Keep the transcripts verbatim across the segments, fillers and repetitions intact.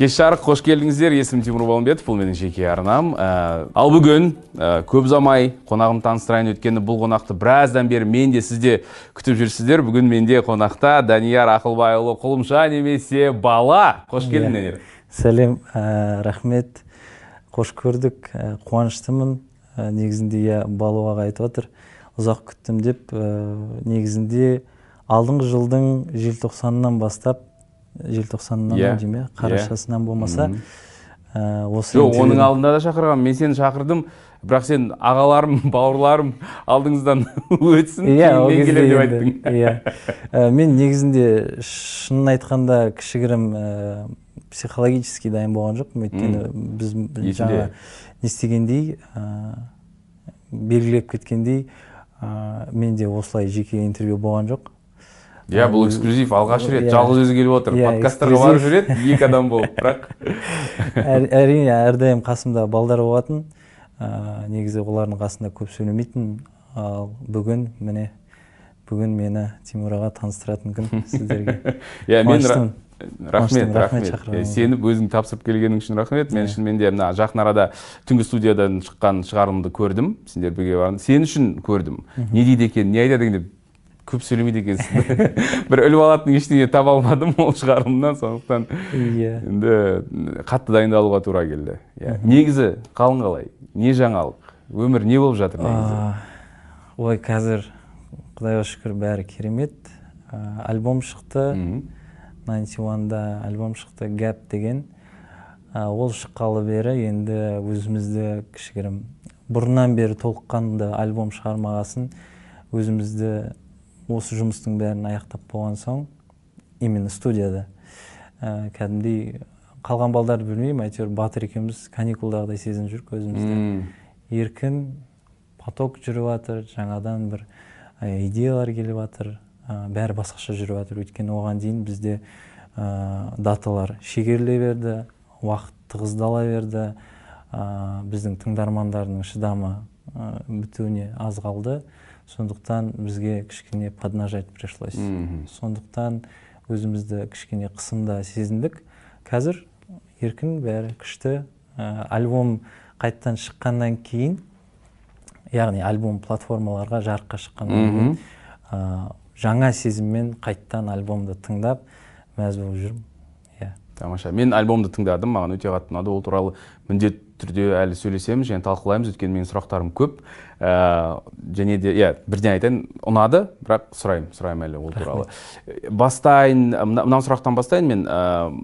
Кеш жарық, қош келдіңіздер. Есімім Тимур Балымбетов, бұл менің жеке арнам. Ал бүгін көп замай қонағым таныстырайын, өткені бұл қонақты біраздан бері мен де сізде күтіп жүрсіздер. Бүгін менде қонақта Данияр Ақылбайұлы Құлымша немесе Бала. Қош келдің, Данияр. Сәлем, рахмет. Қош көрдік. Қуаныштымын. Негізінде Балуаға айтып отыр. Ұзақ күттім деп, негізінде алдыңғы жылдың желтоқсанынан бастап, желтоқсанынан дейме, қарашасынан болмаса, осы Жоқ, оның алдында да шақырғам. Мен сені шақырдым, бірақ сен ағаларым, бауырларым алдыңыздан өтсін, кейіннен келем деп айттың. Мен негізінде шынын айтқанда кішігірім психологически дайын болған жоқ. Өйткені біз жаңа не істегендей, белгілеп кеткендей, менде осылай жеке интервью болған жоқ. Иә, бұл эксклюзив, алғаш рет, жалғыз өзі келіп отыр. Подкасттарға барып жүреді, екі адам болып, бірақ. Әрине, әрдайым қасымда балдар болатын. Негізі олардың қасында көп сөйлемейтін. Ал бүгін, міне, бүгін мені Тимур аға таныстыратын күн сіздерге. Қуаныштымын. Рахмет, рахмет. Сені өзің тапсырып келгенің үшін рахмет. Мен үшін менде жақын арада түнгі студиядан шыққан шығарылымды көрдім. Сендер бірге бардың. Сен үшін көрдім. Не дейді екен, не айтады екен деп көп сөйлемейді екенсің. Бір өліп алатын ештеңе таба алмадым ол шығарылымнан, сондықтан енді қатты дайындалуға тура келді. Негізі қалың қалай? Не жаңалық? Өмір не болып жатыр негізі? Ой, қазір Құдайға шүкір бәрі керемет. Альбом шықты. тоғыз онда альбом шықты, Gap деген. Ол шыққалы бері енді өзімізді кішігірім бұрыннан бері толыққанды альбом шығармағасын, өзімізді осы жұмыстың бәрін аяқтап болған соң, именно студияда кәдімдей қалған балдарды білмеймін, әйтеуір Батыр екеуміз каникулдағыдай сезініп жүрік өзімізді. Еркін, поток жүріп жатыр, жаңадан бір идеялар келіп жатыр, бәрі басқаша жүріп жатыр. Өйткені оған дейін бізде даталар шегеріле берді, уақыт тығыздала берді, біздің тыңдармандардың шыдамы бітуіне аз қалды. Сондықтан бізге кішкене поднажать пришлось. Сондықтан өзімізді кішкене қысымда сезіндік. Қазір еркін бәрі күшті. Альбом қайттан шыққаннан кейін, яғни альбом платформаларға жарыққа шыққаннан кейін, жаңа сезіммен қайттан альбомды тыңдап, мәз болып жүрмін. Тамаша. Мен альбомды тыңдадым, маған өте қатты ұнады. Ол туралы міндетті түрде әлі сөйлесеміз, және талқылаймыз, өйткені менің сұрақтарым көп. Және де, иә, бірден айтайын, ұнады, бірақ сұрайым, сұрайым әлі ол туралы. Бастайын, мынау сұрақтан бастайын, мен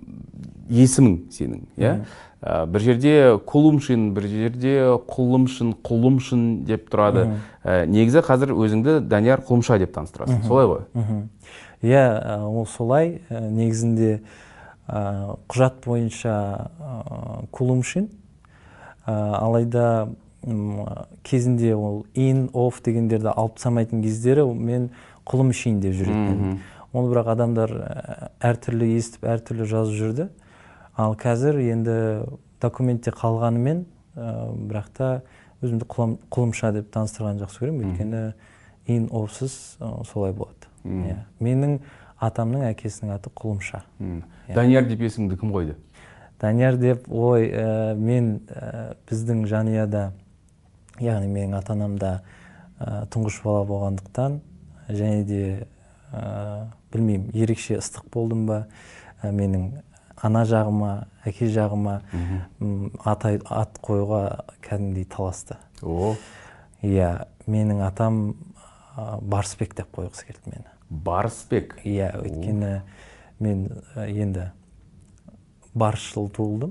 есімің сенің, иә? Бір жерде Құлымшин, бір жерде Құлымшын, Құлымшын деп тұрады. Негізі қазір өзіңді Данияр Құлымша деп таныстырасың, солай ғой? Иә, ол солай. Негізінде құжат бойынша Құлымшин, алайда кезінде ол in, off дегендерді алып тастамайтын кездері мен Құлымшин деп жүретін. Оны бірақ адамдар әртүрлі естіп, әртүрлі жазып жүрді. Ал қазір енді документте қалғанымен, бірақ та өзімді Құлымша деп таныстырған жақсы көремін, өйткені in, offсыз солай болады. Менің атамның әкесінің аты Құлымша. Данияр деп есіміңді кім қойды? Данияр деп, ой, мен біздің жанұяда, яғни менің ата-анамда тұңғыш бала болғандықтан, және де білмеймін, ерекше ыстық болдым ба, менің ана жағыма, әке жағыма ат қоюға кәдімгідей таласты. Иә, менің атам Барысбек деп қойғысы келді мені. Барысбек? Иә, өйткені мен енді барысшыл туылдым.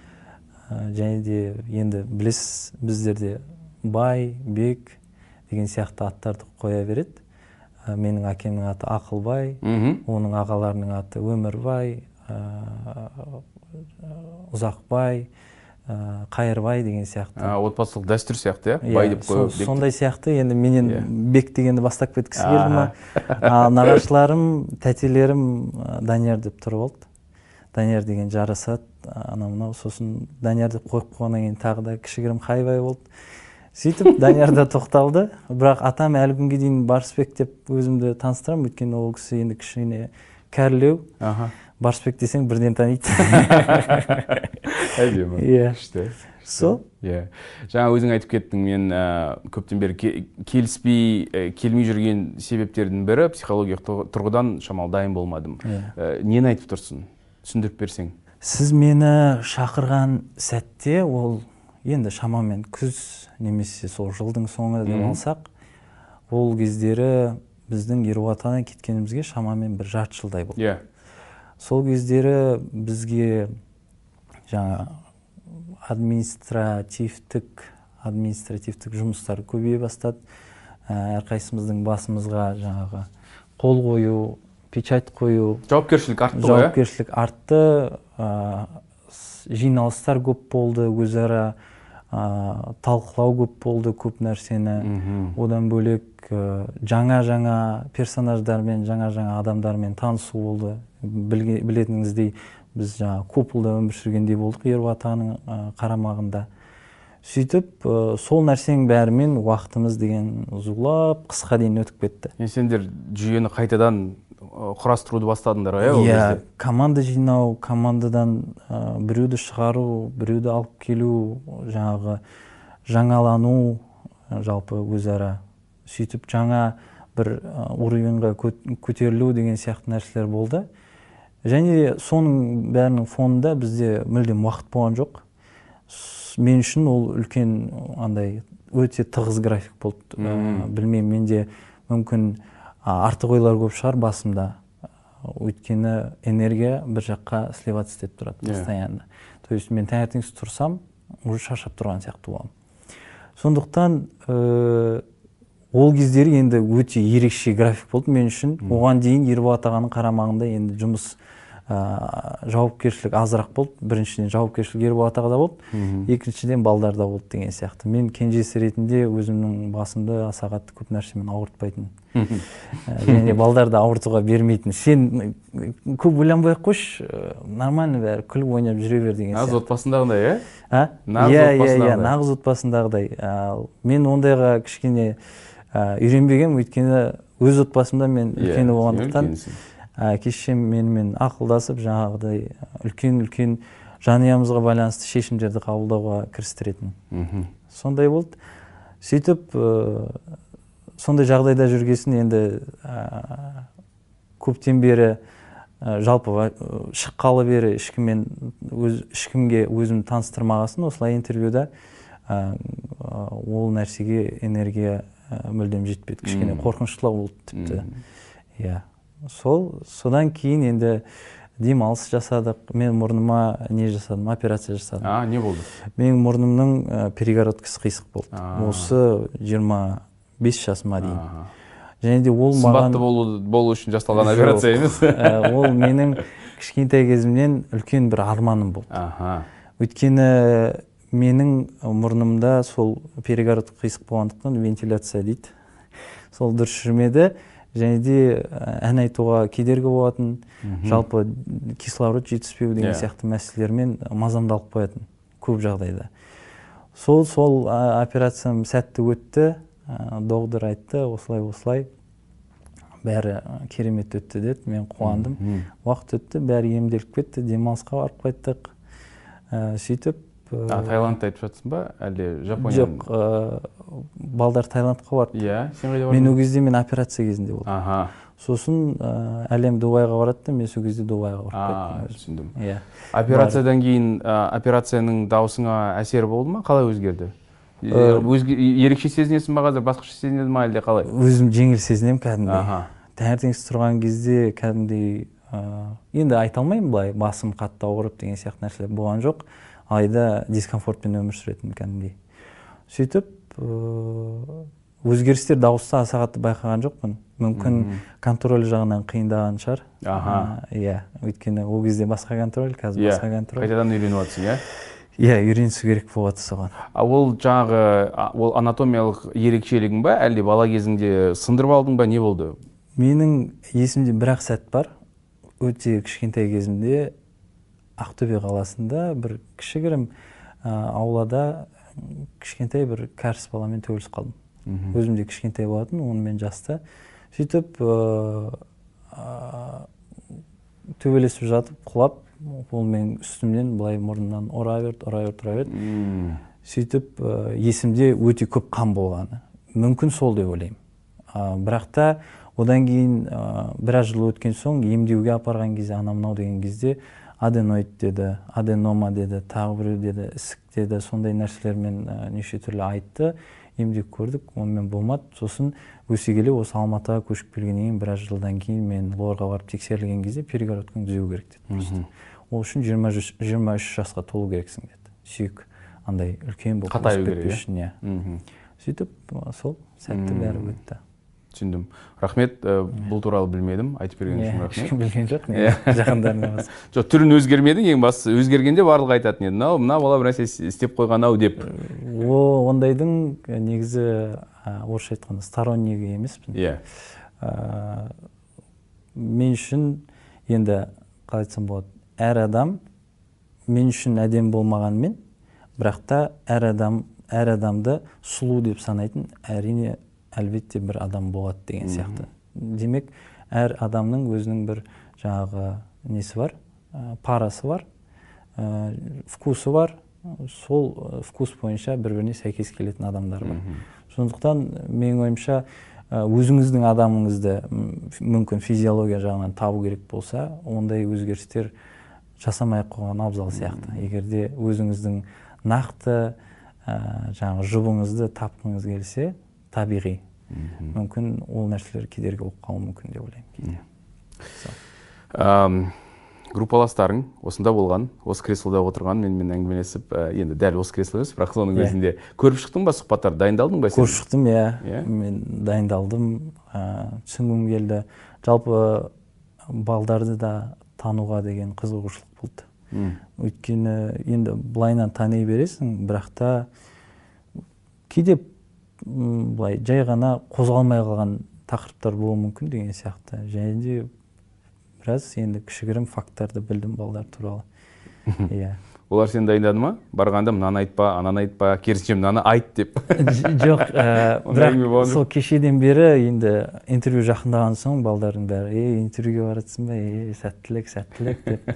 Және де енді білесіз, біздерде Бай, Бек деген сияқты аттарды қоя береді. Менің әкемнің аты Ақылбай, оның ағаларының аты Өмірбай, Ұзақбай, Қайырбай деген сияқты. Отбасылық дәстүр сияқты, иә? Бай деп қойып. Сондай сияқты, енді менен Бек дегенді бастап кеткісі келді ма. Нағашыларым, тәтелерім Данияр деп тұрып алды. Данияр деген жарасады, анау-мынау, сосын Данияр деп қойып қойғаннан кейін тағы да кішігірім Хайбай болды. Сөйтіп Данияр да тоқталды, бірақ атам әлі күнге дейін Барысбек деп өзімді таныстырамын, өйткені ол кісі енді кішкене кәрілеу. Аха. Барсбек десең бірден таниды. Әдемі. Иә. Күшті. Сол. Иә. Жаңа өзің айтып кеттің, мен көптен бері келіспей, келмей жүрген себептердің бірі психологиялық тұрғыдан шамалы дайын болмадым. Нені айтып тұрсың? Түсіндіріп берсең. Сіз мені шақырған сәтте, ол енді шамамен күз немесе сол жылдың соңы деп алсақ, ол кездері біздің Ереваннан кеткенімізге шамамен бір жарты жылдай болды. Иә. Сол кездері бізге жаңа административтік административтік жұмыстар көбейе бастады. Әрқайсымыздың басымызға жаңағы қол қою, печать қою, жауапкершілік артты ғой. Жауапкершілік артты, жиналыстар көп болды, өзара талқылау көп болды, көп нәрсені. Одан бөлек жаңа-жаңа персонаждармен, жаңа-жаңа адамдармен танысу болды. Білетініңіздей, біз жаңа купылда өмір сүргендей болдық Ереванның қарамағында. Сөйтіп, сол нәрсенің бәрімен уақытымыз деген ұзулап, қысқа дейін өтіп кетті. Сендер жүйені қайтадан құрастыруды бастадыңдар ғой? Иә, команда жинау, командадан біреуді шығару, біреуді алып келу, жаңағы жаңалану, жалпы өзара. Сөйтіп, жаңа бір уровеньға көтерілу деген сияқты нәрселер болды. Және соның бәрінің фонында бізде мүлдем уақыт болған жоқ. Мен үшін ол үлкен андай өте тығыз график болды. Білмеймін, менде мүмкін артық ойлар көп шығар басымда. Өйткені энергия бір жаққа сливаться етіп тұрады постоянно. То есть мен таңертең тұрсам, уже шаршап тұрған сияқты боламын. Сондықтан ол кездері енді өте ерекше график болды мен үшін. Оған дейін Ереван ағаның қарамағында енді жұмыс жауапкершілік азырақ болды. Біріншіден жауапкершілік Ереван ағада болды, екіншіден балдарда болды деген сияқты. Мен кенжесі ретінде өзімнің басымды аса қатты көп нәрсемен ауыртпайтын. Және балдарды ауыртуға бермейтін. Сен көп ойланбай ақ қойшы, нормально бәрі, күліп ойнап жүре бер деген сияқты. Нағыз отбасындағыдай, иә? А? Иә, иә, нағыз отбасындағыдай. Мен ондайға кішкене үйренбегем, өйткені өз отбасымда мен үлкені болғандықтан кешем менімен ақылдасып, жаңағыдай үлкен-үлкен жанұямызға байланысты шешімдерді қабылдауға кірістіретін. Сондай болды. Сөйтіп, сондай жағдайда жүргесін енді көптен бері жалпы шыққалы бері ешкімге өзім таныстырмағасын, осылай интервьюда ол нәрсеге энергия мүлдем жетпеді. Кішкене қорқыныштылау болды тіпті. Иә. Сол, содан кейін енді демалыс жасадық. Мен мұрныма не жасадым? Операция жасадым. А, не болды? Менің мұрнымның перегородкасы қисық болды. Осы жиырма бес жасыма дейін. Және де ол маған... Сымбатты болу үшін жасалған операция емес? Ол менің кішкентай кезімнен үлкен бір арманым болды. Өйткені менің мұрнымда сол перегород қисық болғандықтан вентиляция дейді. Сол дұрыс жүрмеді. Және де ән айтуға кедергі болатын, жалпы кислород жетіспеу деген сияқты мәселелермен мазамдалып қоятын көп жағдайда. Сол сол операциям сәтті өтті, доктор айтты, осылай-осылай бәрі керемет өтті деді, мен қуандым. Уақыт өтті, бәрі емделіп кетті, демалысқа барып қайттық. Сөйтіп Таиландты айтып жатсың ба, әлде Жапонияның? Жоқ, балдар Таиландқа барды. Иә, сен қайда бардың? Мен ол кезде мен операция кезінде болдым. Сосын әлем Дубайға барады, мен сол кезде Дубайға барып кеттім. Түсіндім. Операциядан кейін операцияның даусыңа әсері болды ма? Қалай өзгерді? Ерекше сезінесің ба қазір, басқаша сезінеді ма әлде қалай? Өзім жеңіл сезінемін кәдімгідей. Таңертеңсіз тұрған кезде кәдімгідей, енді айта алмаймын былай, басым қатты ауырып деген сияқты нәрселер болған жоқ. Айда дискомфортпен өмір сүретін кәдімгідей. Сөйтіп, өзгерістер дауыста аса қатты байқаған жоқпын. Мүмкін контроль жағынан қиындаған шығар. Иә, өйткені ол кезде басқа контроль, қазір басқа контроль. Қайтадан үйреніп жатсың, иә? Иә, үйренісу керек болады соған. Ол жаңағы, ол анатомиялық ерекшелігің ба, әлде бала кезіңде сындырып алдың ба, не болды? Менің есімде бір-ақ сәт бар. Өте кішкентай кезімде Ақтөбе қаласында бір кішігірім аулада кішкентай бір кәріс баламен төбелесіп қалдым. Өзімде кішкентай болатын, онымен жаста. Сөйтіп төбелесіп жатып құлап, ол менің үстімнен былай мұрнымнан ұра берді, ұра берді, ұра берді. Сөйтіп есімде өте көп қан болғаны. Мүмкін сол деп ойлаймын. Бірақ та одан кейін біраз жыл өткен соң емдеуге апарған кезде, анау мынау деген кезде аденоид деді, аденома деді, тағы біреу деді, ісік деді, сондай нәрселермен неше түрлі айтты. Емдеп көрдік, онымен болмады. Сосын өсе келе осы Алматыға көшіп келгеннен кейін біраз жылдан кейін мен лорға барып тексерілген кезде перегородканы түзеу керек деді. Ол үшін жиырма үш жасқа толу керексің деді. Сүйек андай үлкен болып қатаю керек. Сөйтіп сол сәтті бәрі өтті. Түсіндім. Рахмет, бұл туралы білмедім. Айтып берген үшін рахмет. Ешкім білген жоқ, жақындарына басқа. Жоқ, түрін өзгермеді, ең бастысы өзгергенде барлығы айтатын еді. Мынау, мына бала бір нәрсе істеп қойған-ау деп. О, ондайдың негізі орысша айтқанда стороннигі емеспін. Иә. Мен үшін енді қалай айтсам болады, әр адам мен үшін әдем болмағанмен, бірақ та әр адам әр адамды сұлу деп санайтын әрине әлбетте бір адам болады деген сияқты. Демек, әр адамның өзінің бір жаңағы несі бар, парасы бар, вкусы бар, сол вкус бойынша бір-біріне сәйкес келетін адамдар бар. Сондықтан менің ойымша өзіңіздің адамыңызды мүмкін физиология жағынан табу керек болса, ондай өзгерістер жасамай қойған абзал сияқты. Егерде өзіңіздің нақты жаңағы жұбыңызды тапқыңыз келсе, табиғи. Мүмкін ол нәрселер кедергі болып қалуы мүмкін деп ойлаймын. Группаластарың осында болған, осы креслода отырған, менімен әңгімелесіп, енді дәл осы кресло емес, бірақ соның өзінде көріп шықтың ба, сұхбаттар дайындалдың ба сен? Көріп шықтым, иә. Мен дайындалдым, түсінгім келді. Жалпы балдарды да тануға деген қызығушылық болды. Өйткені енді былайынан тани бересің, бірақ та кейде былай жай ғана қозғалмай қалған тақырыптар болуы мүмкін деген сияқты. Және де біраз енді кішігірім факттарды білдім балдар туралы. Олар сені дайындады ма? Барғанда мынаны айтпа, ананы айтпа, керісінше мынаны айт деп. Жоқ, бірақ сол кешеден бері енді интервью жақындаған соң балдардың бәрі, ей, интервьюге баратсың ба, ей, сәттілік, сәттілік деп.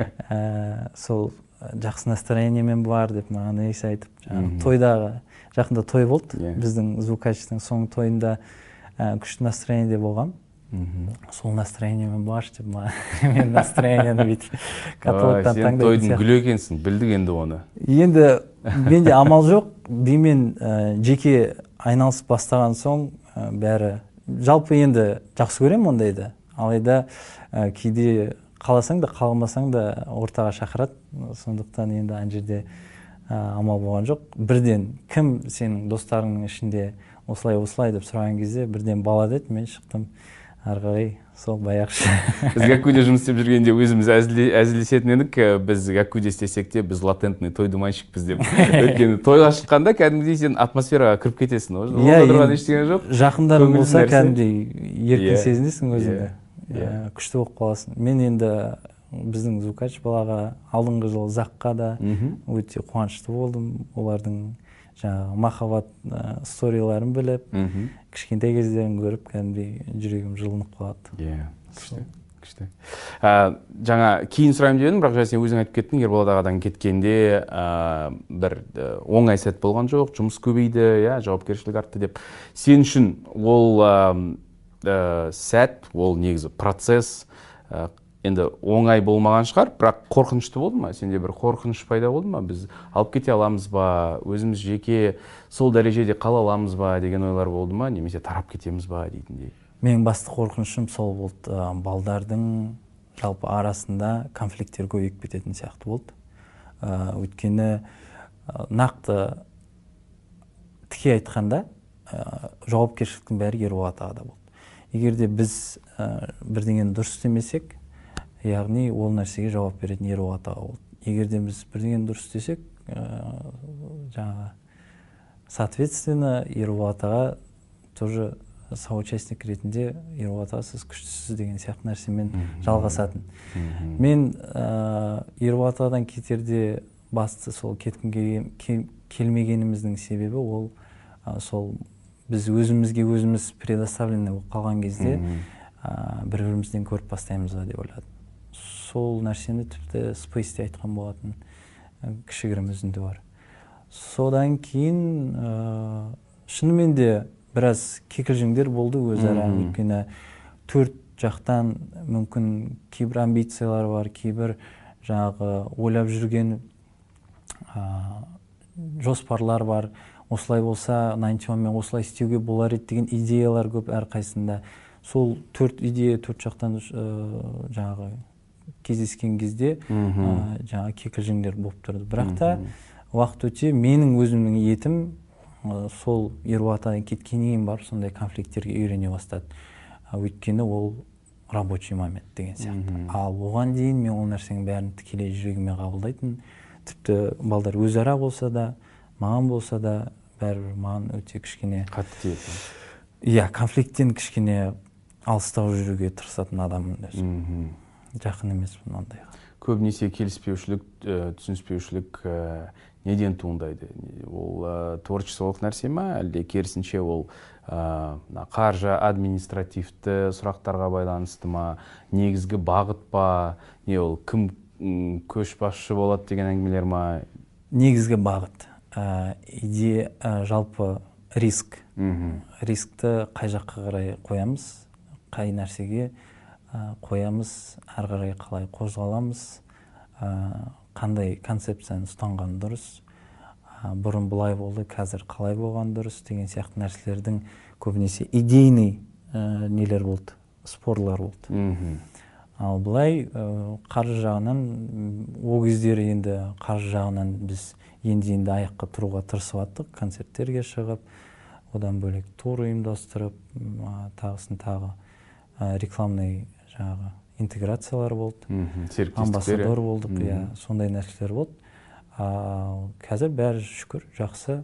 Сол жақсы настроениемен бар деп маған есі айтып, тойдағы, жақында той болды, біздің звукачтың соңғы тойында күшті настроениеде болғам. Сол настроениемен баршы деп мен настроениені бүйтіп каталогтан таңдайтын сияқты. Сен тойдың гүлі екенсің, білдік енді оны. Енді менде амал жоқ, бимен жеке айналысып бастаған соң бәрі жалпы енді жақсы көремін ондайды. Алайда кейде қаласаң да қаламасаң да ортаға шақырады. Сондықтан енді ана жерде амал болған жоқ. Бірден кім сенің достарыңның ішінде осылай-осылай деп сұраған кезде бірден бала деді, мен шықтым. Арғай, сол баяқшы. Біз Гаккуде жұмыс істеп жүргенде өзіміз әзілдесетін едік, біз Гаккуде істесек те, біз латентный той думанщикпіз деп. Өйткені тойға шыққанда кәдімгідей сен атмосфераға кіріп кетесің. Онда тұрған ештеңе жоқ. Жақындарың болса кәдімгідей еркін сезінесің өзіңді. Күшті болып қаласың. Мен енді біздің звукач балаға алдыңғы жылы Заққа да өте қуанышты болдым. Олардың жаңағы махаббат сториларын біліп, кішкентай кездерін көріп, кәдімгідей жүрегім жылынып қалады. Иә, күшті, күшті. Жаңа кейін сұрайым дедім, бірақ жаңа сен өзің айтып кеттің, Ерболат ағадан кеткенде бір оңай сәт болған жоқ, жұмыс көбейді, жауапкершілік артты деп. Сен үшін ол сәт, ол негізі процесс, енді оңай болмаған шығар, бірақ қорқынышты болды ма? Сенде бір қорқыныш пайда болды ма? Біз алып кете аламыз ба? Өзіміз жеке сол дәрежеде қала аламыз ба деген ойлар болды ма? Немесе тарап кетеміз ба дейтіндей? Менің басты қорқынышым сол болды. Балдардың жалпы арасында конфликттер көбейіп кететін сияқты болды. Өйткені нақты тіке айтқанда жауапкершіліктің бәрі Ерболат ағада болды. Егерде біз бірдеңені дұрыс істемесек, яғни ол нәрсеге жауап беретін Ерболат аға болды. Егерде біз бірдеңені дұрыс істесек, жаңағы соответственно Ерболат аға тоже соучастник ретінде Ерболат аға сіз күштісіз деген сияқты нәрсемен жалғасатын. Мен Ерболат ағадан кетерде басты сол кеткім келмегеніміздің себебі ол сол біз өзімізге өзіміз предоставленный болып қалған кезде бір-бірімізден көріп бастаймыз ба деп ойладым. сол нәрсені тіпті спейсте айтқан болатын, кішігірім үзінді бар. Содан кейін шынымен де біраз кикілжіңдер болды өзара, өйткені төрт жақтан мүмкін кейбір амбициялар бар, кейбір жаңағы ойлап жүрген жоспарлар бар. Осылай болса, найнти уан мен осылай істеуге болар еді деген идеялар көп әрқайсында. Сол төрт идея төрт жақтан жаңағы кездескен кезде жаңағы кикілжіңдер болып тұрды. Бірақ та уақыт өте менің өзімнің етім сол Ерболаттан кеткеннен кейін барып сондай конфликттерге үйрене бастады. Өйткені ол рабочий момент деген сияқты. Ал оған дейін мен ол нәрсенің бәрін тікелей жүрегіме қабылдайтын. Тіпті балдар өзара болса да, маған болса да, бәрібір маған өте кішкене қатты тиеді. Иә, конфликттен кішкене алыстау жүруге тырысатын адаммын өзім. Жақын емеспін ондайға. Көбінесе келіспеушілік, түсініспеушілік неден туындайды? Ол творчестволық нәрсе ма, әлде керісінше ол қаржы, административті сұрақтарға байланысты ма, негізгі бағыт па, не ол кім көшбасшы болады деген әңгімелер ма? Негізгі бағыт. Идея жалпы риск. Рискті қай жаққа қарай қоямыз, қай нәрсеге қоямыз, ары қарай қалай қозғаламыз, қандай концепцияны ұстанған дұрыс, бұрын бұлай болды, қазір қалай болған дұрыс деген сияқты нәрселердің көбінесе идейный нелер болды, спорлар болды. Ал бұлай қаржы жағынан, ол кездері енді қаржы жағынан біз енді-енді аяққа тұруға тырысып аттық, концерттерге шығып, одан бөлек тур ұйымдастырып, тағысын тағы рекламный жаңағы интеграциялар болды, амбассадор болдық, сондай нәрселер болды. Қазір бәрі шүкір жақсы.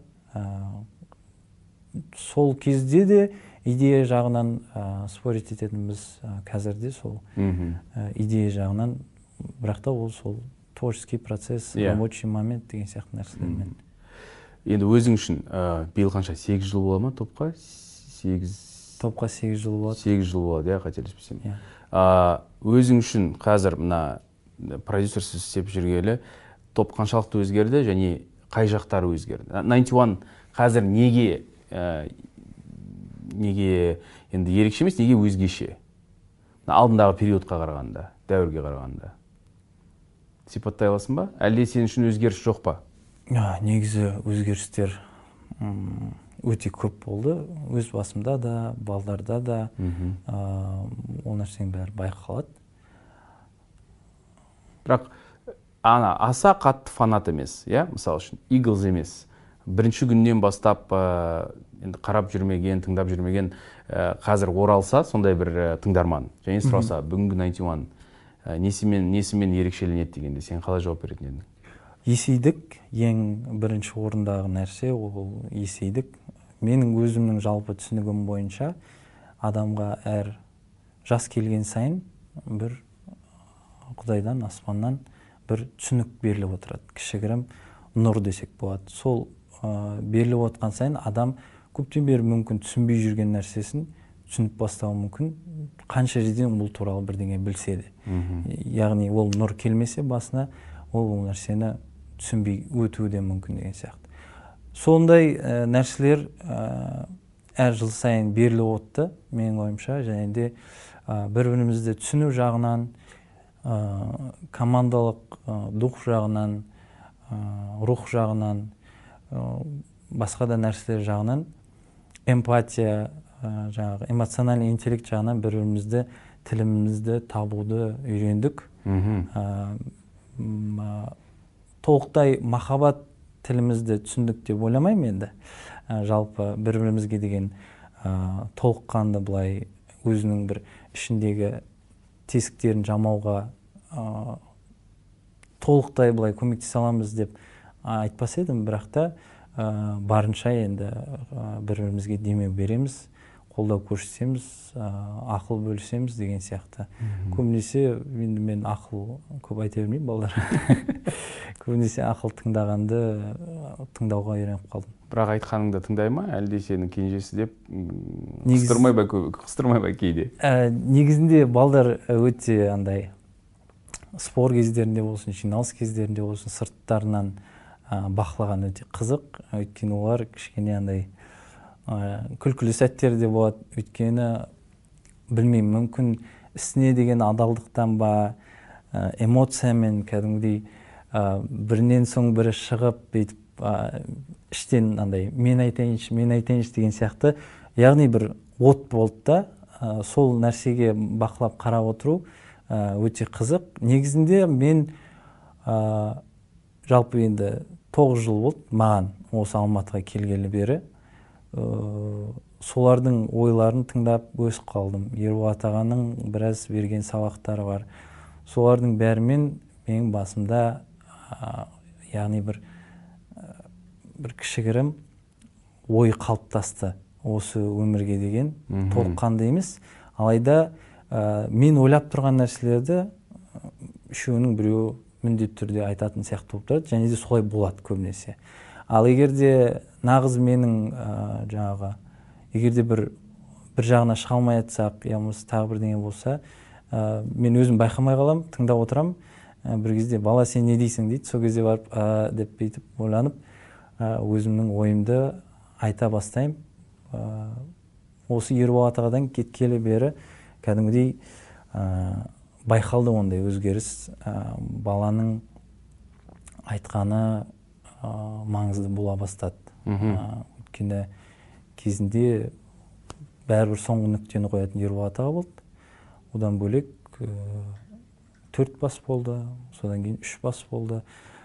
Сол кезде де идея жағынан спорить ететініміз қазірде сол идея жағынан, бірақ та ол сол творческий процесс, рабочий момент деген сияқты нәрселермен. Енді өзің үшін биыл қанша, сегіз жыл бола ма топқа? Топқа сегіз жыл болады. сегіз жыл болады, иә, қателеспесем. Өзің үшін қазір мына продюсерсіз істеп жүргелі топ қаншалықты өзгерді және қай жақтары өзгерді? найнти уан қазір неге неге енді ерекше емес, неге өзгеше? Алдындағы периодқа қарағанда, дәуірге қарағанда. Сипаттай аласың ба? Әлде сен үшін өзгеріс жоқ па? Негізі өзгерістер өте көп болды. Өз басымда да, балдарда да ол нәрсенің бәрі байқалады. Бірақ ана аса қатты фанат емес, иә, мысалы үшін Eagles емес. Бірінші күннен бастап енді қарап жүрмеген, тыңдап жүрмеген қазір оралса, сондай бір тыңдарман және сұраса, бүгінгі найнти уан несімен несімен ерекшеленеді дегенде сен қалай жауап беретін едің? Есейдік, ең бірінші орындағы нәрсе ол есейдік. Менің өзімнің жалпы түсінігім бойынша адамға әр жас келген сайын бір Құдайдан, аспаннан бір түсінік беріліп отырады. Кішігірім нұр десек болады. Сол беріліп отқан сайын адам көптен бері мүмкін түсінбей жүрген нәрсесін түсініп бастауы мүмкін, қанша жерден бұл туралы бірдеңе білсе де. Яғни ол нұр келмесе басына, ол нәрсені түсінбей өтуі де мүмкін деген сияқты. Сондай нәрселер әр жыл сайын беріліп отты, менің ойымша, және де бір-бірімізді түсіну жағынан, командалық дух жағынан, рух жағынан, басқа да нәрселер жағынан, эмпатия, жаңағы эмоциональный интеллект жағынан бір-бірімізді, тілімізді табуды үйрендік. Толықтай махаббат тілімізді түсіндік деп ойламаймын енді. Жалпы бір-бірімізге деген толыққанды былай өзінің бір ішіндегі тесіктерін жамауға толықтай былай көмектесе аламыз деп айтпас едім, бірақ та барынша енді бір-бірімізге демеу береміз, қолдау көрсетеміз, ақыл бөлісеміз деген сияқты. Көбінесе енді мен ақыл көп айта бермеймін балдар. Көбінесе ақыл тыңдағанды тыңдауға үйреніп қалдым. Бірақ айтқаныңды тыңдай ма, әлде сенің кенжесі деп қыстырмай ба кейде? Негізінде балдар өте андай спор кездерінде болсын, жиналыс кездерінде болсын, сырттарынан бақылаған өте қызық. Өйткені олар кішкене андай күлкілі сәттер де болады. Өйткені білмеймін, мүмкін ісіне деген адалдықтан ба, эмоциямен кәдімгідей бірінен соң бірі шығып, бүйтіп іштен андай мен айтайыншы, мен айтайыншы деген сияқты, яғни бір от болды да, сол нәрсеге бақылап қарап отыру өте қызық. Негізінде мен жалпы енді тоғыз жыл болды маған осы Алматыға келгелі бері. Солардың ойларын тыңдап өсіп қалдым. Ерболат ағаның біраз берген сабақтары бар. Солардың бәрімен менің басымда яғни бір бір кішігірім ой қалыптасты осы өмірге деген. Толыққанды емес, алайда мен ойлап тұрған нәрселерді үшеуінің біреуі міндетті түрде айтатын сияқты болып тұрады, және де солай болады көбінесе. Ал егерде нағыз менің жаңағы егерде бір бір жағына шыға алмай жатсақ, я болмаса тағы бірдеңе болса, мен өзім байқамай қалам, тыңдап отырам. Бір кезде бала сен не дейсің дейді, сол кезде барып деп бүйтіп ойланып, өзімнің ойымды айта бастаймын. Осы Ерболат ағадан кеткелі бері кәдімгідей байқалды ондай өзгеріс. Баланың айтқаны маңызды бола бастады. Өйткені кезінде бәрібір соңғы нүктені қоятын Ерболат аға болды. Одан бөлек төрт бас болды, содан кейін үш бас болды.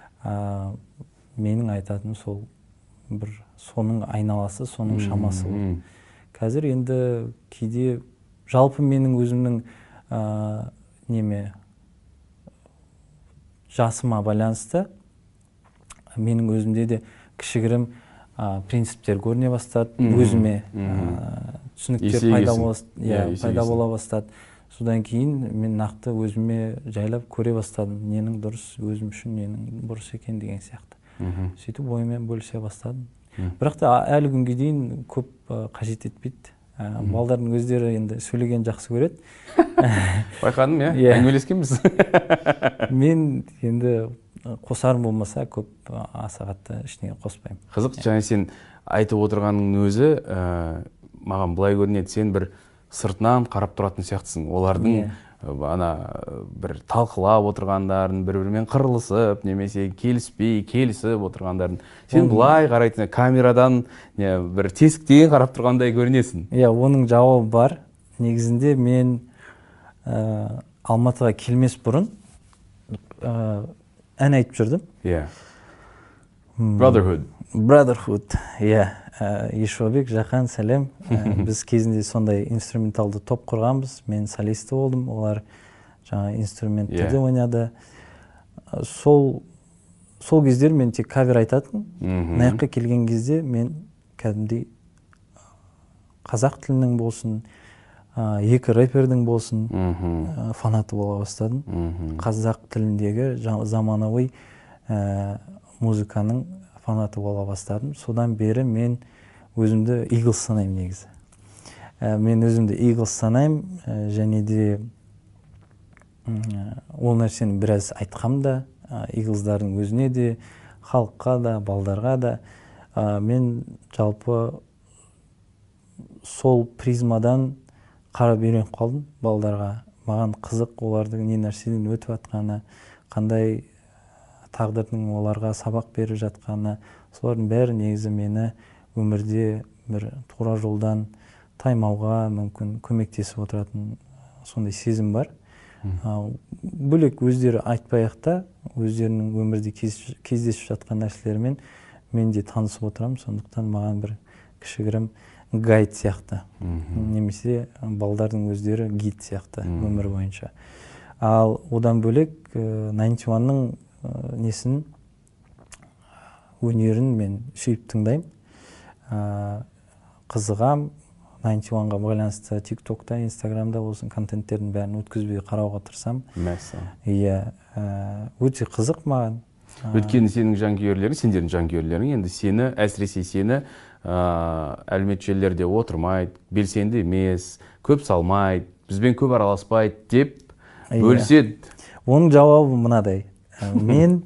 Менің айтатыным сол бір соның айналасы, соның шамасы болды. Қазір енді кейде жалпы менің өзімнің неме жасыма байланысты менің өзімде де кішігірім принциптер көріне бастады, өзіме түсініктер пайда бола бастады. Содан кейін мен нақты өзіме жайлап көре бастадым, ненің дұрыс, өзім үшін ненің бұрыс екен деген сияқты. Сөйтіп ойымен бөлісе бастадым. Бірақ та әлі күнге дейін көп қажет етпейді. Балдардың өздері енді сөйлеген жақсы көреді. Байқадым, иә, әңгімелескенбіз. Мен енді қосарым болмаса көп аса қатты ішіне қоспаймын. Қызық, және сен айтып отырғанның өзі маған былай көрінеді, сен бір сыртынан қарап тұратын сияқтысың. Олардың ана бір талқылап отырғандарын, бір-бірімен қырылысып, немесе келіспей, келісіп отырғандарын. Сен былай қарайтын, камерадан бір тесіктен қарап тұрғандай көрінесің. Иә, оның жауабы бар. Негізінде мен Алматыға келмес бұрын ән айтып жүрдім. Иә. Brotherhood. Brotherhood, иә. Ешуабек, Жақан, сәлем. Біз кезінде сондай инструменталды топ құрғанбыз. Мен солисті болдым, олар жаңа инструменттерді ойнады. Сол сол кездер мен тек кавер айтатын. Наяққа келген кезде мен кәдімгідей қазақ тілінің болсын, екі рэпердің болсын фанаты бола бастадым. Қазақ тіліндегі заманауи музыканың фанаты бола бастадым. Содан бері мен өзімді Eagles санаймын негізі. Мен өзімді Eagles санаймын, және де ол нәрсені біраз айтқам да, Eagles'дардың өзіне де, халыққа да, балдарға да. Мен жалпы сол призмадан қарап үйреніп қалдым балдарға. Маған қызық олардың не нәрседен өтіп жатқаны, қандай тағдырдың оларға сабақ беріп жатқаны, солардың бәрі негізі мені өмірде бір тура жолдан таймауға мүмкін көмектесіп отыратын сондай сезім бар. Бөлек өздері айтпай-ақ та, өздерінің өмірде кездесіп жатқан нәрселермен мен де танысып отырамын. Сондықтан маған бір кішігірім гайд сияқты, немесе балдардың өздері гид сияқты өмір бойынша. Ал одан бөлек ninety one'ның несін, өнерін мен сүйіп тыңдаймын. Қызығам, ninety one'ға байланысты тик-токта, инстаграмда болсын контенттердің бәрін өткізбей қарауға тырысам. Мәссі. Иә, өте қызық маған. Өткені сенің жанкүйерлерің, сендердің жанкүйерлерің енді сені, әсіресе сені әлеуметтік желілерде отырмайды, белсенді емес, көп салмайды, бізбен көп араласпайды деп бөліседі. оның жауабы мынадай. Мен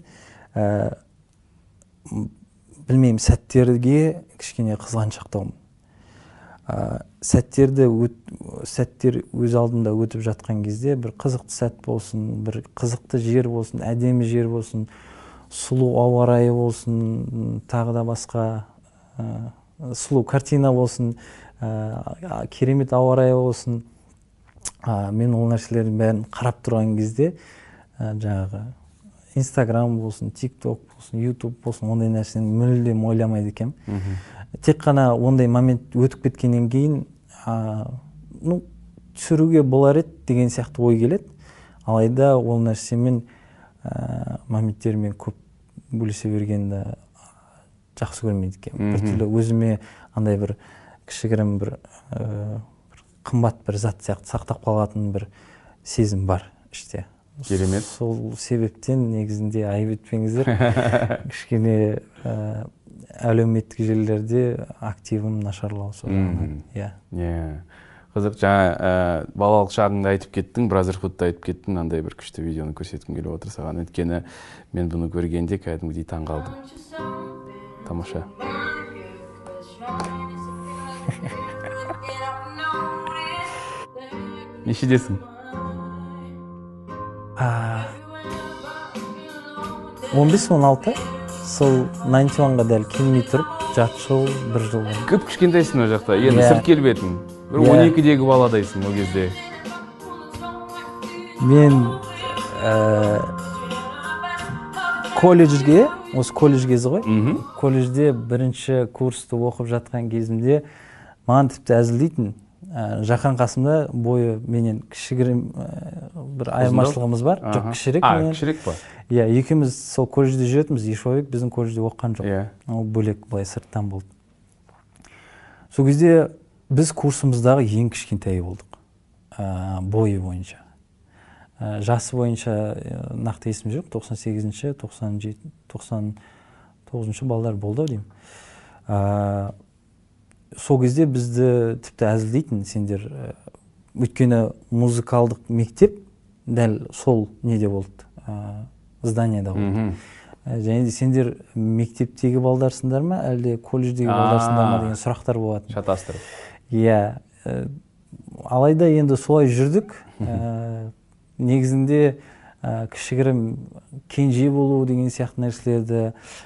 білмеймін, сәттерге кішкене қызғаншақтаумын. Сәттерді сәттер өз алдында өтіп жатқан кезде бір қызықты сәт болсын, бір қызықты жер болсын, әдемі жер болсын, сұлу ауа райы болсын, тағы да басқа сұлу картина болсын, керемет ауа райы болсын, мен ол нәрселердің бәрін қарап тұрған кезде жаңағы Инстаграм болсын, TikTok болсын, YouTube болсын, ондай нәрсені мүлдем ойламайды екенмін. Тек қана ондай момент өтіп кеткеннен кейін, ну, түсіруге болар еді деген сияқты ой келеді. Алайда ол нәрсемен моменттермен көп бөлісе бергенді жақсы көрмейді екенмін. Бір түрлі өзіме андай бір кішігірім бір қымбат бір зат сияқты сақтап қалатын бір сезім бар іште. Керемет. Сол себептен негізінде айып етпеңіздер. Кішкене әлеуметтік желілерде активім нашарлау соған. Иә. Қызық, жаңа балалық шағыңды айтып кеттің, Brotherhood'ды айтып кеттің, андай бір күшті видеоны көрсеткім келіп отыр саған. Өйткені мен бұны көргенде кәдімгідей таң қалдым. Тамаша. Нешедесің? он бес он алты, сол тоғыз онға дәл келмей тұрып, жарты жыл, бір жыл. Көп кішкентайсың о жақта, енді сырт келбетін. Бір он екідегі баладайсың о кезде. Мен колледжге, осы колледж кезі ғой, колледжде бірінші курсты оқып жатқан кезімде маған тіпті әзілдейтін. Жақан қасымда бойы менен кішігірім бір айырмашылығымыз бар. Жоқ, кішірек менен. А, кішірек па? Иә, екеуміз сол колледжде жүретінбіз, Ешуабек біздің колледжде оққан жоқ. Ол бөлек былай сырттан болды. Сол кезде біз курсымыздағы ең кішкентайы болдық. Бойы бойынша. Жасы бойынша нақты есім жоқ, тоқсан сегізінші, тоқсан жетінші, тоқсан тоғызыншы балдар болды деймін. Сол кезде бізді тіпті әзілдейтін сендер, өйткені музыкалдық мектеп дәл сол неде болды, зданияда болды. Және де сендер мектептегі балдарсыңдар ма, әлде колледждегі балдарсыңдар ма деген сұрақтар болатын. Шатастырып. Иә, алайда енді солай жүрдік. Негізінде кішігірім кенже болу деген сияқты нәрселерді,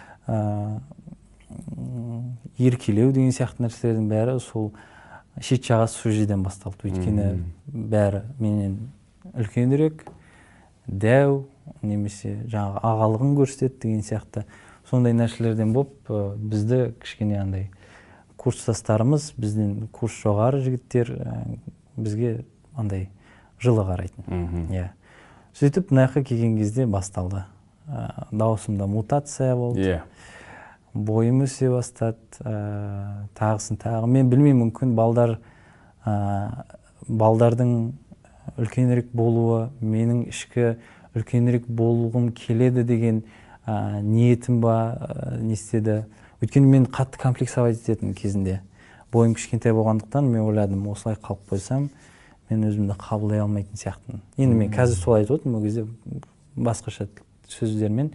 еркелеу деген сияқты нәрселердің бәрі сол шет жағасы сол жерден басталды. Өйткені бәрі менен үлкенірек, дәу, немесе жаңағы ағалығын көрсетеді деген сияқты сондай нәрселерден болып, бізді кішкене андай курстастарымыз, бізден курс жоғары жігіттер бізге андай жылы қарайтын. Сөйтіп, мынаяққа келген кезде басталды. Дауысымда мутация болды. Бойым өсе бастады, тағысын тағы. Мен білмеймін, мүмкін балдар, балдардың үлкенірек болуы, менің ішкі үлкенірек болуғым келеді деген ниетім ба, не істеді. Өйткені мен қатты комплексовать ететін кезінде. Бойым кішкентай болғандықтан мен ойладым, осылай қалып қойсам, мен өзімді қабылдай алмайтын сияқтымын. Енді мен қазір солай айтып отырмын, ол кезде басқаша сөздермен.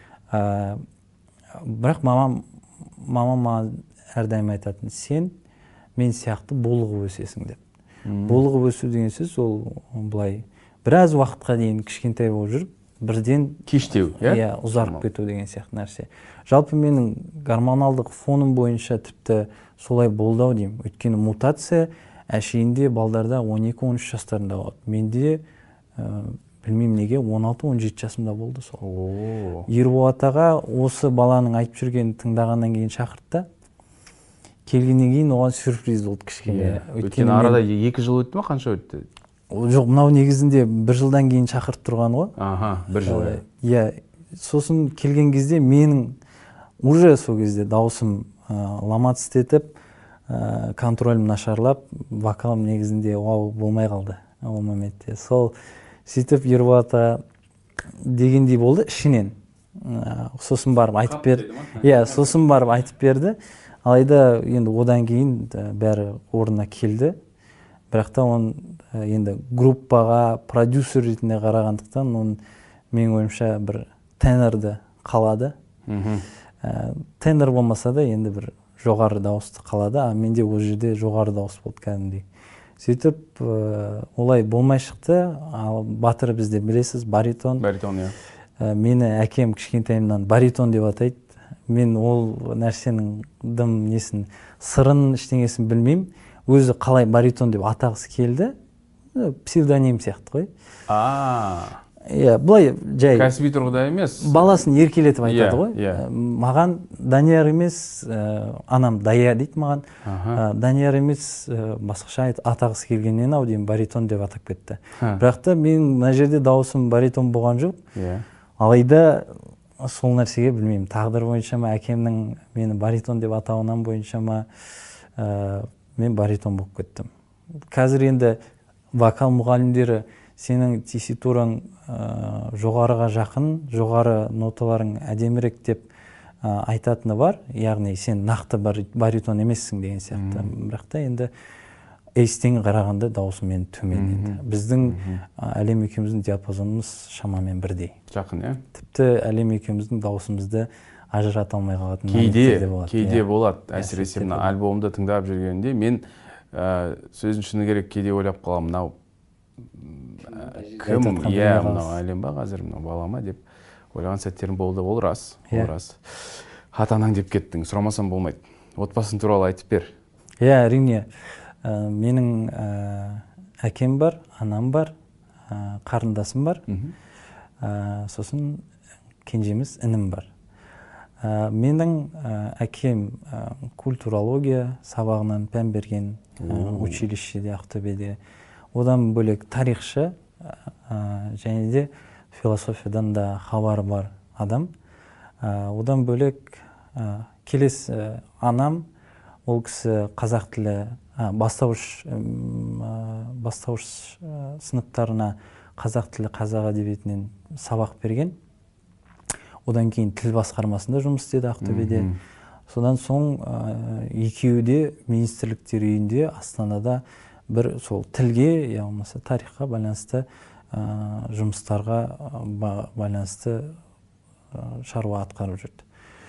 Бірақ мамам, мамам маған әрдайым айтатын, сен мен сияқты болығы өсесің деп. Болығы өсу деген сөз ол былай біраз уақытқа дейін кішкентай болып жүріп, бірден кештеу, иә, ұзарып кету деген сияқты нәрсе. Жалпы менің гормоналдық фоным бойынша тіпті солай болды ау деймін. Өйткені мутация әшейінде балдарда он екі он үш жастарында болады. Менде білмеймін неге он алты он жеті жасымда болды сол. Ерболат аға осы баланың айтып жүргенін тыңдағаннан кейін шақыртты. Келгеннен кейін оған сюрприз болды кішкене. Өйткені арада екі жыл өтті ме, қанша өтті? Жоқ, мынау негізінде бір жылдан кейін шақырып тұрған ғой. Аха, бір жыл. Иә, сосын келген кезде менің уже сол кезде дауысым ломаться етіп, контролім нашарлап, вокалым негізінде вау болмай қалды ол моментте. Сол сөйтіп Ерболат дегендей болды ішінен. Сосын барып айтып берді. Иә, сосын барып айтып берді. Алайда енді одан кейін бәрі орнына келді. Бірақ та он енді группаға продюсер ретінде қарағандықтан, оның менің ойымша бір тенорды қалады. Тенор болмаса да енді бір жоғары дауысты қалады, а менде ол жерде жоғары дауыс болды кәдімгідей. Сөйтіп олай болмай шықты. Ал батыр бізде білесіз, баритон. Баритон, иә. Мені әкем кішкентайымнан баритон деп атайды. Мен ол нәрсенің дым несін, сырын, ештеңесін білмеймін. Өзі қалай баритон деп атағысы келді. Псевдоним сияқты ғой. А. Иә, былай жай. Кәсіби тұрғыда емес. Баласын еркелетіп айтады ғой. Иә. Маған Данияр емес, анам Дая дейді маған. Данияр емес, басқаша атағысы келгеннен ау деймін, баритон деп атап кетті. Бірақ та мен мына жерде дауысым баритон болған жоқ. Иә. Алайда сол нәрсеге білмеймін, тағдыр бойынша ма, әкемнің мені баритон деп атауынан бойынша ма, мен баритон болып кеттім. Қазір енді вокал мұғалімдері сенің тесситураң жоғарыға жақын, жоғары ноталарың әдемірек деп айтатыны бар, яғни сен нақты баритон емессің деген сияқты. Бірақ та енді Эйстен қарағанда дауысы мен төмен еді. Біздің әлем екеуміздің диапазонымыз шамамен бірдей. Жақын, иә? Тіпті әлем екеуміздің дауысымызды ажырата алмай қалатын кейде болады. Кейде болады. Әсіресе мына альбомды тыңдап жүргенде мен сөзін шыны керек кейде ойлап қаламын, мынау кім, иә, мынау әлем ба қазір, мынау бала ма деп ойлаған сәттерім болды. Ол рас, ол рас. Ата-анаң деп кеттің, сұрамасам болмайды. Отбасың туралы айтып бер. Иә, әрине. Менің әкем бар, анам бар, қарындасым бар. Сосын кенжеміз інім бар. Менің әкем культурология сабағынан пән берген училищеде, Ақтөбеде. Одан бөлек тарихшы және де философиядан да хабары бар адам. Одан бөлек келесі анам, ол кісі қазақ тілі бастауыш бастауыш сыныптарына қазақ тілі, қазақ әдебиетінен сабақ берген. Одан кейін тіл басқармасында жұмыс істеді Ақтөбеде. Содан соң екеуі де министрліктер үйінде Астанада бір сол тілге, я болмаса тарихқа байланысты жұмыстарға байланысты шаруа атқарып жүрді.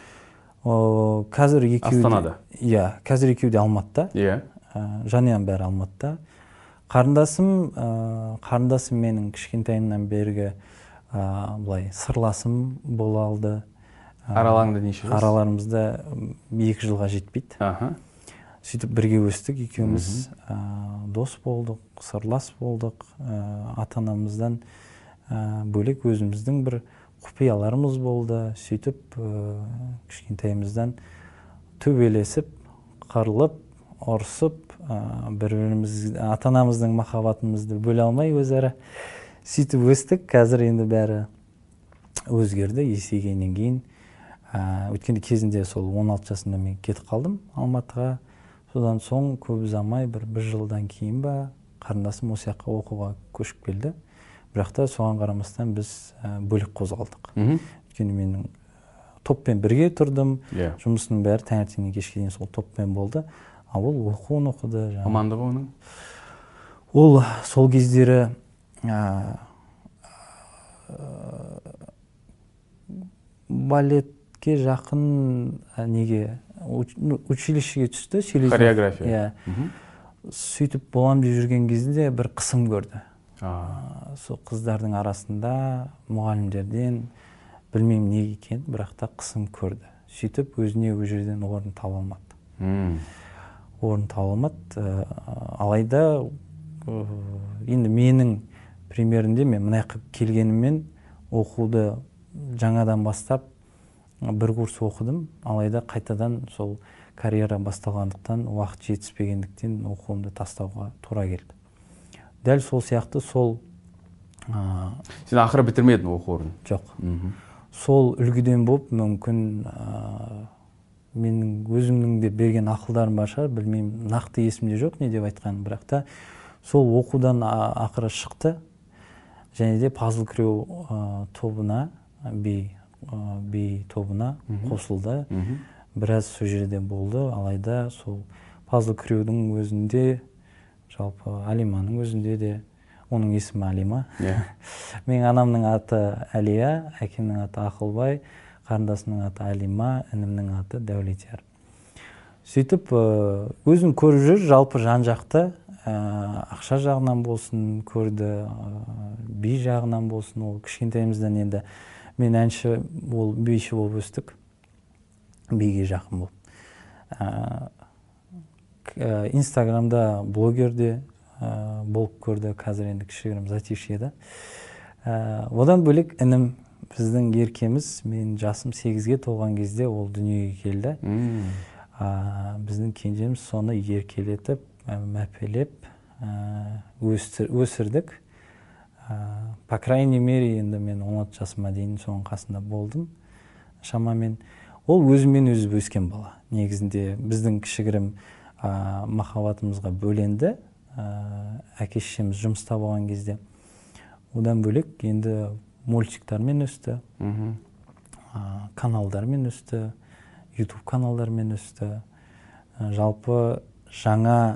Қазір екеуі Астанада. Иә, қазір екеуі де Алматыда. Иә. Жанұям бәрі Алматыда. Қарындасым, қарындасым менің кішкентайымнан бергі былай сырласым бола алды. Араларыңда неше жас? Араларымызда екі жылға жетпейді. Сөйтіп бірге өстік, екеуміз дос болдық, сырлас болдық. Ата-анамыздан бөлек өзіміздің бір құпияларымыз болды. Сөйтіп кішкентайымыздан төбелесіп, қырылып, ұрсып, бір-біріміз ата-анамыздың махаббатымызды бөле алмай өзара сөйтіп өстік. Қазір енді бәрі өзгерді есейгеннен кейін. Өткенде кезінде сол он алты жасында мен кетіп қалдым Алматыға. Содан соң көп ұзамай бір бір жылдан кейін ба қарындасым осы жаққа оқуға көшіп келді. Бірақ та соған қарамастан біз бөлек қозғалдық. Өйткені менің топпен бірге тұрдым. Жұмысының бәрі таңертеңнен кешке дейін сол топпен болды. А ол оқуын оқыды. Мамандығы оның? Ол сол кездері балетке жақын неге училищеге түсті. Хореография. Сөйтіп болам деп жүрген кезде бір қысым көрді. Сол қыздардың арасында мұғалімдерден білмеймін не екен, бірақ та қысым көрді. Сөйтіп өзіне өз жерден орын таба алмады. Орын таба алмады. Алайда енді менің примерінде мен мына жаққа келгеніммен оқуды жаңадан бастап бір курс оқыдым. Алайда қайтадан сол карьера басталғандықтан, уақыт жетіспегендіктен оқуымды тастауға тура келді. Дәл сол сияқты сол... Сен ақыры бітірмедің оқу орнын? Жоқ. Сол үлгіден болып, мүмкін менің өзімнің де берген ақылдарым бар шығар, білмеймін, нақты есімде жоқ не деп айтқан, бірақ та сол оқудан ақыры шықты. Және де пазл крю тобына, би тобына қосылды. Біраз сол жерде болды, алайда сол пазл крюдің өзінде, жалпы Алиманың өзінде де оның есімі Алима. Иә. Менің анамның аты Әлия, әкемнің аты Ақылбай, қарындасымның аты Алима, інімнің аты Дәулетияр. Сөйтіп, өзін көріп жүр, жалпы жан-жақты, ақша жағынан болсын, көрді, би жағынан болсын, ол кішкентайымыздан енді мен әнші, ол биші болып өстік, биге жақын болып. Инстаграмда блогерде болып көрді, қазір енді кішігірім затишьеда. Одан бөлек інім, біздің еркеміз, мен жасым сегізге толған кезде ол дүниеге келді. Біздің кенжеміз соны еркелетіп, мәпелеп өсірдік. По крайней мере, енді мен он алты жасыма дейін соның қасында болдым. Шамамен ол өзімен өзі өскен бала. Негізінде біздің кішігірім махаббатымызға бөленді. Әке-шешеміз жұмыста болған кезде. Одан бөлек енді мультиктармен өсті, каналдармен өсті, YouTube каналдармен өсті. Жалпы жаңа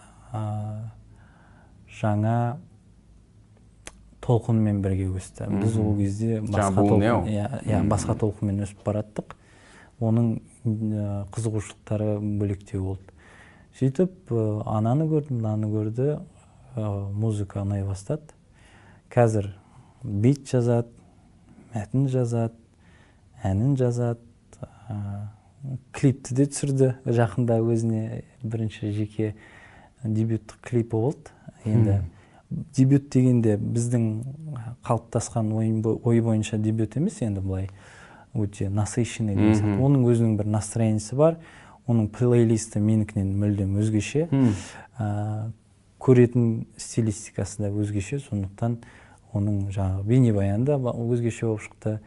жаңа толқынмен бірге өсті. Біз ол кезде басқа толқынмен өсіп бараттық. Оның қызығушылықтары бөлектеу болды. Сөйтіп, ананы көрдім, мынаны көрді, музыка ұнай бастады. Қазір бит жазады, мәтін жазады, әнін жазады, клипті де түсірді. Жақында өзіне бірінші жеке дебюттік клипі болды. Енді дебют дегенде біздің қалыптасқан ой бойынша дебют емес, енді былай өте насыщенный деген сияқты. Оның өзінің бір настроениясы бар. Оның плейлисті менікінен мүлдем өзгеше. Көретін стилистикасы да өзгеше, сондықтан оның жаңағы бейнебаяны да өзгеше болып шықты.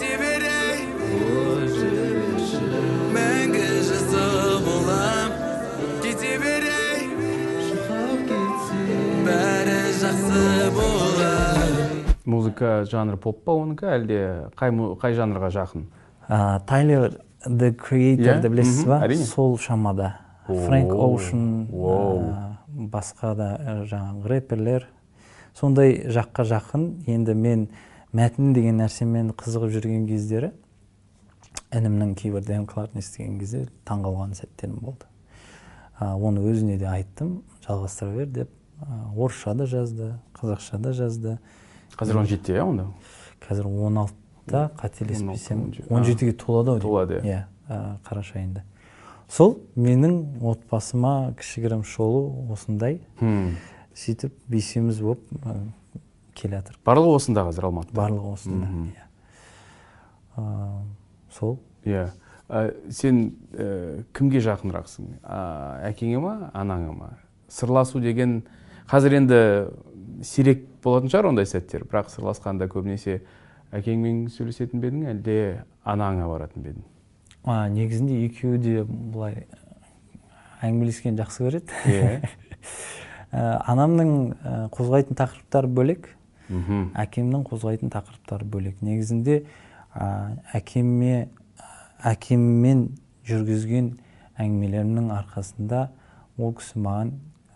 Музыка жанры поп па оныкі, әлде қай жанрға жақын? Тайлер The Creator'ды білесіз ба? Сол шамада. Фрэнк Оушен, басқа да жаңағы рэперлер. Сондай жаққа жақын. Енді мен мәтін деген нәрсемен қызығып жүрген кездері інімнің кейбір демкларын естіген кезде таңғалған сәттерім болды. Оны өзіне де айттым, жалғастыра бер деп. Орысша да жазды, қазақша да жазды. Қазір он жетіде, онда? Қазір он алтыда, қателеспесем, он жетіге толады ау. Толады. Иә, қараша айында. Сол менің отбасыма кішігірім шолу осындай. Сөйтіп бесеуміз болып келе жатыр. Барлығы осында қазір Алматыда? Барлығы осында. Сол. Иә. Сен кімге жақынырақсың? Әкеңе ма, анаңа ма? Сырласу деген қазір енді сирек болатын шығар ондай сәттер, бірақ сырласқанда көбінесе әкеңмен сөйлесетін бе едің, әлде анаңа баратын ба едің? Негізінде екеуі де бұлай әңгімелескен жақсы көреді. Анамның қозғайтын тақырыптары бөлек, әкемнің қозғайтын тақырыптары бөлек. Негізінде әкеммен жүргізген әңгімелерімнің арқасында ол кісі маған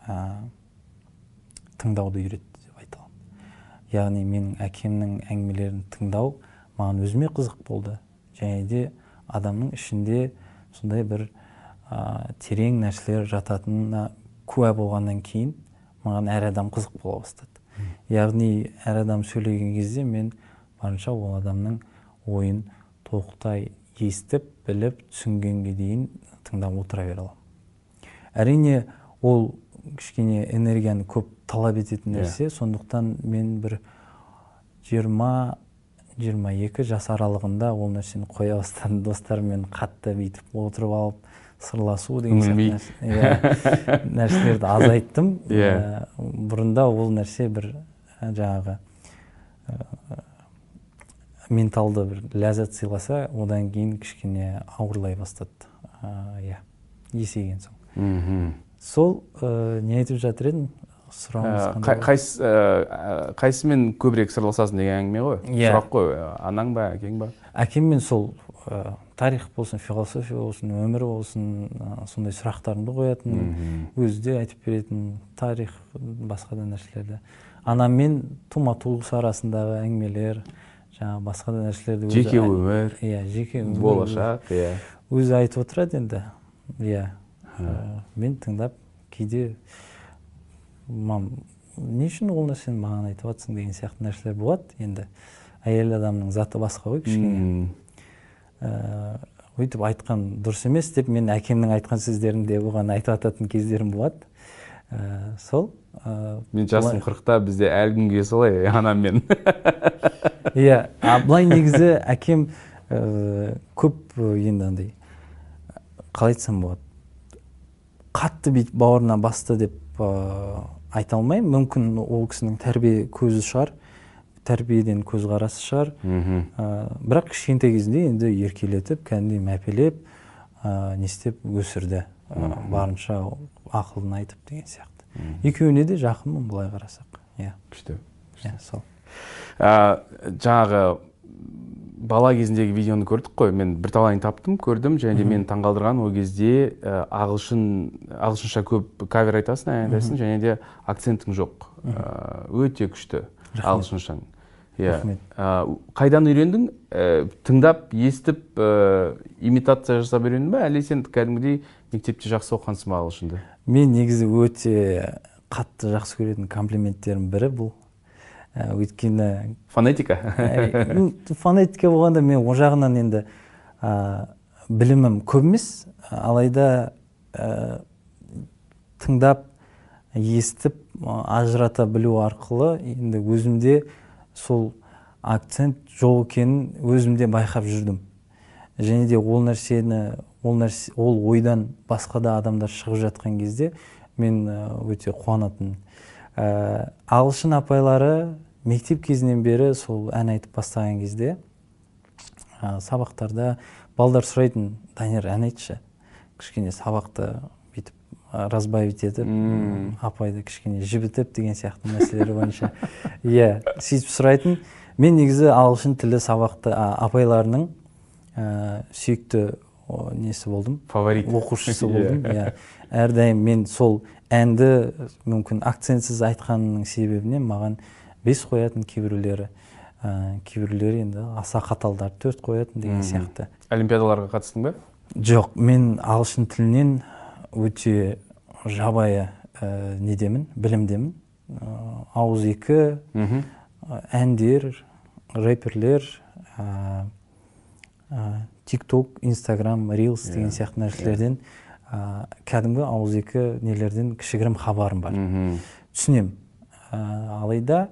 тыңдауды үйретті деп айта аламын. Яғни менің әкемнің әңгімелерін тыңдау маған өзіме қызық болды. Және де адамның ішінде сондай бір терең нәрселер жататынына куә болғаннан кейін маған әр адам қызық бола бастады. Яғни әр адам сөйлеген кезде мен барынша ол адамның ойын толықтай естіп, біліп, түсінгенге дейін тыңдап отыра бере аламын. Әрине, ол кішкене энергияны көп талап ететін нәрсе, сондықтан мен бір жиырма жиырма екі жас аралығында ол нәрсені қоя бастадым. Достарыммен қатты бүйтіп отырып алып сырласу деген нәрселерді азайттым. Бұрында ол нәрсе бір жаңағы менталды бір ләззат сыйласа, одан кейін кішкене ауырлай бастады. Есейген соң. Сол не айтып жатыр едім? Қайсымен көбірек сырласасың деген әңгіме ғой? Сұрақ қой, анаң ба, әкең ба? Әкеммен сол тарих болсын, философия болсын, өмір болсын, сондай сұрақтарымды қоятын, өзі де айтып беретін тарих, басқа да нәрселерді. анаммен тума туыс арасындағы әңгімелер, жаңағы басқа да нәрселерді жеке өмір, иә, жеке өмір, болашақ, иә. Өзі айтып отырады енді. Иә. Мен тыңдап, кейде мам, не үшін ол нәрсені маған айтып жатсың деген сияқты нәрселер болады. Енді әйел адамның заты басқа ғой кішкене. Өйтіп айтқан дұрыс емес деп мен әкемнің айтқан сөздерінде оған айтып ататын кездерім болады. Сол. Мен жасым қырықта, бізде әлі күнге солай анаммен. Иә, былай негізі әкем көп енді андай, қалай айтсам болады, қатты бүйтіп бауырына басты деп айта алмаймын. Мүмкін ол кісінің тәрбие көзі шығар, тәрбиеден көзқарасы шығар. Бірақ кішкентай кезінде енді еркелетіп, кәдімгідей мәпелеп, не істеп өсірді. Барынша ақылын айтып деген сияқты. Екеуіне де жақынмын былай қарасақ. Иә. Күшті. Иә, сол. Жаңағы бала кезіндегі видеоны көрдік қой, мен бір талайын таптым, көрдім, және де мен таңғалдырған ол кезде ағылшын, ағылшынша көп кавер айтасың, ән айтасың, және де акцентің жоқ. Өте күшті ағылшыншаң. Қайдан үйрендің? Тыңдап, естіп, имитация жасап үйрендің бе, әлде сен кәдімгідей мектепте жақсы оқығансың ба ағылшынды? Мен негізі өте қатты жақсы көретін комплименттерім бірі бұл. Өйткені фонетика. Фонетика болғанда мен о жағынан енді білімім көп емес, алайда тыңдап, естіп, ажырата білу арқылы енді өзімде сол акцент жоқ екенін өзімде байқап жүрдім. Және де ол нәрсені, ол ойдан басқа да адамдар шығып жатқан кезде мен өте қуанатын. Ағылшын апайлары мектеп кезінен бері сол ән айтып бастаған кезде сабақтарда балдар сұрайтын, Данияр, ән айтшы. Кішкене сабақты бүйтіп разбавить етіп, апайды кішкене жібітіп деген сияқты мәселелер бойынша. Иә, сөйтіп сұрайтын. Мен негізі ағылшын тілі сабақты апайларының сүйікті несі болдым, фаворит оқушысы болдым. Әрдайым мен сол әнді мүмкін акцентсіз айтқанның себебінен маған бес қоятын, кейбіреулері кейбіреулері енді аса қаталдар төрт қоятын деген сияқты. Олимпиадаларға қатыстың ба? Жоқ, мен ағылшын тілінен өте жабайы недемін, білімдемін. Ауыз екі, әндер, рэперлер, TikTok, Instagram, Reels деген сияқты нәрселерден кәдімгі ауыз екі нелерден кішігірім хабарым бар. Түсінем. Алайда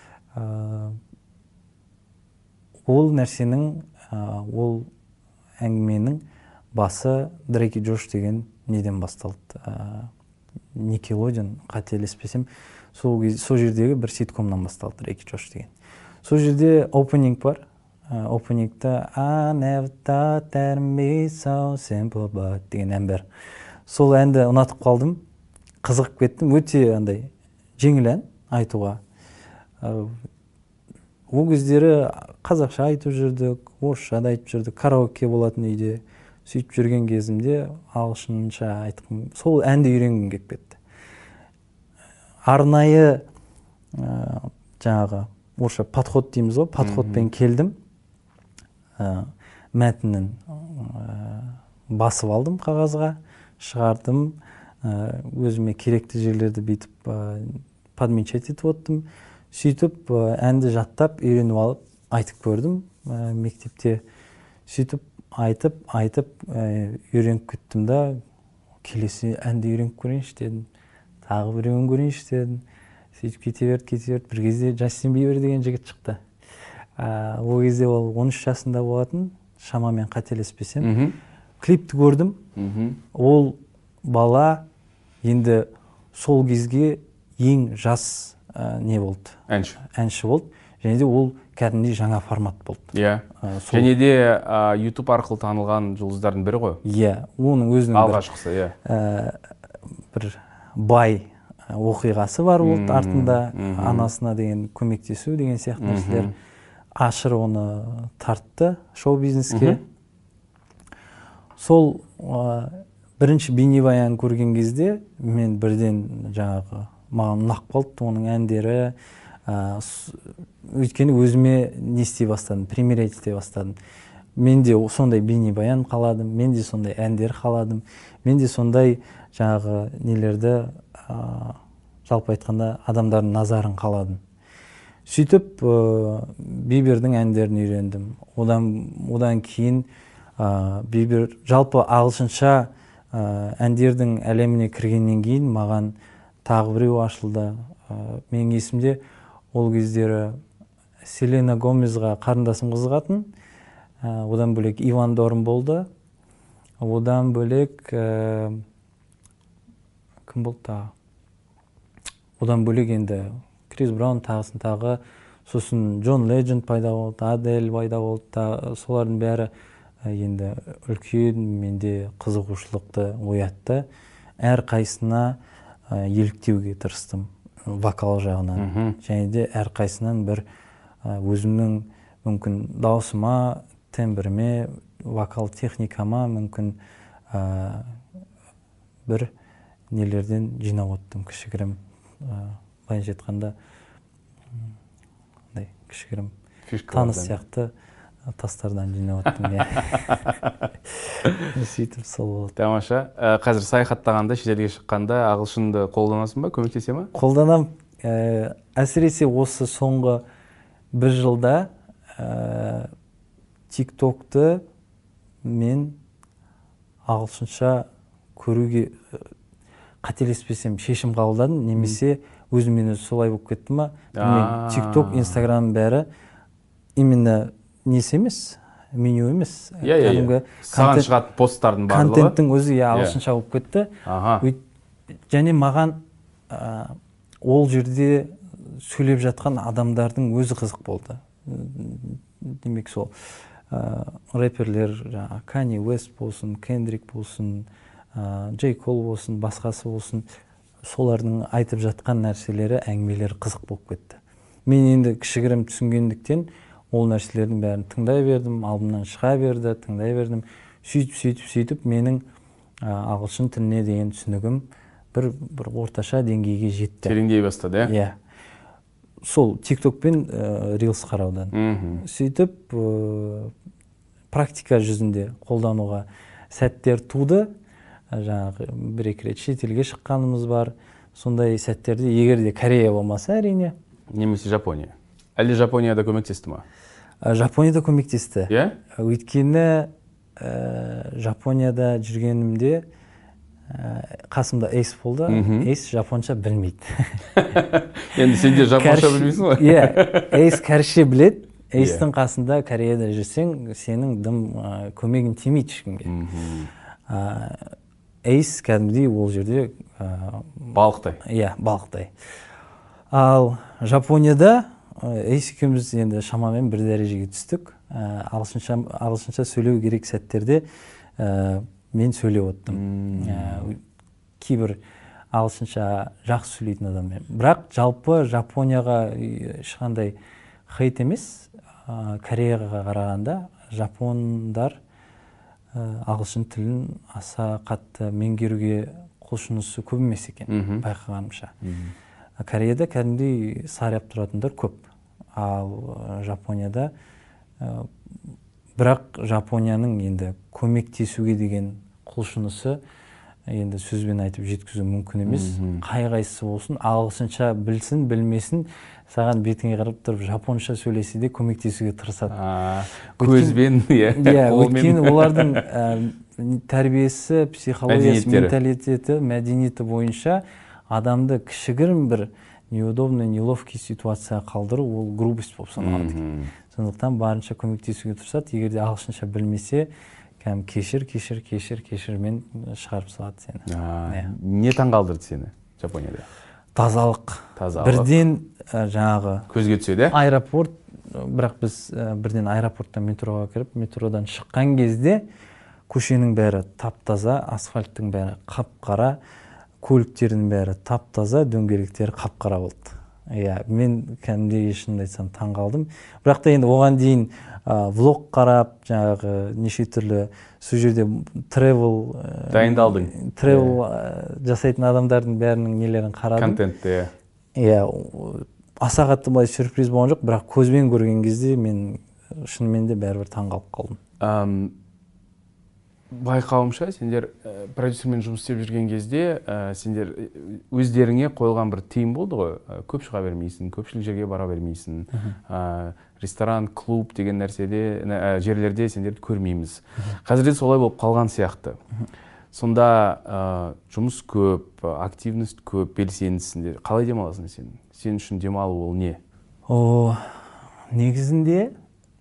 ол нәрсенің, ол әңгіменің басы Дрейк и Джош деген неден басталды. Никелодион, қателеспесем, сол жердегі бір ситкомнан басталды, Дрейк и Джош деген. Сол жерде опенинг бар. Опенингта I never thought that me so simple but деген ән бар. Сол әнді ұнатып қалдым, қызығып кеттім. Өте андай жеңіл ән айтуға. Ол кездері қазақша айтып жүрдік, орысша да айтып жүрдік, караоке болатын үйде. Сөйтіп жүрген кезімде ағылшынша айтқым, сол әнді үйренгім келіп кетті. Арнайы жаңағы орысша подход дейміз ғой, подходпен келдім. Мәтінін басып алдым қағазға, шығардым, өзіме керекті жерлерді бүйтіп подмечать етіп оттым. Сөйтіп әнді жаттап, үйреніп алып, айтып көрдім мектепте. Сөйтіп айтып, айтып, үйреніп кеттім да, келесі әнді үйреніп көрейінші дедім. Тағы біреуін көрейінші дедім. Сөйтіп кете берді, кете берді. Бір кезде Джастин Бибер деген жігіт шықты. Ол кезде ол он үш жасында болатын, шамамен қателеспесем. Клипті көрдім. Ол бала енді сол кезге ең жас не болды? Әнші. Әнші болды. Және де ол кәдімгідей жаңа формат болды. Иә. Және де YouTube арқылы танылған жұлдыздардың бірі ғой. Иә, оның өзінің алғашқысы, иә. Бір бай оқиғасы бар болды артында, анасына деген көмектесу деген сияқты нәрселер. Ашыр оны тартты шоу-бизнеске. Сол бірінші бейнебаян көрген кезде мен бірден жаңағы маған ұнап қалды оның әндері. Өйткені өзіме не істей бастадым, примерять ете бастадым. Мен де сондай бейнебаян қаладым, мен де сондай әндер қаладым, мен де сондай жаңағы нелерді жалпы айтқанда адамдардың назарын қаладым. Сөйтіп Бибердің әндерін үйрендім. Одан, одан кейін Бибер жалпы ағылшынша әндердің әлеміне кіргеннен кейін маған тағы біреу ашылды. Менің есімде ол кездері Селена Гомезға қарындасым қызығатын. Одан бөлек Иван Дорн болды. Одан бөлек кім болды тағы? Одан бөлек енді Крис Браун тағысын тағы, сосын Джон Ледженд пайда болды, Адель пайда болды. Солардың бәрі енді үлкен менде қызығушылықты оятты. Әр қайсына еліктеуге тырыстым вокал жағынан. Және де әр қайсынан бір өзімнің мүмкін даусыма, тембіріме, вокал техникама мүмкін бір нелерден жинап оттым кішігірім. Былайынша айтқанда кішігірім таныс сияқты тастардан жинап оттым. Сөйтіп сол болды. Тамаша. Қазір саяхаттағанда, шетелге шыққанда ағылшынды қолданасың ба, көмектесе ме? Қолданам. Әсіресе осы соңғы бір жылда тик-токты мен ағылшынша көруге қателеспесем шешім қабылдадым, немесе өзіммен өзі солай болып кетті ма? Тик-ток, Инстаграм бәрі именно несі емес, меню емес. Саған шығатын посттардың барлығы. Контенттің өзі ағылшынша болып кетті. Және маған ол жерде сөйлеп жатқан адамдардың өзі қызық болды. Демек сол рэперлер, Кани Уэст болсын, Кендрик болсын, Джей Кол болсын, басқасы болсын, солардың айтып жатқан нәрселері, әңгімелері қызық болып кетті. Мен енді кішігірім түсінгендіктен ол нәрселердің бәрін тыңдай бердім, алдымнан шыға берді, тыңдай бердім. Сөйтіп, сөйтіп, сөйтіп, менің ағылшын тіліне деген түсінігім бір бір орташа деңгейге жетті. Тереңдей бастады, иә? Иә. Сол тик-ток пен рилс қараудан. Сөйтіп, практика жүзінде қолдануға сәттер туды. Жаңағы бір-екі рет шетелге шыққанымыз бар. Сондай сәттерде, егер де Корея болмаса, әрине. Немесе Жапония. Әлде Жапонияда көмектесті ма? Жапонияда көмектесті. Иә? Өйткені Жапонияда жүргенімде қасымда Эйс болды. Эйс жапонша білмейді. Енді сен де жапонша білмейсің ғой? Иә, Эйс кәрше біледі. Эйстің қасында Кореяда жүрсең, сенің дым көмегін тимейді ешкімге. Эйс кәдімгідей ол жерде балықтай. Иә, балықтай. Ал Жапонияда Эйс екеуміз енді шамамен бір дәрежеге түстік. Ағылшынша сөйлеу керек сәттерде мен сөйлеп оттым. Кейбір ағылшынша жақсы сөйлейтін адаммен. Бірақ жалпы Жапонияға ешқандай хейт емес. Кореяға қарағанда жапондар ағылшын тілін аса қатты меңгеруге құлшынысы көп емес екен, байқағанымша. Кореяда кәдімгідей сарап тұратындар көп. Ал Жапонияда бірақ Жапонияның енді көмектесуге деген құлшынысы енді сөзбен айтып жеткізу мүмкін емес. Қай-қайсысы болсын, ағылшынша білсін, білмесін, саған бетіңе қарап тұрып жапонша сөйлесе де көмектесуге тырысады. Көзбен, иә. Иә, өйткені олардың тәрбиесі, психологиясы, менталитеті, мәдениеті бойынша адамды кішігірім бір неудобный, неловкий ситуация қалдыру, ол грубость болып саналады. Сондықтан барынша көмектесуге тырысады. Егер де ағылшынша білмесе, кәм кешір, кешір, кешір, кешірмен шығарып салады сені. Не таңғалдырды сені Жапонияда? Тазалық. Бірден жаңағы көзге түседі. Аэропорт, бірақ біз бірден аэропорттан метроға кіріп, метродан шыққан кезде көшенің бәрі тап-таза, асфальттың бәрі қап-қара, көліктердің бәрі тап-таза, дөңгелектері қап-қара болды. иә, мен кәдімгідей шынымды айтсам таң қалдым. Бірақ та енді оған дейін влог қарап, жаңағы неше түрлі сол жерде тревел дайындалдың. Тревел жасайтын адамдардың бәрінің нелерін қарадым. Контентте. Иә, аса қатты былай сюрприз болған жоқ, бірақ көзбен көрген кезде мен шынымен де бәрібір таң қалып қалдым. Байқауымша, сендер продюсермен жұмыс істеп жүрген кезде, сендер өздеріңе қойылған бір тыйым болды ғой, көп шыға бермейсің, көпшілік жерге бара бермейсің, ресторан, клуб деген нәрседе, жерлерде сендерді көрмейміз. Қазірде солай болып қалған сияқты. Сонда жұмыс көп, активность көп, белсендісіңдер. Қалай демаласың сен? Сен үшін демалу ол не? О, негізінде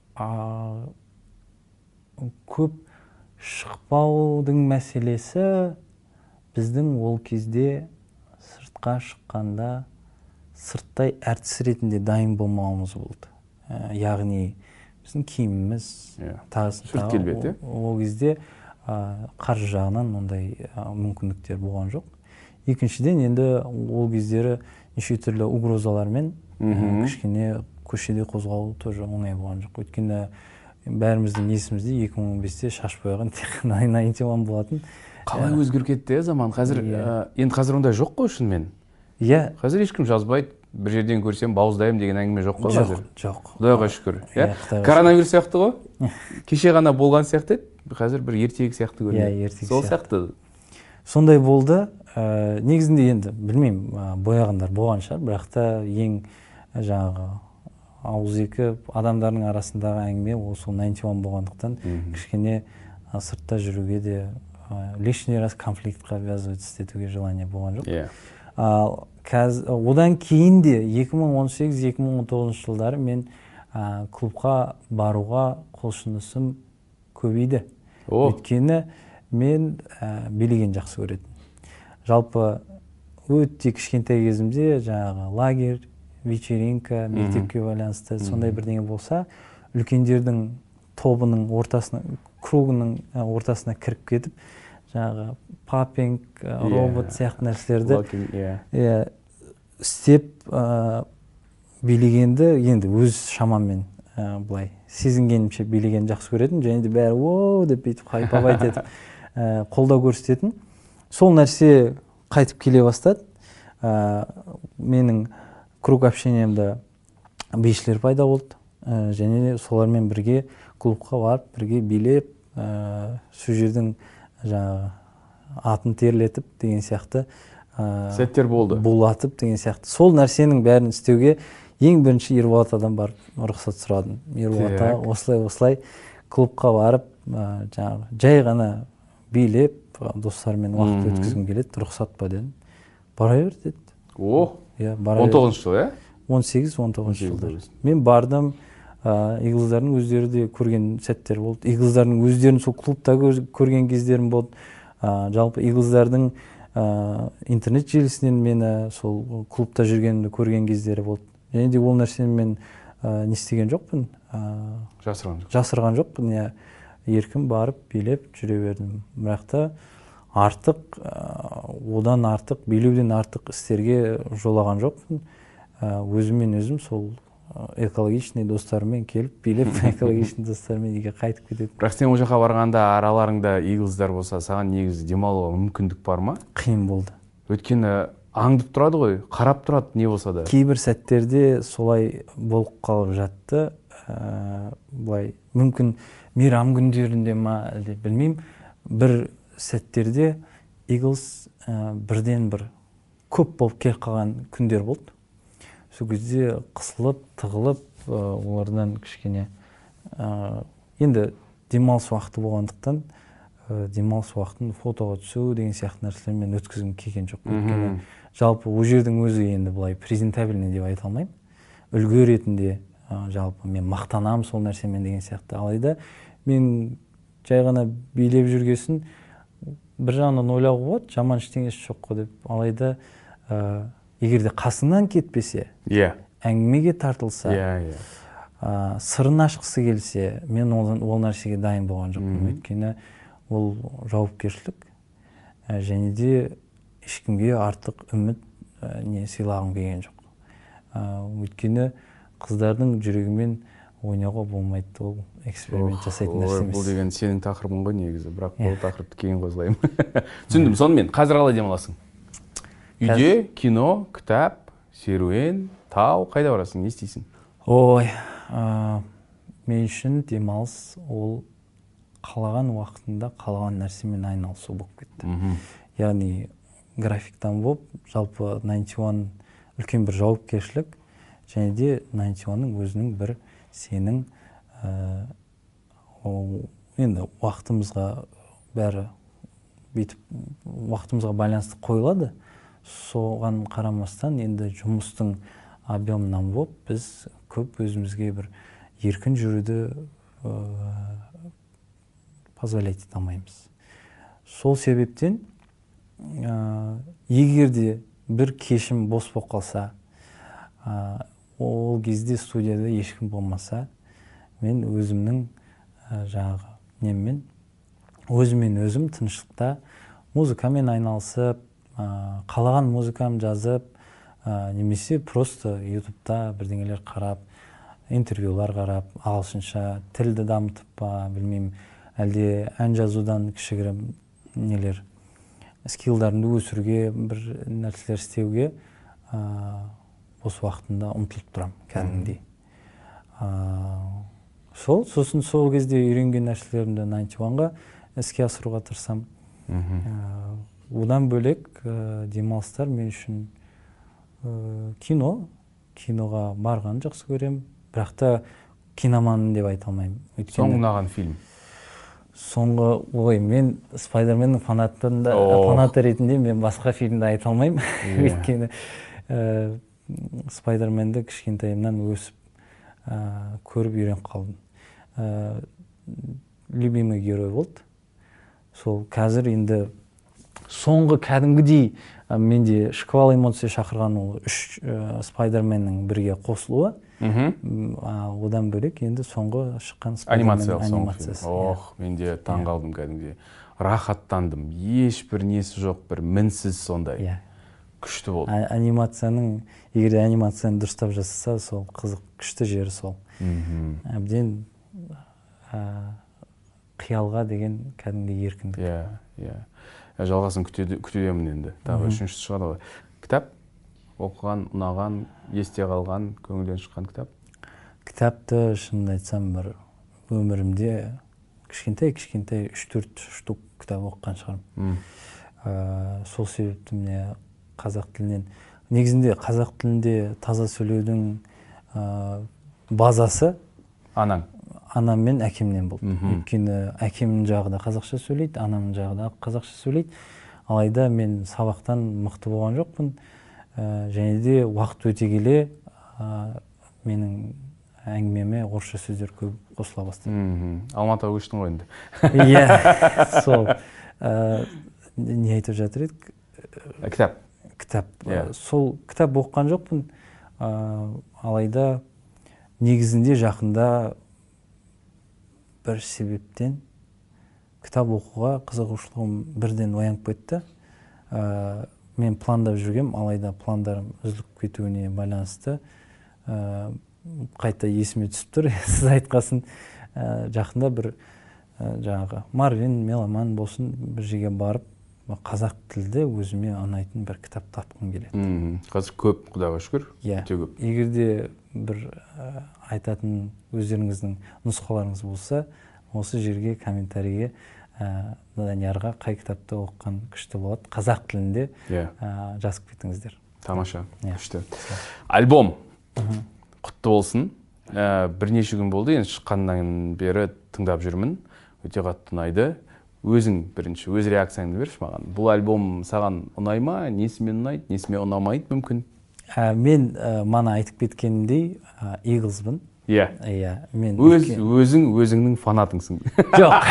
көп шықпаудың мәселесі біздің ол кезде сыртқа шыққанда сырттай әртіс ретінде дайын болмауымыз болды. Яғни біздің киіміміз тағы ол кезде қаржы жағынан ондай мүмкіндіктер болған жоқ. Екіншіден, енді ол кездері неше түрлі угрозалармен кішкене көшеде қозғалу тоже оңай болған жоқ. Өйткені бәріміздің есімізде екі мың он бесте шаш бояған тек тоғыз он болатын. Қалай өзгеріп кетті заман? Қазір енді қазір ондай жоқ қой шынымен. Иә. Қазір ешкім жазбайды. Бір жерден көрсем бауыздаймын деген әңгіме жоқ қой қазір. Жоқ. Құдайға шүкір. Коронавирус сияқты ғой. Кеше ғана болған сияқты еді. Қазір бір ертегі сияқты көрінеді. Иә, ертегі сияқты. Сол сияқты. Сондай болды. Негізінде енді білмеймін, бояғандар болған шығар, бірақ та ең жаңағы ауызекі адамдардың арасындағы әңгіме ол сол тоғыз он болғандықтан кішкене сыртта жүруге де лишний раз конфликтқа ввязываться етуге желание болған жоқ. Одан кейін де екі мың он сегіз екі мың он тоғызыншы жылдары мен клубқа баруға құлшынысым көбейді. Өйткені мен билеген жақсы көретін. Жалпы өте кішкентай кезімде жаңағы лагерь, вечеринка, мектепке байланысты сондай бірдеңе болса, үлкендердің тобының ортасына, кругының ортасына кіріп кетіп, жаңағы паппинг, робот сияқты нәрселерді істеп билегенді енді өз шамаммен былай сезінгенімше билеген жақсы көретін, және де бәрі ооо деп бүйтіп хайпап етіп қолдау көрсететін. Сол нәрсе қайтып келе бастады. Менің круг общениямда бишілер пайда болды, және де солармен бірге клубқа барып, бірге билеп, сол жердің жаңағы атын терлетіп деген сияқты сәттер болды. Булатып деген сияқты. Сол нәрсенің бәрін істеуге ең бірінші Ерболатадан барып рұқсат сұрадым. Ерболата осылай-осылай клубқа барып, жаңағы жай ғана билеп, достармен уақыт өткізгім келеді, рұқсат па дедім. Бара бер деді. О, он тоғызыншы жыл, ә? он сегіз он тоғызыншы жылдар. Мен бардым, игіліздердің өздері де көрген сәттер болды. Игіліздердің өздерін сол клубта көрген кездерім болды. Жалпы игіліздердің интернет желісінен мені сол клубта жүргенімді көрген кездері болды. Және де ол нәрсені мен не істеген жоқпын. Жасырған жоқпын. Жасырған жоқпын. Еркін барып, билеп жүре бердім. Бірақ та артық, одан артық, билеуден артық істерге жолаған жоқпын. Өзіммен өзім сол экологичный достарымен келіп, билеп, экологичный достарымен үйге қайтып кетеді. Бірақ сен ол жаққа барғанда араларыңда игіліздар болса, саған негізі демалуға мүмкіндік бар ма? Қиын болды. Өйткені аңдып тұрады ғой, қарап тұрады не болса да. Кейбір сәттерде солай болып қалып жатты. Былай мүмкін мейрам күндерінде ма, білмеймін, бір сәттерде Eagles бірден бір көп болып келіп қалған күндер болды. Сол кезде қысылып, тығылып, олардан кішкене енді демалыс уақыты болғандықтан демалыс уақытын фотоға түсу деген сияқты нәрселермен өткізгім келген жоқ. Өйткені жалпы ол жердің өзі енді былай презентабельный деп айта алмаймын. Үлгі ретінде жалпы мен мақтанамын сол нәрсемен деген сияқты. Алайда мен жай ғана билеп жүргесін бір жағынан ойлауға болады, жаман ештеңесі жоқ қой деп. Алайда егерде қасыңнан кетпесе, әңгімеге тартылса, сырын ашқысы келсе, мен ол нәрсеге дайын болған жоқпын. Өйткені ол жауапкершілік, және де ешкімге артық үміт не сыйлағым келген жоқ. өйткені қыздардың жүрегімен ойнауға болмайды, ол эксперимент жасайтын нәрсе емес. Бұл деген сенің тақырыбың ғой негізі, бірақ бұл тақырыпты кейін қозғаймын. Түсіндім. Сонымен қазір қалай демаласың? Үйде, кино, кітап, серуен, тау, қайда барасың, не істейсің? Ой, мен үшін демалыс ол қалаған уақытында қалаған нәрсемен айналысу болып кетті. Яғни графиктан болып, жалпы ninety one үлкен бір жауапкершілік, және де ninety one'ның өзінің бір сенің енді уақытымызға бәрі бүйтіп уақытымызға байланысты қойылады. Соған қарамастан енді жұмыстың объемынан болып біз көп өзімізге бір еркін жүруді позволять ете алмаймыз. Сол себептен егер де бір кешім бос болып қалса, ол кезде студияда ешкім болмаса, мен өзімнің жаңағы неммен өзімен өзім тыныштықта музыкамен айналысып, қалаған музыкам жазып, немесе просто ютубта бірдеңелер қарап, интервьюлар қарап, ағылшынша тілді дамытып па, білмеймін, әлде ән жазудан кішігірім нелер скиллдарымды өсіруге, бір нәрселер істеуге бос уақытында ұмтылып тұрам кәдімгідей. Сол, сосын сол кезде үйренген нәрселерімді ninety one-ға іске асыруға тырысам. Одан бөлек демалыстар мен үшін кино, киноға барғанды жақсы көрем, бірақ та киноманмын деп айта алмаймын. Соңғы ұнаған фильм? Соңғы, ой, мен Спайдерменнің фанаты ретінде мен басқа фильмді айта алмаймын. Өйткені Спайдерменді кішкентайымнан өсіп көріп үйреніп қалдым. Любимый герой болды. Сол қазір енді соңғы кәдімгідей менде шквал эмоция шақырған ол үш Спайдерменнің бірге қосылуы. Одан бөлек енді соңғы шыққан Спайдерменнің анимациясы. Ох, менде таң қалдым кәдімгідей. Рахаттандым. Ешбір несі жоқ, бір мінсіз сондай. Күшті болды. Анимацияның, егер анимацияны дұрыстап жасаса, сол қызық, күшті жері сол. Әбден қиялға деген кәдімгі еркіндік. Иә, иә. Жалғасын күтудемін енді. Тағы үшіншісі шығады ғой. Кітап? Оқыған, ұнаған, есте қалған, көңілден шыққан кітап? Кітапты шынымды айтсам, бір өмірімде кішкентай-кішкентай үш төрт штук кітап оқыған шығармын. Сол себепті міне қазақ тілінен, негізінде қазақ тілінде таза сөйлеудің базасы анаң? Анам мен әкемнен болды. Өйткені әкемнің жағы да қазақша сөйлейді, анамның жағы да қазақша сөйлейді. Алайда мен сабақтан мықты болған жоқпын. Және де уақыт өте келе менің әңгімеме орысша сөздер көп қосыла бастады. Алматыға көштің ғой енді. Иә, сол. Не айтып жатыр едік? Кітап. Кітап. Сол кітап оқыған жоқпын. Алайда негізінде жақында бір себептен кітап оқуға қызығушылығым бірден оянып кетті. Мен пландап жүргем, алайда пландарым үзіліп кетуіне байланысты қайта есіме түсіп тұр. Сіз айтқасын, жақында бір жаңағы Марвин, Меломан болсын, бір жерге барып, қазақ тілді өзіме ұнайтын бір кітап тапқым келеді. Қазір көп, Құдайға шүкір. Иә. Егер де бір айтатын өздеріңіздің нұсқаларыңыз болса, осы жерге комментарийге Даниярға қай кітапты оқыған күшті болады, қазақ тілінде жазып кетіңіздер. Тамаша, күшті. Альбом құтты болсын. Бірнеше күн болды, енді шыққаннан бері тыңдап жүрмін. Өте қатты ұнайды. Өзің бірінші, өз реакцияңды берші маған. Бұл альбом саған ұнай ма? Несімен ұнайды, несімен ұнамайды мүмкін? Мен мана айтып кеткенімдей Eaglesбын. Иә. Иә, мен өзің өзіңнің фанатыңсың. Жоқ.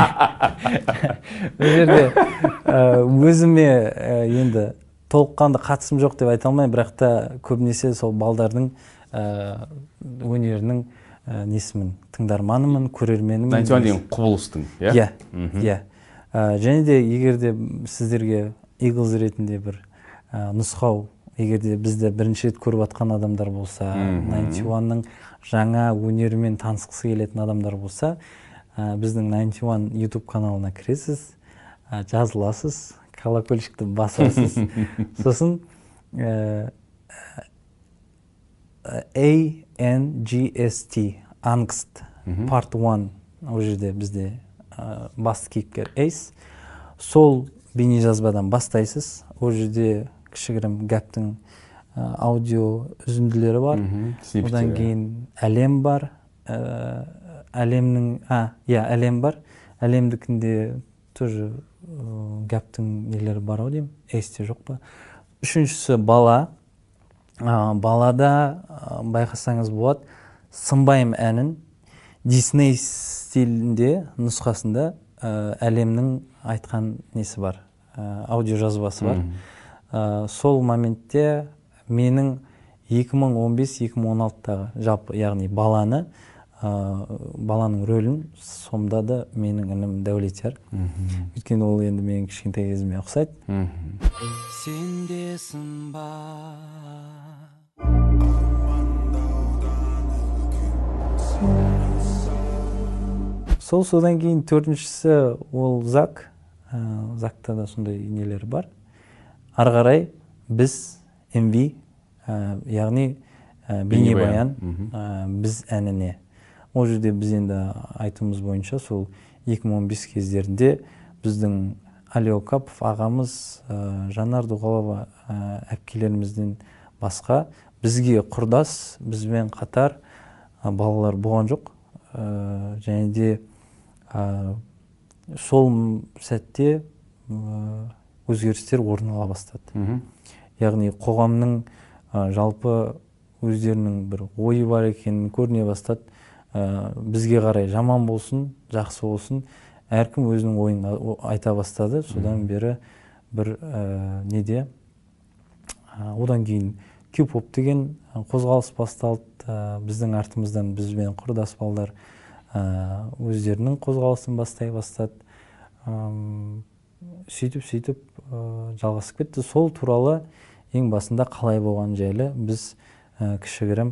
Бұл жерде өзіме енді толыққанды қатысым жоқ деп айта алмаймын, бірақ та көбінесе сол балдардың өнерінің несімін, тыңдарманымын, көрерменімін. ninety one деген құбылыстың, иә? Иә, иә. Және де егер де сіздерге Eagles ретінде бір нұсқау егерде бізді бірінші рет көріп жатқан адамдар болса, найнти уанның жаңа өнерімен танысқысы келетін адамдар болса, біздің найнти уан YouTube каналына кіресіз, жазыласыз, колокольчикті басасыз. Сосын A N G S T Angst Part one ол жерде бізде басты кейіпкер Эйс. Сол бейне жазбадан бастайсыз. Ол жерде кішігірім гэптің аудио үзінділері бар. Одан кейін әлем бар. Әлемнің, а, иә, әлем бар. Әлемдікінде тоже гэптің нелері бар ау деймін. Эйсте жоқ па. Үшіншісі бала. Балада байқасаңыз болады, сынбайым әнін Дисней стилінде нұсқасында әлемнің айтқан несі бар, аудио жазбасы бар. Сол моментте менің екі мың он бес екі мың он алтыдағы жалпы, яғни баланы, баланың рөлін сомдады менің інім Дәулетияр. Өйткені ол енді менің кішкентай кезіме ұқсайды. Сендесің ба? Сол содан кейін төртіншісі ол Зак. Закта да сондай нелері бар. Ары қарай біз эм ви, яғни бейнебаян біз әніне. Ол жерде біз енді айтуымыз бойынша сол екі мың он бес кездерінде біздің Али Окапов ағамыз, Жанар Дұғалова әпкелерімізден басқа бізге құрдас, бізбен қатар балалар болған жоқ. Және де сол сәтте өзгерістер орын ала бастады. Яғни қоғамның жалпы өздерінің бір ойы бар екенін көріне бастады. Бізге қарай жаман болсын, жақсы болсын, әркім өзінің ойын айта бастады. Содан бері бір неде, одан кейін Q-pop деген қозғалыс басталды. Біздің артымыздан бізбен құрдас балдар өздерінің қозғалысын бастай бастады. Сөйтіп-сөйтіп жалғасып кетті. Сол туралы ең басында қалай болған жайлы біз кішігірім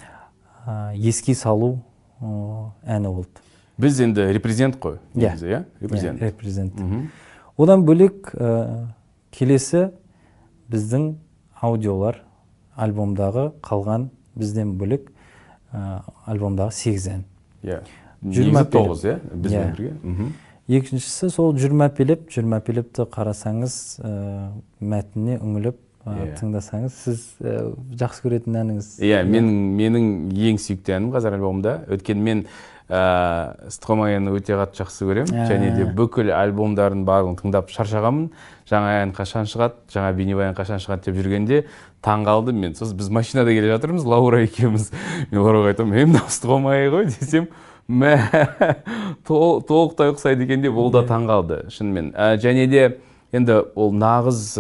еске салу әні болды. Біз енді репрезент қой. Иә, репрезент. Одан бөлек келесі біздің аудиолар, альбомдағы қалған бізден бөлек альбомдағы сегіз ән. Негізі тоғыз, иә? Бізбен бірге. Екіншісі сол жүрмәпелеп, жүрмәпелепті қарасаңыз, мәтініне үңіліп тыңдасаңыз, сіз жақсы көретін әніңіз. Иә, менің ең сүйікті әнім қазір альбомда. Өткен мен Стромаяны өте қатты жақсы көрем. Және де бүкіл альбомдарын барлығын тыңдап шаршағанмын. Жаңа ән қашан шығады, жаңа бейнебаян қашан шығады деп жүргенде таң қалдым мен. Сосын біз машинада келе жатырмыз, Лаура екеуміз. Мен Лаураға айтамын, "Мен мынау Стромая ғой" десем, мә толықтай ұқсайды екен деп, ол да таң қалды шынымен. Және де енді ол нағыз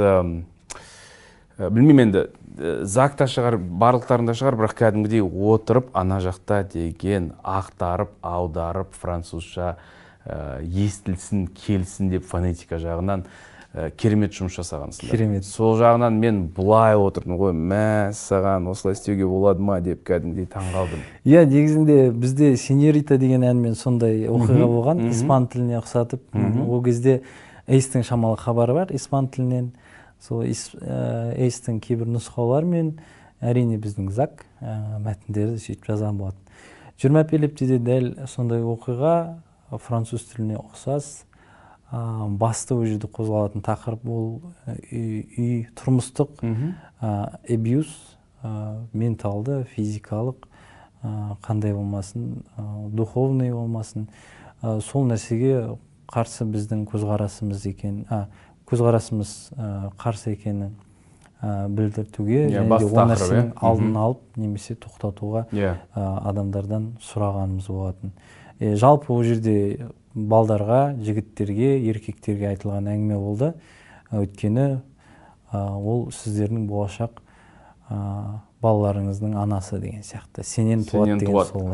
білмеймін, енді Закта шығар, барлықтарында шығар, бірақ кәдімгідей отырып ана жақта деген ақтарып, аударып, французша естілсін, келсін деп фонетика жағынан керемет жұмыс жасағансыңдар. Керемет. Сол жағынан мен бұлай отырдым ғой, мә саған осылай істеуге болады ма деп кәдімгідей таң қалдым. Иә, негізінде бізде Сеньорита деген әнмен сондай оқиға болған, испан тіліне ұқсатып. Ол кезде Эйстің шамалы хабары бар испан тілінен. Сол Эйстің кейбір нұсқаулар мен әрине біздің Зак мәтіндерді сөйтіп жазған болады. Жүрмәпелепте де дәл сондай оқиға, француз тіліне ұқсас. Басты ол жерде қозғалатын тақырып ол үй тұрмыстық абьюз, менталды, физикалық, қандай болмасын, духовный болмасын. Сол нәрсеге қарсы біздің көзқарасымыз екен, көзқарасымыз қарсы екенін білдіртуге, және де ол нәрсенің алдын алып, немесе тоқтатуға адамдардан сұрағанымыз болатын. Жалпы ол жерде балдарға, жігіттерге, еркектерге айтылған әңгіме болды. Өйткені ол сіздердің болашақ балаларыңыздың анасы деген сияқты. Сенен туады деген сол.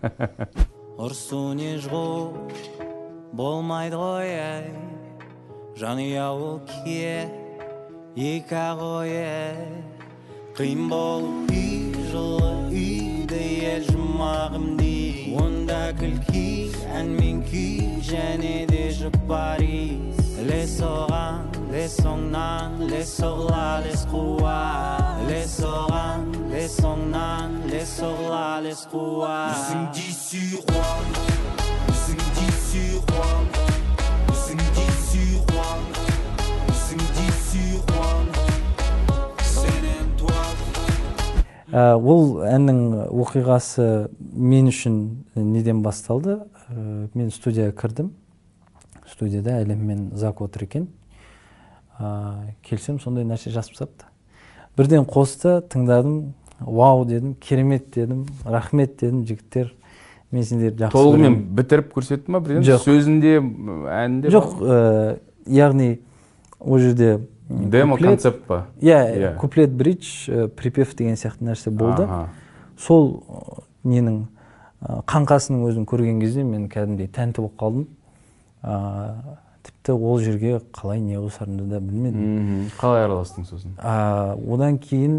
Ұрсу не жғу болмайды ғой әй, жанұя ол кие екі ақ ой әй, қиын болып үй жылы үйде ел жұмағым дей онда күлкі ән мен күй және де жұпарис лес оған лес оңнан лес оғла лес қуа лес оған лес оңнан лес оғла лес қуа Listen d'ici roi Listen d'ici roi Listen d'ici roi Listen d'ici roi Ол әннің оқиғасы мен үшін неден басталды? Мен студияға кірдім. Студияда Әлем мен Зак отыр екен. Келсем, сондай нәрсе жазып тастапты. Бірден қосты, тыңдадым, вау дедім, керемет дедім, рахмет дедім, жігіттер. Мен сендерді жақсы көремін. Толығымен бітіріп көрсетті ма? Сөзінде, әнінде? Жоқ, яғни ол жерде демо концепт па? Иә, куплет бридж, припев деген сияқты нәрсе болды. Сол ненің қаңқасының өзін көрген кезде мен кәдімгідей тәнті болып қалдым. Тіпті ол жерге қалай не қосарымды да білмедім. Қалай араластың сосын? Одан кейін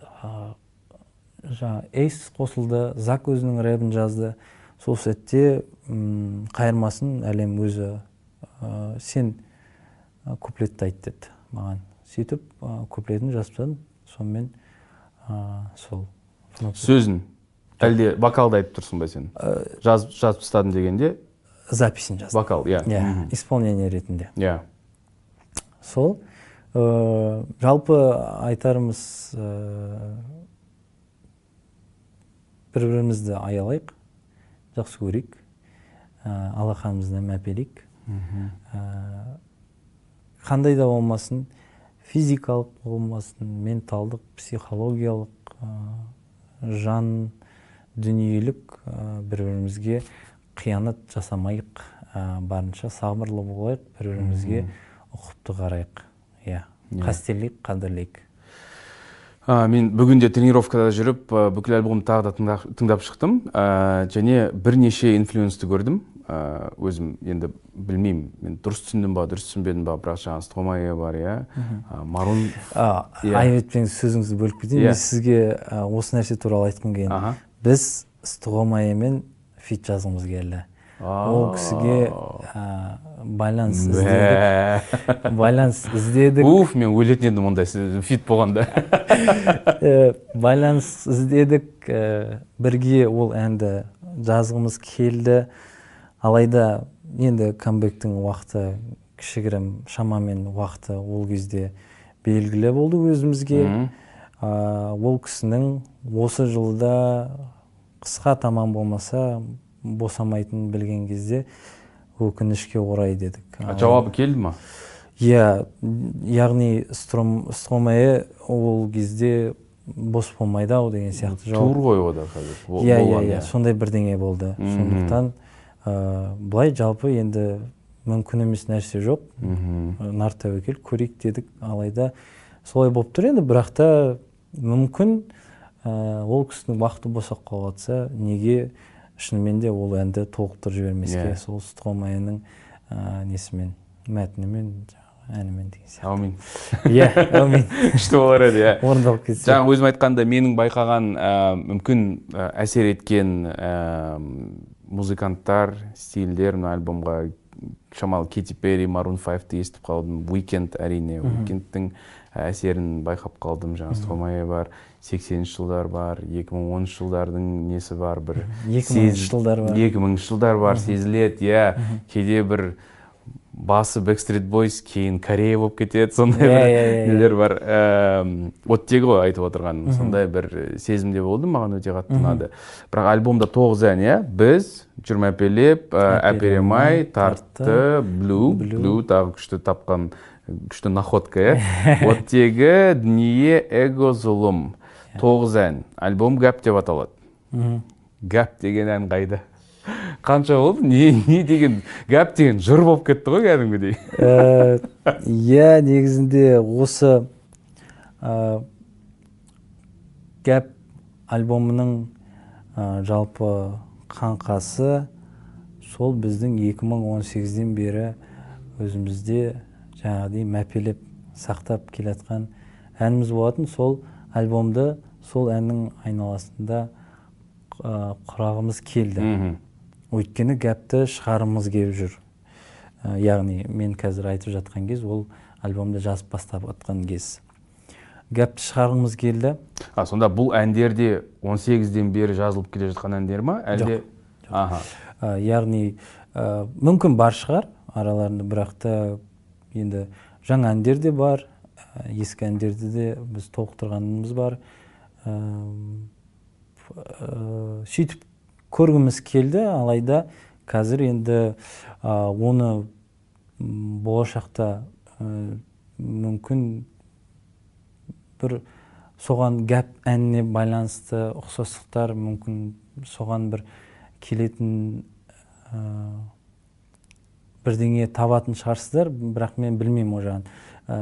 Эйс қосылды, Зак өзінің рэпін жазды. Сол сәтте қайырмасын Әлем өзі сен куплетті айт деді маған. Сөйтіп куплетін жазып тастадым. Сонымен сол. Сөзін? Әлде вокалды айтып тұрсың ба сен? Жазып тастадым дегенде? Записін жаздым. Вокал, иә. Исполнение ретінде. Иә. Сол. Жалпы айтарымыз бір-бірімізді аялайық, жақсы көрейік, алақанымызды мәпелейік. Қандай да болмасын, физикалық болмасын, менталдық, психологиялық, жан, дүниелік бір-бірімізге қиянат жасамайық, барынша сабырлы болайық, бір-бірімізге ұқыпты қарайық. Қастерлейік, қадірлейік. Мен бүгінде тренировкада жүріп, бүкіл альбомды тағы да тыңдап шықтым. Және бірнеше инфлюенсті көрдім. Өзім енді білмеймін, мен дұрыс түсіндім ба, дұрыс түсінбедім ба, бірақ жаңа Стромае бар, Марун. Айветпен сөзіңізді бөліп кетейін. Мен сізге осы нәрсе туралы айтқым келген. Біз Стромаемен фит жазғымыз келді. Ол кісіге байланыс іздедік. Байланыс іздедік. Уф, мен өлетін едім ондай фит болғанда. Байланыс іздедік. Бірге ол әнді жазғымыз келді. Алайда енді камбэктің уақыты кішігірім шамамен уақыты ол кезде белгілі болды өзімізге. Ол кісінің осы жылда қысқа тамам болмаса босамайтынын білген кезде өкінішке орай дедік. Жауабы келді ма? Иә, яғни Стромае ол кезде бос болмайды ау деген сияқты жауап. Тур ғой ода қазір. Иә, иә, сондай бірдеңе болды. Сондықтан былай жалпы енді мүмкін емес нәрсе жоқ. Нар тәуекел көрейік дедік. Алайда солай болып тұр енді, бірақ та мүмкін ол кісінің уақыты босап қалыватса, неге шынымен де ол әнді толықтырып жібермеске, сол Стромаенің несімен, мәтінімен, әнімен деген сияқты. Аумин. Иә, аумин. Күшті болар еді, иә. Орындалып кетсе. Жаңа өзім айтқанда менің байқаған мүмкін әсер еткен музыканттар, стильдер мына альбомға шамалы Кэти Перри, Maroon файвті естіп қалдым, Weekend әрине, Weekendтің әсерін байқап қалдым. Жаңа Стромае бар, сексенінші жылдар бар, екі мың оныншы жылдардың несі бар, бір екі мыңыншы жылдар бар. екі мыңыншы жылдар бар, сезіледі, иә. Кейде бір басы Backstreet Boys, кейін Корея болып кетеді, сондай бір нелер бар. Оттегі ғой айтып отырған, сондай бір сезімде болды, маған өте қатты ұнады. Бірақ альбомда тоғыз ән, иә, біз жүрмәпелеп, әперемай, тартты, Blue, Blue тағы күшті тапқан, күшті находка, иә. Оттегі, дүние, эго, зұлым. Тоғыз ән. Альбом Гәп деп аталады. Гәп деген ән қайда? Қанша болды? Не деген? Гәп деген жыр болып кетті ғой кәдімгідей. Иә, негізінде осы Гәп альбомының жалпы қаңқасы сол біздің екі мың он сегізден бері өзімізде жаңағыдай мәпелеп сақтап келатқан әніміз болатын. Сол альбомды сол әннің айналасында құрағымыз келді. Өйткені гәпті шығарымыз келіп жүр. Яғни мен қазір айтып жатқан кез ол альбомды жазып бастап жатқан кез. Гәпті шығарғымыз келді. А, сонда бұл әндер де он сегізден бері жазылып келе жатқан әндер ма? Әлде? Жоқ. Яғни мүмкін бар шығар араларында, бірақ та енді жаңа әндер де бар, ескі әндерді де біз толықтырғанымыз бар. Сөйтіп көргіміз келді, алайда қазір енді оны болашақта мүмкін бір соған гәп әніне байланысты ұқсастықтар, мүмкін соған бір келетін бірдеңе табатын шығарсыздар, бірақ мен білмеймін о жағын.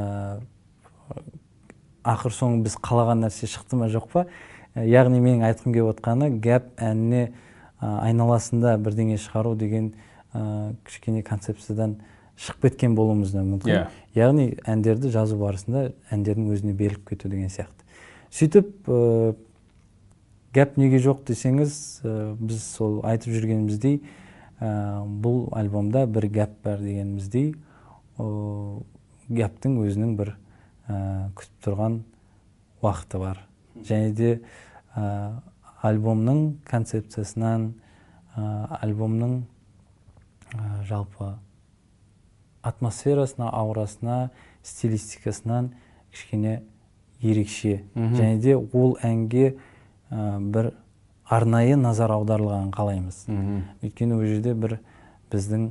Ақыр соңы біз қалаған нәрсе шықты ма жоқ па? Яғни менің айтқым келіп отқаны гәп әніне айналасында бірдеңе шығару деген кішкене концепциядан шығып кеткен болуымыз да мүмкін. Яғни әндерді жазу барысында әндердің өзіне беріліп кету деген сияқты. Сөйтіп гәп неге жоқ десеңіз, біз сол айтып жүргеніміздей, бұл альбомда бір гәп бар дегеніміздей, гәптің өзінің бір күтіп тұрған уақыты бар. Және де альбомның концепциясынан, альбомның жалпы атмосферасына, аурасына, стилистикасынан кішкене ерекше. Және де ол әнге бір арнайы назар аударылған қалаймыз. Өйткені ол жерде бір біздің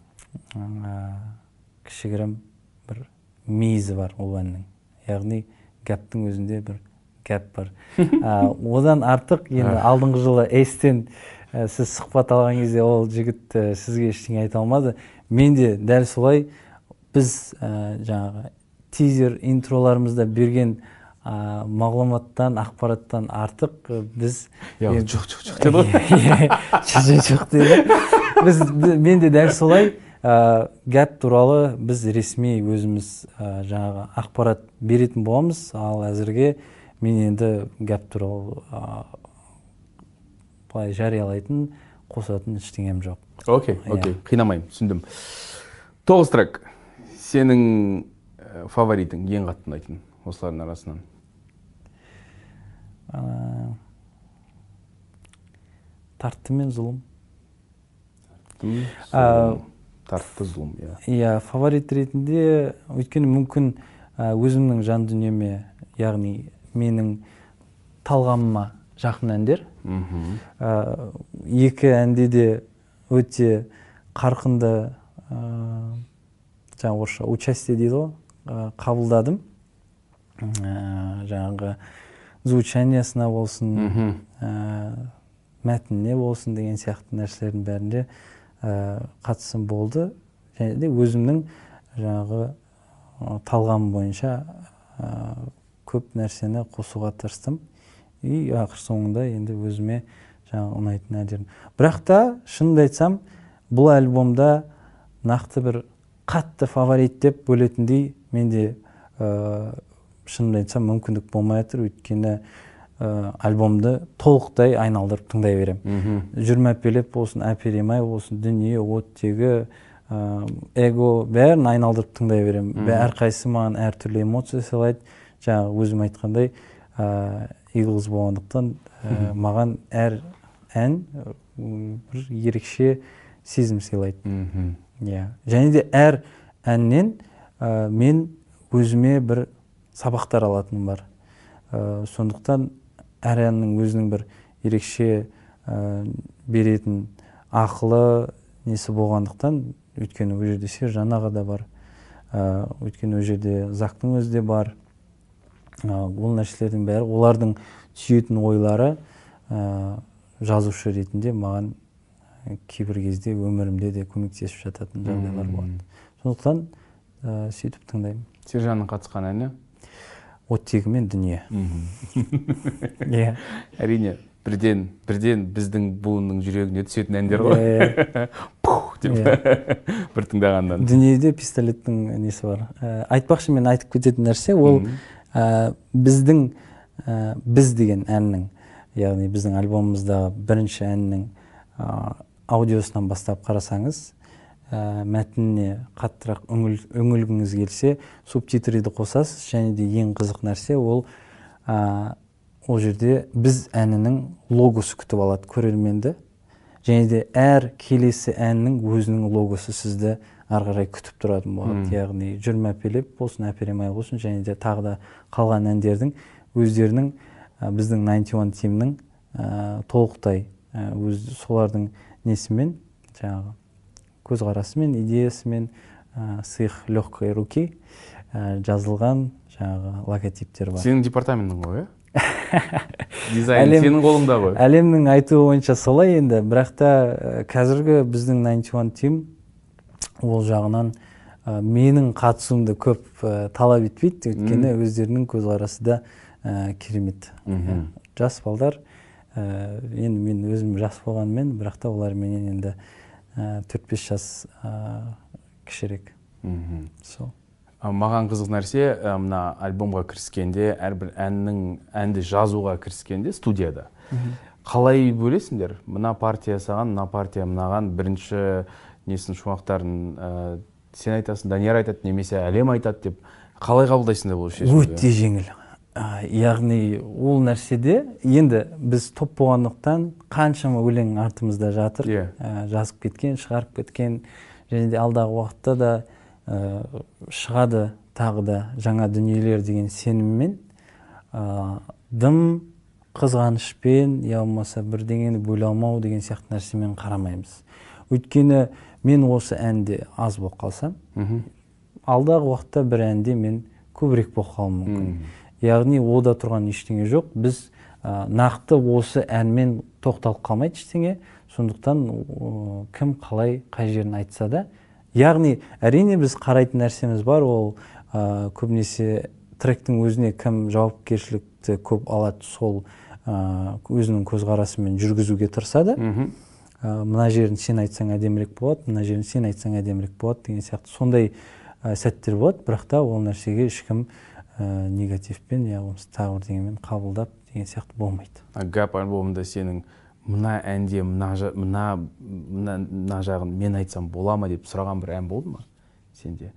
кішігірім бір мейізі бар ол әннің. Яғни гәптің өзінде бір гәп бар. Одан артық енді алдыңғы жылы эстен сіз сұхбат алған кезде ол жігіт сізге ештеңе айта алмады. Мен де дәл солай біз жаңағы тизер интроларымызда берген мағлұматтан, ақпараттан артық біз жоқ жоқ жоқ деді ғой. Жоқ деді. Мен де дәл солай гәп туралы біз ресми өзіміз жаңағы ақпарат беретін боламыз, ал әзірге мен енді гәп туралы былай жариялайтын, қосатын ештеңем жоқ. Окей, окей, қинамаймын, түсіндім. Тоғыз трек. Сенің фаворитің, ең қатты ұнайтын осылардың арасынан? Тартты мен зұлым. Тартты зұлым, иә. Иә, фаворит ретінде, өйткені мүмкін өзімнің жан дүниеме, яғни менің талғамыма жақын әндер. Екі әнде де өте қарқынды жаңағы орысша участие дейді ғой, қабылдадым. Жаңағы звучаниясына болсын, мәтініне болсын деген сияқты нәрселердің бәрінде қатысым болды. Және де өзімнің жаңағы талғам бойынша көп нәрсені қосуға тырыстым. И ақыр соңында енді өзіме жаңағы ұнайтын әндерім. Бірақ та шынымды айтсам, бұл альбомда нақты бір қатты фаворит деп бөлетіндей менде шынымды айтсам мүмкіндік болмай жатыр, өйткені альбомды толықтай айналдырып тыңдай берем. Жүрім әпелеп болсын, әперемай болсын, дүние, оттегі, эго бәрін айналдырып тыңдай берем. Әрқайсысы маған әртүрлі эмоция сыйлайды. Жаңағы өзім айтқандай, Eagles болғандықтан маған әр ән бір ерекше сезім сыйлайды. Және де әр әннен мен өзіме бір сабақтар алатыным бар. Сондықтан әр әннің өзінің бір ерекше беретін ақылы несі болғандықтан, өйткені ол жерде Сержан аға да бар, өйткені ол жерде Зактың өзі де бар. Ол нәрселердің бәрі, олардың түйетін ойлары жазушы ретінде маған кейбір кезде өмірімде де көмектесіп жататын жағдайлар болады. Сондықтан сөйтіп тыңдаймын. Сержанның қатысқан әні? Оттегі мен дүние. Әрине, бірден бірден біздің буынның жүрегіне түсетін әндер ғой. Пух деп бір тыңдағандан. Дүниеде пистолеттің несі бар. Айтпақшы, мен айтып кететін нәрсе, ол біздің біз деген әннің, яғни біздің альбомымыздағы бірінші әннің аудиосынан бастап қарасаңыз, мәтініне қаттырақ үңілгіңіз келсе, субтитрді қосасыз, және де ең қызық нәрсе ол ол жерде біз әнінің логосы күтіп алады көрерменді, және де әр келесі әннің өзінің логосы сізді ары қарай күтіп тұратын болады. Яғни жүрме әпелеп болсын, әперемай болсын, және де тағы да қалған әндердің өздерінің біздің ninety one тимнің толықтай өз солардың несімен, жаңағы көзқарасымен, идеясымен с их легкой руки жазылған жаңағы логотиптер бар. Сенің департаментің ғой, ә? Дизайн сенің қолыңда ғой. Әлемнің айтуы бойынша солай енді, бірақ та қазіргі біздің ninety one тим ол жағынан менің қатысуымды көп талап етпейді, өйткені өздерінің көзқарасы да керемет. Жас балдар, енді мен өзім жас болғанмен, бірақ та олар менен енді төрт бес жас кішірек. Маған қызық нәрсе, мына альбомға кіріскенде, әрбір әннің әнді жазуға кіріскенде студияда қалай бөлесіңдер? Мына партия саған, мына партия мынаған, бірінші несін шумақтарын сен айтасың, Данияр айтады, немесе әлем айтады деп қалай қабылдайсыңдар бұл шешімді? Өте жеңіл. Яғни ол нәрседе енді біз топ болғандықтан қаншама өлең артымызда жатыр, жазып кеткен, шығарып кеткен, және де алдағы уақытта да шығады тағы да жаңа дүниелер деген сеніммен, дым қызғанышпен, я болмаса бірдеңені бөле алмау деген сияқты нәрсемен қарамаймыз. Өйткені мен осы әнде аз болып қалсам, алдағы уақытта бір әнде мен көбірек болып қалуым мүмкін. Яғни ода тұрған ештеңе жоқ. Біз нақты осы әнмен тоқталып қалмайды ештеңе. Сондықтан кім қалай қай жерін айтса да, яғни әрине біз қарайтын нәрсеміз бар, ол көбінесе тректің өзіне кім жауапкершілікті көп алады, сол өзінің көзқарасымен жүргізуге тырысады. Мына жерін сен айтсаң әдемірек болады, мына жерін сен айтсаң әдемірек болады деген сияқты сондай сәттер болады, бірақ та ол нәрсеге ешкім негативпен, я болмаса тағы бірдеңемен қабылдап деген сияқты болмайды. Гап альбомында сенің мына әнде мына жағын мен айтсам бола ма деп сұраған бір ән болды ма сенде?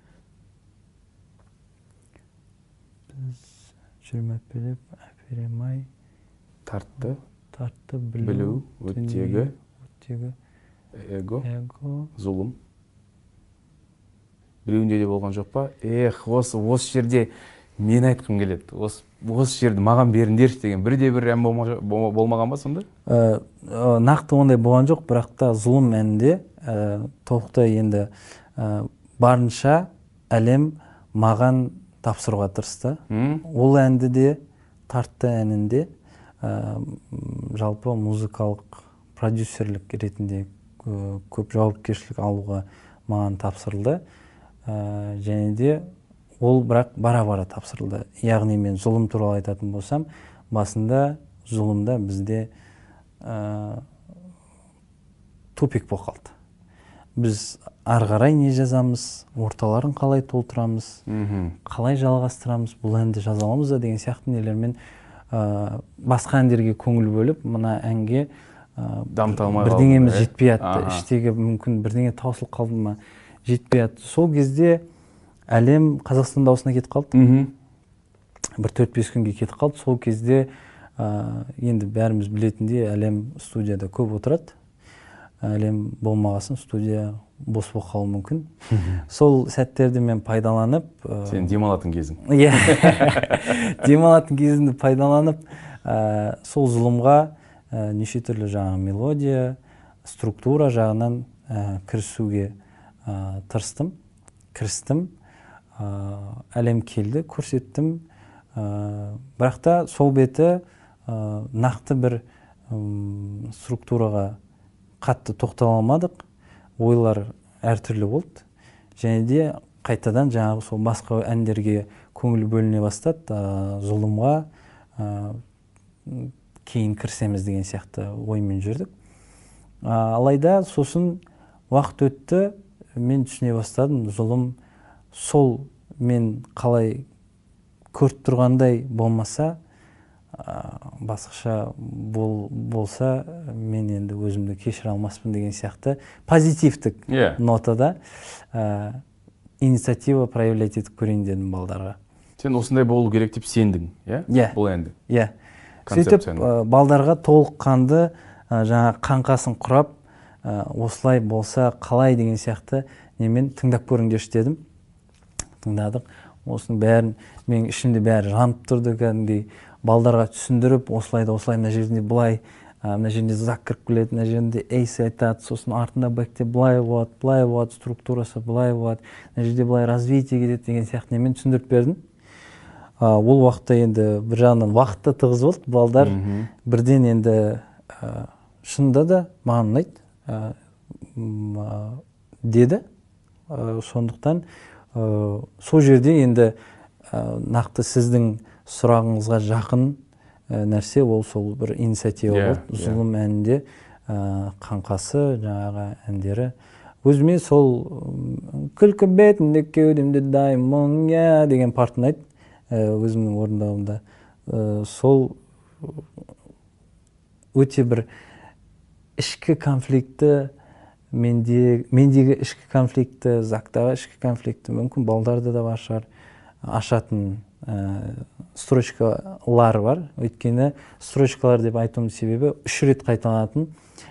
Біз жүрме әпелеп, әперемай, тартты, тартты, білу, өттегі, эго, зұлым. Біреуінде де болған жоқ па? Ех, осы жерде мен айтқым келеді. Осы жерді маған беріңдерші деген бірде бір ән болмаған ба сонда? Нақты ондай болған жоқ, бірақ та зұлым әнінде толықтай енді барынша әлем маған тапсыруға тырысты. Ол әнді де, тартты әнінде жалпы музыкалық продюсерлік ретінде көп жауапкершілік алуға маған тапсырылды. Және де ол бірақ бара-бара тапсырылды. Яғни мен зұлым туралы айтатын болсам, басында зұлымда бізде тупик болып қалды. Біз ары қарай не жазамыз, орталарын қалай толтырамыз, қалай жалғастырамыз, бұл әнді жаза аламыз да деген сияқты нелермен басқа әндерге көңіл бөліп, мына әнге бірдеңеміз жетпей атты, іштегі мүмкін бірдеңе таусылып қалды ма, жетпей атты. Сол кезде әлем Қазақстан дауысына кетіп қалды. Бір төрт бес күнге кетіп қалды. Сол кезде енді бәріміз білетіндей әлем студияда көп отырады. Әлем болмағасын студия бос болып қалуы мүмкін. Сол сәттерді мен пайдаланып... Сен демалатын кезің. Иә, демалатын кезімді пайдаланып, сол зұлымға неше түрлі жаңа мелодия, структура жағынан кірісуге тырыстым, кірістім, әлем келді, көрсеттім. Бірақ та сол беті нақты бір структураға қатты тоқтала алмадық, ойлар әртүрлі болды. Және де қайтадан жаңағы сол басқа әндерге көңіл бөліне бастады, зұлымға кейін кірсеміз деген сияқты оймен жүрдік. Алайда сосын уақыт өтті, мен түсіне бастадым, зұлым сол мен қалай көріп тұрғандай болмаса, басқаша бол, болса мен енді өзімді кешіре алмаспын деген сияқты позитивтік yeah. нотада ә, инициатива проявлять етіп көрейін дедім балдарға. Сен осындай болу керек деп сендің, иә? Иә. Бұл әнді. Иә. Сөйтіп балдарға толыққанды жаңа қаңқасын құрап, осылай болса қалай деген сияқты немен тыңдап көріңдерші дедім. Тыңдадық. Осының бәрін мен ішімде бәрі жанып тұрды, кәдімгідей балдарға түсіндіріп, осылай да осылай, мына жерінде былай, мына жерінде зак кіріп келеді, мына жерінде эйс айтады, сосын артында бэкте былай болады, былай болады, структурасы былай болады, мына жерде былай развитие кетеді деген сияқты немен түсіндіріп бердім. Ол уақытта енді бір жағынан уақытта тығыз болды, балдар бірден енді шынында да маған ұнайды деді. Сондықтан сол жерде енді нақты сіздің сұрағыңызға жақын нәрсе ол сол бір инициатива болды. Зұлым әнінде қаңқасы жаңағы әндері. Өзіме сол күлкі бетінде кеудемде даймон я деген партын айт өзімнің орындауымда. Сол өте бір ішкі конфликті, мендегі ішкі конфликті, зактағы ішкі конфликті мүмкін балдарда да бар шығар, ашатын строчкалар бар. Өйткені строчкалар деп айтуымның себебі үш рет қайталанатын.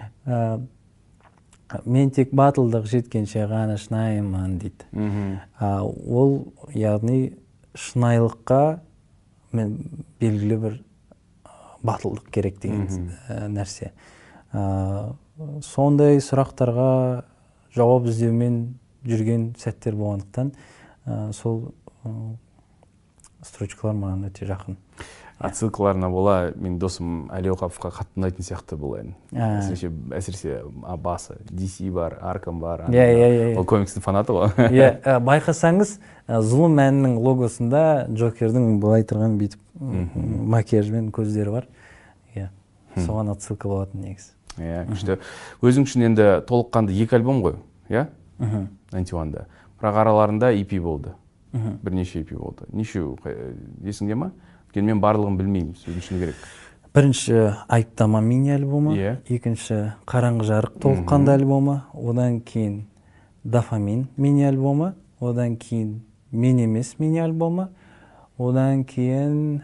Мен тек батылдық жеткенше ғана шынайымын дейді. Ол яғни шынайылыққа мен белгілі бір батылдық керек деген нәрсе. Сондай сұрақтарға жауап іздеумен жүрген сәттер болғандықтан сол строчкалар маған өте жақын. Отсылкаларына бола, мен досым Әли Оқаповқа қатты ұнайтын сияқты бұл ән. Әсіресе басы, ди си бар, Аркам бар. Ол комикстің фанаты ғой. Байқасаңыз, Зұлым әнінің логосында Джокердің былай тұрған бүйтіп макияжбен көздері бар. Соған отсылка болатын негіз. Күшті. Өзің үшін енді толыққанды екі альбом ғой, иә? девяносто бірде. Бірақ араларында и пи болды. Бірнеше и пи болды. Нешеу, есіңде ма? Мен барлығын білмеймін, сөздің үшін керек. Бірінші Айыптама мини альбомы, екінші Қараңғы жарық толыққанды альбомы, одан кейін Дофамин мини альбомы, одан кейін Мен емес мини альбомы, одан кейін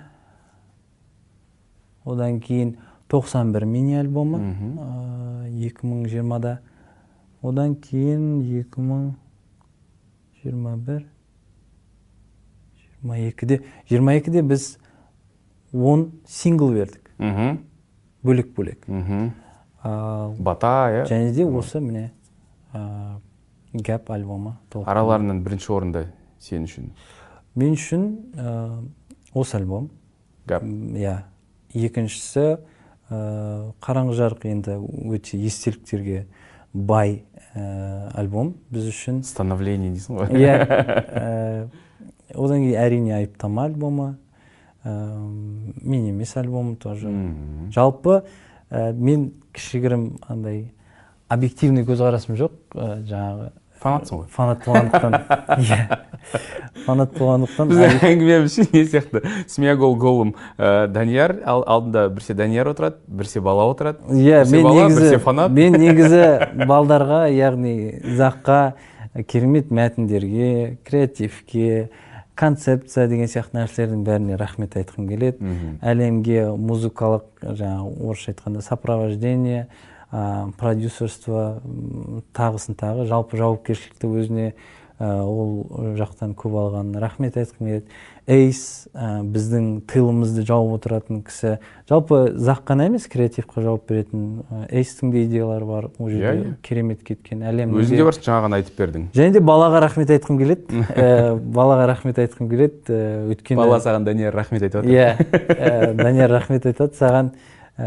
одан кейін тоқсан бір мини альбомы екі мың жиырмада, одан кейін екі мың жиырма бір жиырма екіде жиырма екіде біз он сингл бердік. Бөлек-бөлек. Бата, иә? Және де осы міне Gap альбомы. Араларынан бірінші орында сен үшін? Мен үшін осы альбом. Gap? Иә. Екіншісі Қараңғы жарық енді өте естеліктерге бай альбом біз үшін. Становление дейсің ғой? Иә. Одан кейін әрине Айыптама альбомы. Мен емес альбомы тоже. Жалпы мен кішігірім андай объективный көзқарасым жоқ, жаңағы фанатсың ғой. Фанат болғандықтан. Фанат болғандықтан. Біз әңгімеміз не сияқты? Смеягол голым Данияр, алдында бірсе Данияр отырады, бірсе бала отырады. Бірсе бала, бірсе фанат. Мен негізі балдарға, яғни Заққа керемет мәтіндерге, креативке, концепция деген сияқты нәрселердің бәріне рахмет айтқым келеді. Әлемге музыкалық, жаңа орысша айтқанда сопровождение, продюсерство, тағысын тағы, жалпы жауапкершілікті өзіне ол жақтан көп алған рахмет айтқым келеді. Эйс біздің тылымызды жауып отыратын кісі. Жалпы Зақ қана емес, креативқа жауап беретін Эйстің де идеялары бар. Ол жерде керемет кеткен әлемде. Өзіңде бар жаңағын айтып бердің. Және де балаға рахмет айтқым келеді. Балаға рахмет айтқым келеді. Өйткені бала саған Данияр рахмет айтады. Иә, Данияр рахмет айтады саған.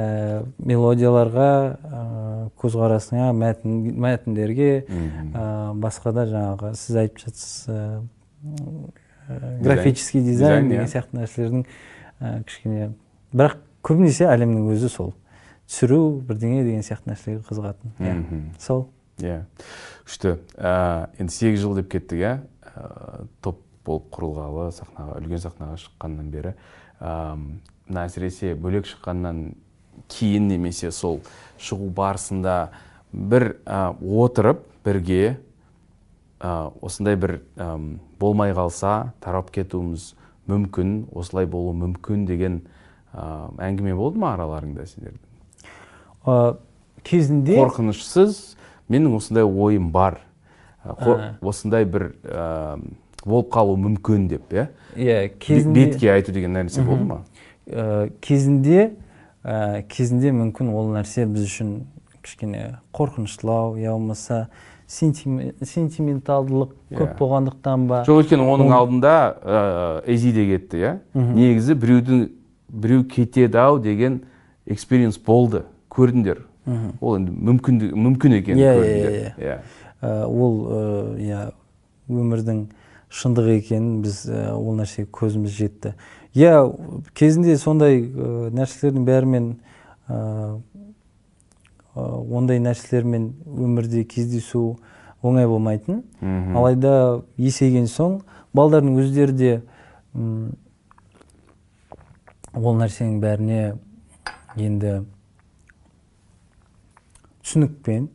Мелодияларға, көзқарасыңа, мәтіндерге, басқа да жаңағы сіз айтып жатсыз графический дизайн деген сияқты нәрселердің кішкене, бірақ көбінесе әлемнің өзі сол түсіру бірдеңе деген сияқты нәрселерге қызығатын. Сол. Иә. Күшті. Енді сегіз жыл деп кеттік, иә? Топ болып құрылғалы сахнаға, үлкен сахнаға шыққаннан бері мына әсіресе бөлек шыққаннан кейін немесе сол шығу барысында бір ә, отырып бірге ә, осындай бір ә, болмай қалса тарап кетуіміз мүмкін, осылай болу мүмкін деген ә, әңгіме болды ма араларыңда сендердің? Ә, кезінде қорқынышсыз менің осындай ойым бар, ә, осындай бір ә, болып қалу мүмкін деп, иә? Иә, кезінде бетке айту деген нәрсе болды ма? Ә, кезінде ә, кезінде мүмкін ол нәрсе біз үшін кішкене қорқыныштылау, я болмаса сентименталдылық көп болғандықтан ба? Жоқ, өйткені оның алдында Эйзи де кетті, иә? Негізі біреудің біреу кетеді ау деген экспириенс болды, көрдіңдер. Ол енді мүмкін екенін көрдіңдер. Ол өмірдің шындығы екенін біз ол нәрсеге көзіміз жетті. Я кезінде сондай нәрселердің бәрімен ондай нәрселермен өмірде кездесу оңай болмайтын. Алайда есейген соң балдардың өздері де ол нәрсенің бәріне енді түсінікпен,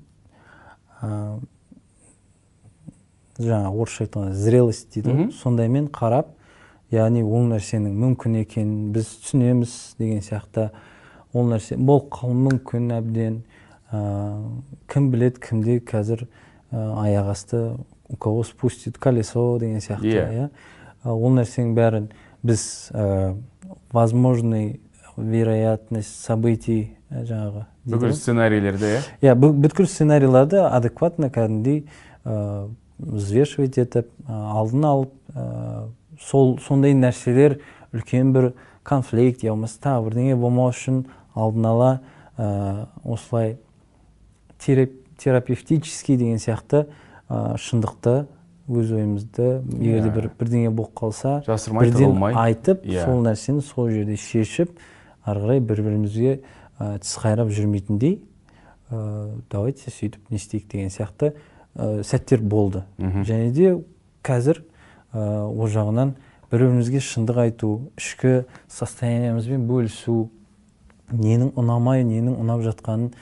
жаңа орысша айтқанда зрелость дейді, сондаймен қарап, яғни ол нәрсенің мүмкін екенін біз түсінеміз деген сияқты, ол нәрсе болып қалуы мүмкін әбден, кім біледі, кімде қазір аяқ асты у кого спустит колесо деген сияқты. Ол нәрсенің бәрін біз возможный вероятность событий жаңағы бүкіл сценарийлерді, иә? Бүткіл сценарийларды адекватно кәдімгідей взвешивать етіп, алдын алып, сондай нәрселер үлкен бір конфликт, я болмаса тағы бірдеңе болмау үшін алдын ала осылай терапевтический деген сияқты шындықты, өз ойымызды, егерде бір бірдеңе болып қалса, бірден айтып, сол нәрсені сол жерде шешіп, ары қарай бір-бірімізге тіс қайрап жүрмейтіндей, давайте сөйтіп не істейік деген сияқты сәттер болды. Және де қазір ол жағынан бір-бірімізге шындық айту, ішкі состояниемізбен бөлісу, ненің ұнамай, ненің ұнап жатқанын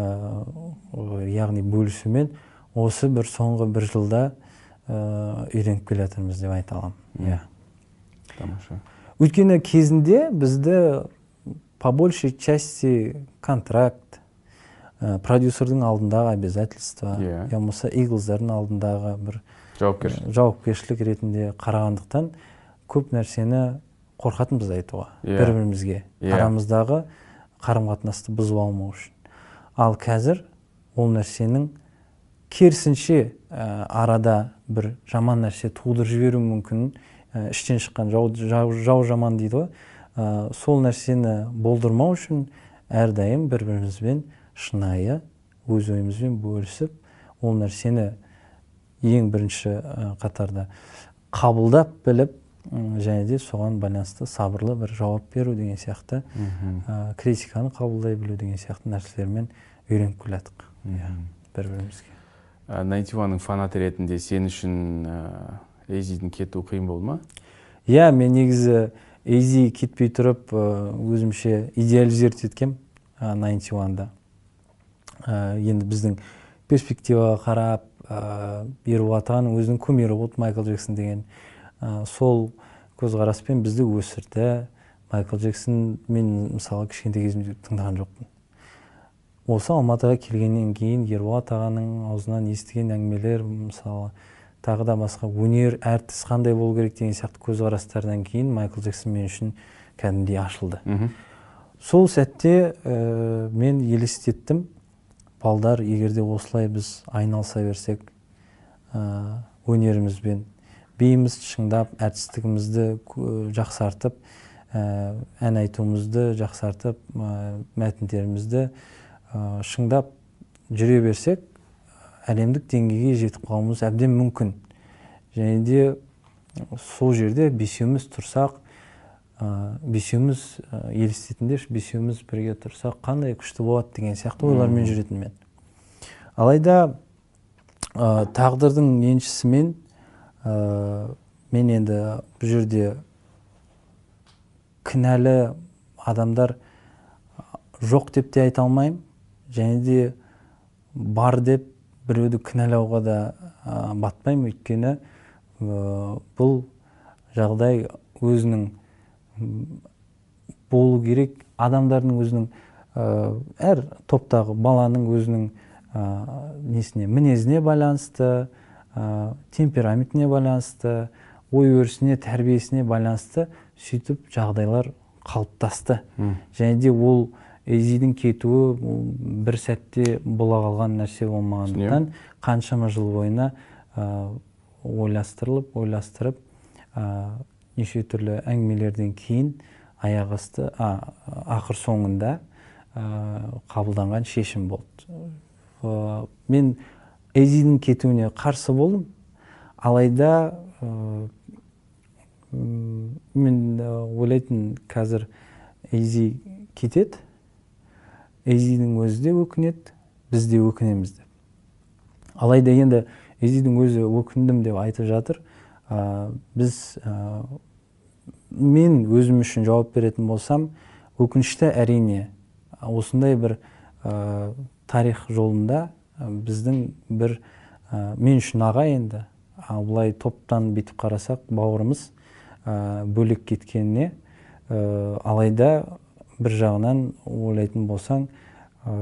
яғни бөлісумен осы бір соңғы бір жылда үйреніп келе жатырмыз деп айта аламын. Тамаша. Өйткені кезінде бізді по большей части контракт, продюсердің алдындағы обязательства, я болмаса Иглздардың алдындағы бір жауапкершілік ретінде қарағандықтан көп нәрсені қорқатынбыз айтуға, бір-бірімізге, арамыздағы қарым-қатынасты бұзып алмау үшін. Ал қазір ол нәрсенің керісінше арада бір жаман нәрсе тудырып жіберу мүмкін, іштен шыққан жау жаман дейді ғой, сол нәрсені болдырмау үшін әрдайым бір-бірімізбен шынайы өз ойымызбен бөлісіп, ол нәрсені ең бірінші қатарда қабылдап біліп, және де соған байланысты сабырлы бір жауап беру деген сияқты, критиканы қабылдай білу деген сияқты нәрселермен үйреніп келе жатық бір-бірімізге. Найнти уанның фанаты ретінде сен үшін Эйзидің кетуі қиын болды ма? Иә, мен негізі Эйзи кетпей тұрып өзімше идеализировать еткем Найнти уанда. Енді біздің перспективаға қарап, Ерболат ағаның өзінің кумирі болды Майкл Джексон деген, сол көзқараспен бізді өсірді. Майкл Джексон мен мысалы кішкентай кезімде тыңдаған жоқпын. Осы Алматыға келгеннен кейін Ерболат ағаның аузынан естіген әңгімелер, мысалы тағы да басқа өнер, әртіс қандай болу керек деген сияқты көзқарастардан кейін Майкл Джексон мен үшін кәдімгідей ашылды. Сол сәтте мен елестеттім, балдар, егерде осылай біз айналыса берсек, өнерімізбен, биіміз шыңдап, әртістігімізді жақсартып, ән айтуымызды жақсартып, мәтіндерімізді шыңдап жүре берсек, әлемдік деңгейге жетіп қалуымыз әбден мүмкін. Және де сол жерде бесеуміз тұрсақ, бесеуміз елестетіндер, бесеуміз бірге тұрсақ, қандай күшті болады деген сияқты ойлармен жүретін мен. Алайда тағдырдың еншісімен мен енді бұл жерде кінәлі адамдар жоқ деп те айта алмаймын, және де бар деп біреуді кінәлауға да ә, батпаймын, өйткені ә, бұл жағдай өзінің болу керек, адамдардың өзінің ә, әр топтағы баланың өзінің ә, несіне, мінезіне байланысты, ә, темпераментіне байланысты, ой өрісіне, тәрбиесіне байланысты сөйтіп жағдайлар қалыптасты. Және де ол Эйзидің кетуі бір сәтте бола қалған нәрсе болмағандықтан қаншама жыл бойына ә, ойластырылып, ойластырып, ә, неше түрлі әңгімелерден кейін аяқ асты, а, ақыр соңында ә, қабылданған шешім болды. Ә, мен Эйзидің кетуіне қарсы болдым, алайда ә, мен ойлайтын, қазір Эйзи кетеді, Эйзидің өзі де өкінеді, біз де өкінеміз деп. Алайда енді Эйзидің өзі өкіндім деп айтып жатыр. Ә, біз ә, мен өзім үшін жауап беретін болсам, өкінішті әрине осындай бір ә, тарих жолында ә, біздің бір ә, мен үшін аға енді, ал бұлай топтан бетіп қарасақ бауырымыз ә, бөлек кеткеніне, ә, алайда бір жағынан ойлайтын болсаң, ә,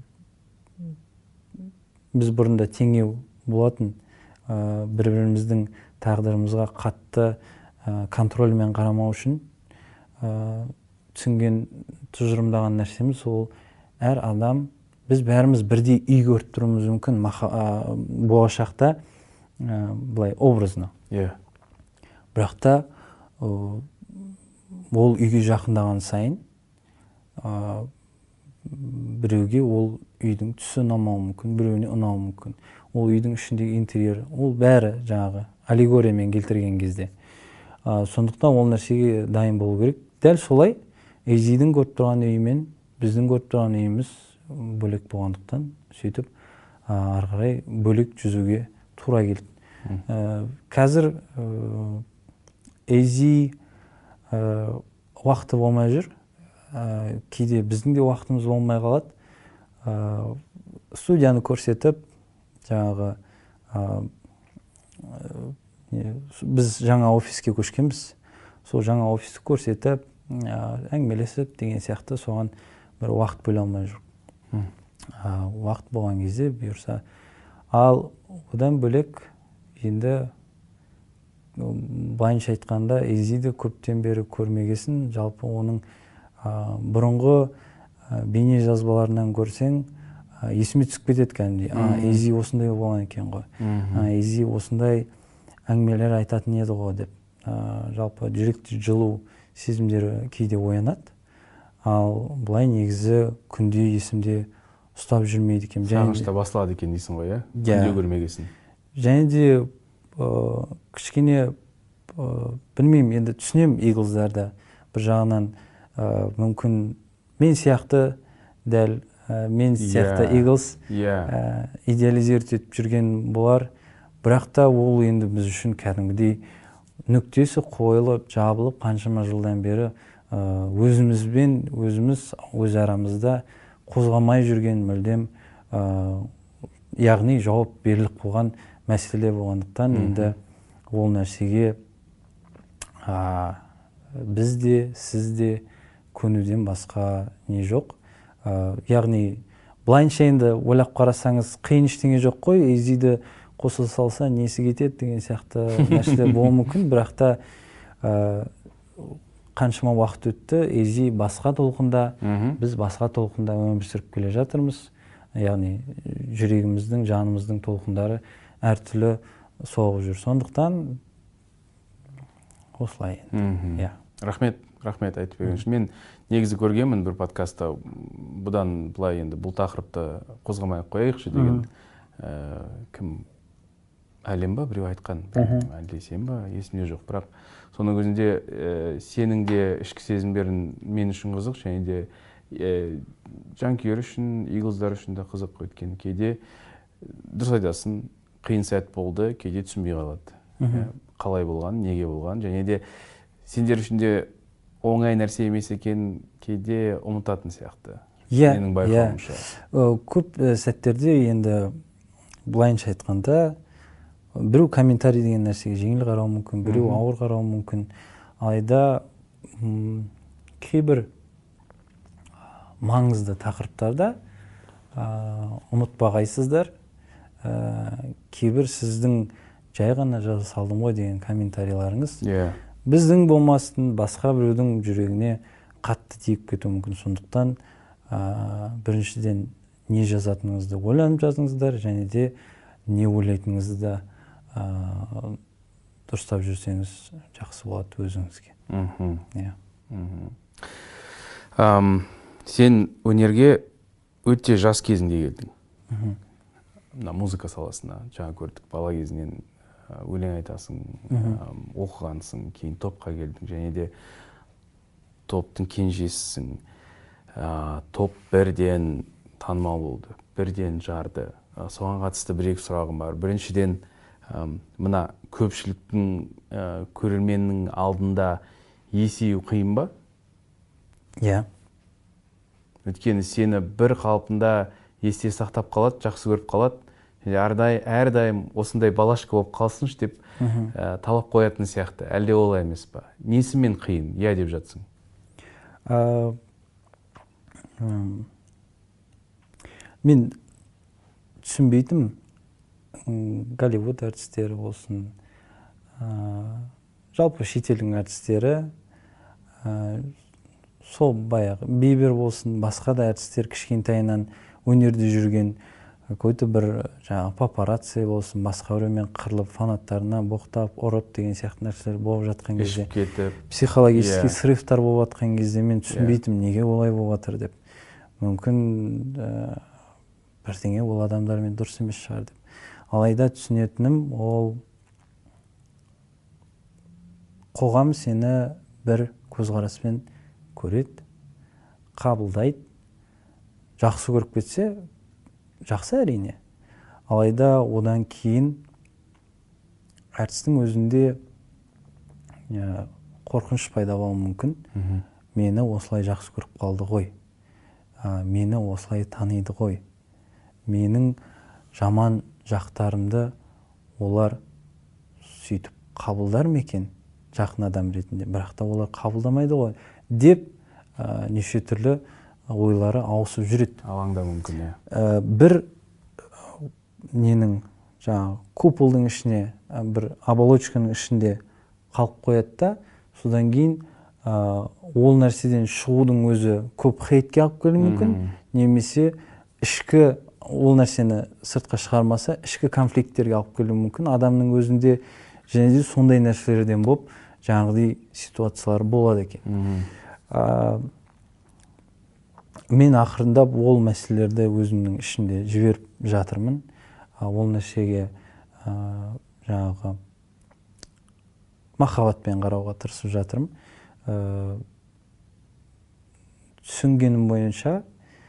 біз бұрында теңеу болатын, ә, бір-біріміздің тағдырымызға қатты ә, контрольмен қарамау үшін ә, түсінген, тұжырымдаған нәрсеміз ол әр адам, біз бәріміз бірдей үй көріп тұруымыз мүмкін ә, болашақта, ә, былай образно. Yeah. Бірақ та ә, ол үйге жақындаған сайын ә, біреуге ол үйдің түсі ұнамауы мүмкін, біреуіне ұнауы мүмкін. Ол үйдің ішіндегі интерьер, ол бәрі жаңағы аллегориямен келтірген кезде. Ә, сондықтан ол нәрсеге дайын болу керек. Дәл солай Эйзидің көріп тұрған үйі мен біздің көріп тұрған үйіміз бөлек болғандықтан, сөйтіп ары қарай бөлек жүзуге тура келді. Ә, қазір ә, Эйзи ә, уақыты болмай жүр. Ә, кейде біздің де уақытымыз болмай қалады. Ә, студияны көрсетіп, жаңағы ә, ә, біз жаңа офиске көшкенбіз. Сол жаңа офисті көрсетіп, ә, әңгімелесіп деген сияқты соған бір уақыт бөле алмай жүр. Ә, уақыт болған кезде бұйырса. Ал одан бөлек енді былайынша айтқанда Эйзиді көптен бері көрмегесін, жалпы оның ә, бұрынғы ә, бейне жазбаларынан көрсең, ә, есіме түсіп кетеді кәдімгідей. А, Эйзи осындай болған екен ғой. А, Эйзи осындай әңгімелер айтатын еді ғой деп. Ә, жалпы жүректе жылу сезімдері кейде оянады. Ал былай негізі күнде есімде ұстап жүрмейді екен. Сағынышта басталады екен дейсің ғой, иә? Күнде көрмегесін. Және де ә, кішкене ә, білмеймін, енді түсінем Иглздарды. Бір жағынан ә, мүмкін мен сияқты дәл ә, мен сияқты yeah. Иглз yeah. ә, идеализировать етіп жүрген болар. Бірақ та ол енді біз үшін кәдімгідей нүктесі қойылып, жабылып, қаншама жылдан бері ә, өзімізбен өзіміз өз арамызда қозғамай жүрген мүлдем, ә, яғни жауап беріліп қойған мәселе болғандықтан, енді ол нәрсеге ә, біз де, сіз де көнуден басқа не жоқ. Ә, яғни былайынша енді ойлап қарасаңыз қиын ештеңе жоқ қой, Эйзиді қоса салса несі кетеді деген сияқты нәрселер болуы мүмкін, бірақ та ә, қаншама уақыт өтті, Эйзи басқа толқында, біз басқа толқында өмір сүріп келе жатырмыз. Яғни жүрегіміздің, жанымыздың толқындары әртүрлі соғып жүр. Сондықтан осылай. Yeah. Рахмет, рахмет айтып берген үшін. Мен негізі көргенмін бір подкастта, бұдан былай енді бұл тақырыпты қозғамай қояйықшы деген. Ә, кім әлем ба біреу айтқан, әлде сен ба, есімде жоқ. Бірақ соның өзінде ә, сенің де ішкі сезімдерің мен үшін қызық, және де ә, жанкүйер үшін, Иглздар үшін де қызық. Өйткені кейде дұрыс айтасың, қиын сәт болды, кейде түсінбей қалады. Қалай болған, неге болған, және де сендер үшін де оңай нәрсе емес екен, кейде ұмытатын сияқты. Иә, менің байқауымша. Көп сәттерде енді былайынша айтқанда біреу комментарий деген нәрсеге жеңіл қарауы мүмкін, біреу ауыр қарауы мүмкін. Алайда кейбір маңызды тақырыптарда ұмытпағайсыздар, кейбір сіздің жай ғана жаза салдым ғой деген комментарийларыңыз біздің болмастын басқа біреудің жүрегіне қатты тиіп кетуі мүмкін. Сондықтан біріншіден не жазатыныңызды ойланып жазыңыздар, және де не ойлайтыныңызды да дұрыстап жүрсеңіз жақсы болады өзіңізге. Сен өнерге өте жас кезінде келдің. Мына музыка саласына жаңа көрдік, бала кезінен өлең айтасың, оқығансың, кейін топқа келдің, және де топтың кенжесісің. Топ бірден танымал болды, бірден жарды. Соған қатысты бір-екі сұрағым бар. Біріншіден, мына көпшіліктің, көрерменнің алдында есею қиын ба? Иә. Өйткені сені бір қалпында есте сақтап қалады, жақсы көріп қалады. Әрдайым осындай балашка болып қалсыншы деп талап қоятын сияқты. Әлде олай емес па? Несімен қиын? Я деп жатсың. Мен түсінбейтім, Голливуд әртістері болсын, жалпы шетелдің әртістері, сол баяғы Бибер болсын, басқа да әртістер кішкентайынан өнерде жүрген, какой-то бір жаңағы папарацци болсын, басқа біреумен қырылып, фанаттарына боқтап, ұрып деген сияқты нәрселер болып жатқан кезде, психологический срывтар болып жатқан кезде мен түсінбейтім, неге олай болып жатыр деп. Мүмкін бірдеңе ол адамдармен дұрыс емес шығар деп. Алайда түсінетінім, ол қоғам сені бір көзқараспен көреді, қабылдайды, жақсы көріп кетсе, жақсы әрине. Алайда одан кейін әртістің өзінде қорқыныш пайда болуы мүмкін. Мені осылай жақсы көріп қалды ғой. Мені осылай таниды ғой. Менің жаман жақтарымды олар сөйтіп қабылдар ма екен жақын адам ретінде, бірақ та олар қабылдамайды ғой деп неше түрлі ойлары ауысып жүреді. Алаңда мүмкін, бір ненің жаңағы куполдың ішіне, бір оболочканың ішінде қалып қояды да, содан кейін ол нәрседен шығудың өзі көп хейтке алып келуі мүмкін, немесе ішкі ол нәрсені сыртқа шығармаса, ішкі конфликттерге алып келуі мүмкін. Адамның өзінде және де сондай нәрселерден болып, жаңағыдай ситуациялар болады екен. Мен ақырындап ол мәселелерді өзімнің ішінде жіберіп жатырмын. Ол нәрсеге жаңағы махаббатпен қарауға тырысып жатырмын. Түсінгенім бойынша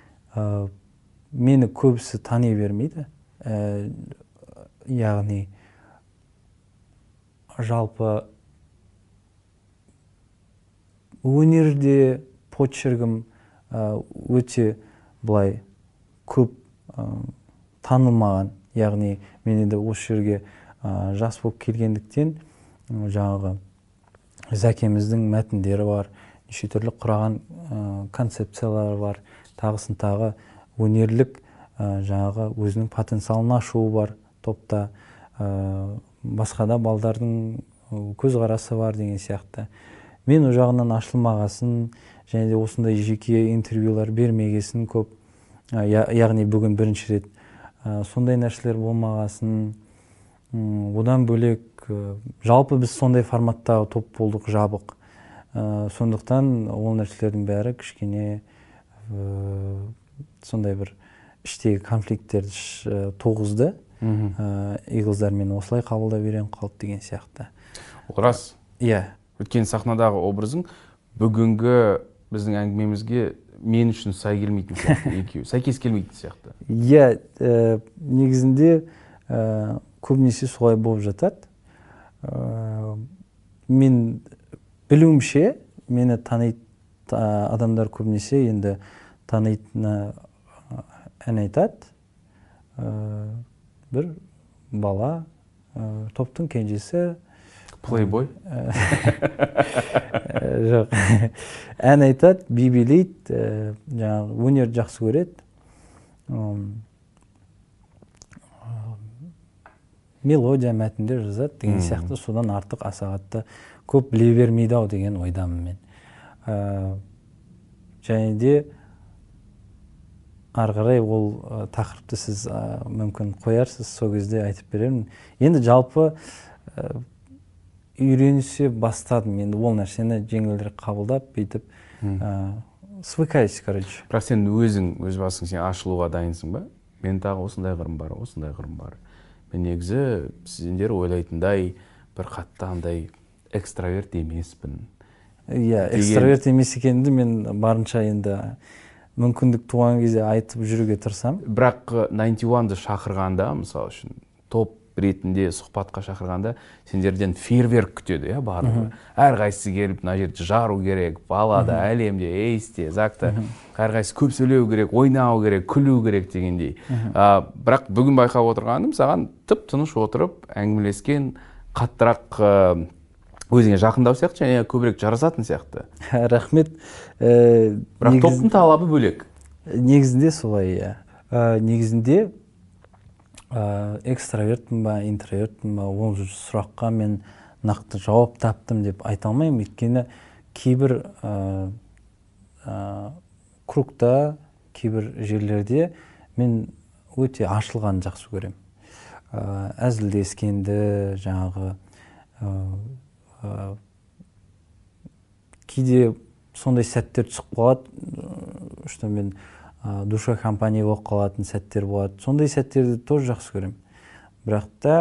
мені көбісі тани бермейді. Яғни жалпы өнерде почеркім өте былай көп танылмаған. Яғни мен енді осы жерге жас болып келгендіктен жаңағы Зәкеміздің мәтіндері бар, неше түрлі құраған концепциялары бар, тағысын тағы өнерлік жаңағы өзінің потенциалын ашуы бар топта, басқа да балдардың көзқарасы бар деген сияқты. Мен о жағынан ашылмағасын, және де осындай жеке интервьюлар бермегесін көп, яғни бүгін бірінші рет сондай нәрселер болмағасын. Одан бөлек жалпы біз сондай форматтағы топ болдық, жабық. Сондықтан ол нәрселердің бәрі кішкене сондай бір іштегі конфликттерді туғызды. Иглздармен осылай қабылдап үйреніп қалды деген сияқты. Ол рас. Иә. Өткен сахнадағы образың бүгінгі біздің әңгімемізге мен үшін сай келмейтін сияқты, екеуі сәйкес келмейтін сияқты. Иә, негізінде көбінесе солай болып жатады. Мен білуімше, мені таниды адамдар көбінесе енді танитыны ән айтады. Бір бала, топтың кенжесі. Плейбой? Жоқ. Ән айтады, би билейді, жаңағы өнерді жақсы көреді. Мелодия, мәтіндер жазады деген сияқты, содан артық асағатты көп біле бермейді ау деген ойдамын мен. Және де ары қарай ол тақырыпты сіз мүмкін қоярсыз, сол кезде айтып беремін. Енді жалпы үйренісе бастадым, енді ол нәрсені жеңілдірек қабылдап, бүйтіп свыкаюсь, короче. Бірақ сен өзің, өз басың, сен ашылуға дайынсың ба? Мен тағы осындай қырым бар, осындай қырым бар. Мен негізі сіздер ойлайтындай бір қатты андай экстраверт емеспін. Иә, экстраверт емес екенімді мен барынша енді мүмкіндік туған кезде айтып жүруге тырысам. Бірақ тоғыз бірді шақырғанда, мысалы үшін, топ ретінде сұхбатқа шақырғанда, сендерден фейерверк күтеді, иә, барлығы. Әрқайсысы келіп, мына жерді жару керек, балада, әлемде, эйсте, закта, әрқайсысы көп сөйлеу керек, ойнау керек, күлу керек дегендей. Бірақ бүгін байқап отырғаным, саған тып-тыныш отырып, әңгімелескен, қаттырақ өзіңе жақындау сияқты, және көбірек жарасатын сияқты. Рахмет. Бірақ топтың талабы бөлек. Негізінде солай, иә. Негізінде экстравертпін ба, интровертпін ба, ол сұраққа мен нақты жауап таптым деп айта алмаймын. Өйткені кейбір кругта, кейбір жерлерде мен өте ашылғанды жақсы көремін. Әзілдескенді, жаңағы кейде сондай сәттер түсіп қалады, что мен душа компания болып қалатын сәттер болады. Сондай сәттерді тоже жақсы көремін. Бірақ та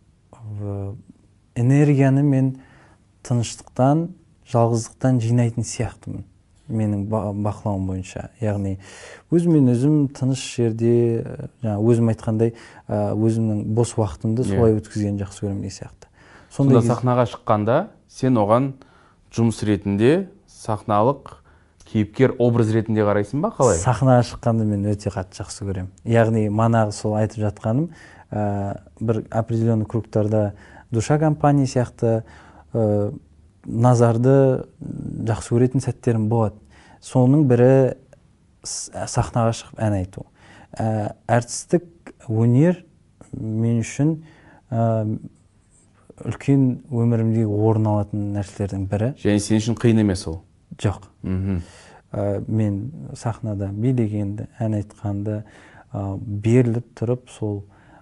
энергияны мен тыныштықтан, жалғыздықтан жинайтын сияқтымын. Менің бақылауым бойынша. Яғни өзіммен өзім тыныш жерде, өзім айтқандай, өзімнің бос уақытымды солай өткізген жақсы көремін деген сияқты. Сонда сахнаға шыққанда сен оған жұмыс ретінде сахналық кейіпкер образ ретінде қарайсың ба, қалай? Сахнаға шыққанды мен өте қатты жақсы көремін. Яғни манағы сол айтып жатқаным, бір определенный кругтарда душа компания сияқты назарды жақсы көретін сәттерім болады. Соның бірі сахнаға шығып ән айту. Әртістік өнер мен үшін үлкен өмірімдегі орын алатын нәрселердің бірі. Және сен үшін қиын емес ол? Жоқ. Мен сахнада билегенді, ән айтқанды беріліп тұрып, сол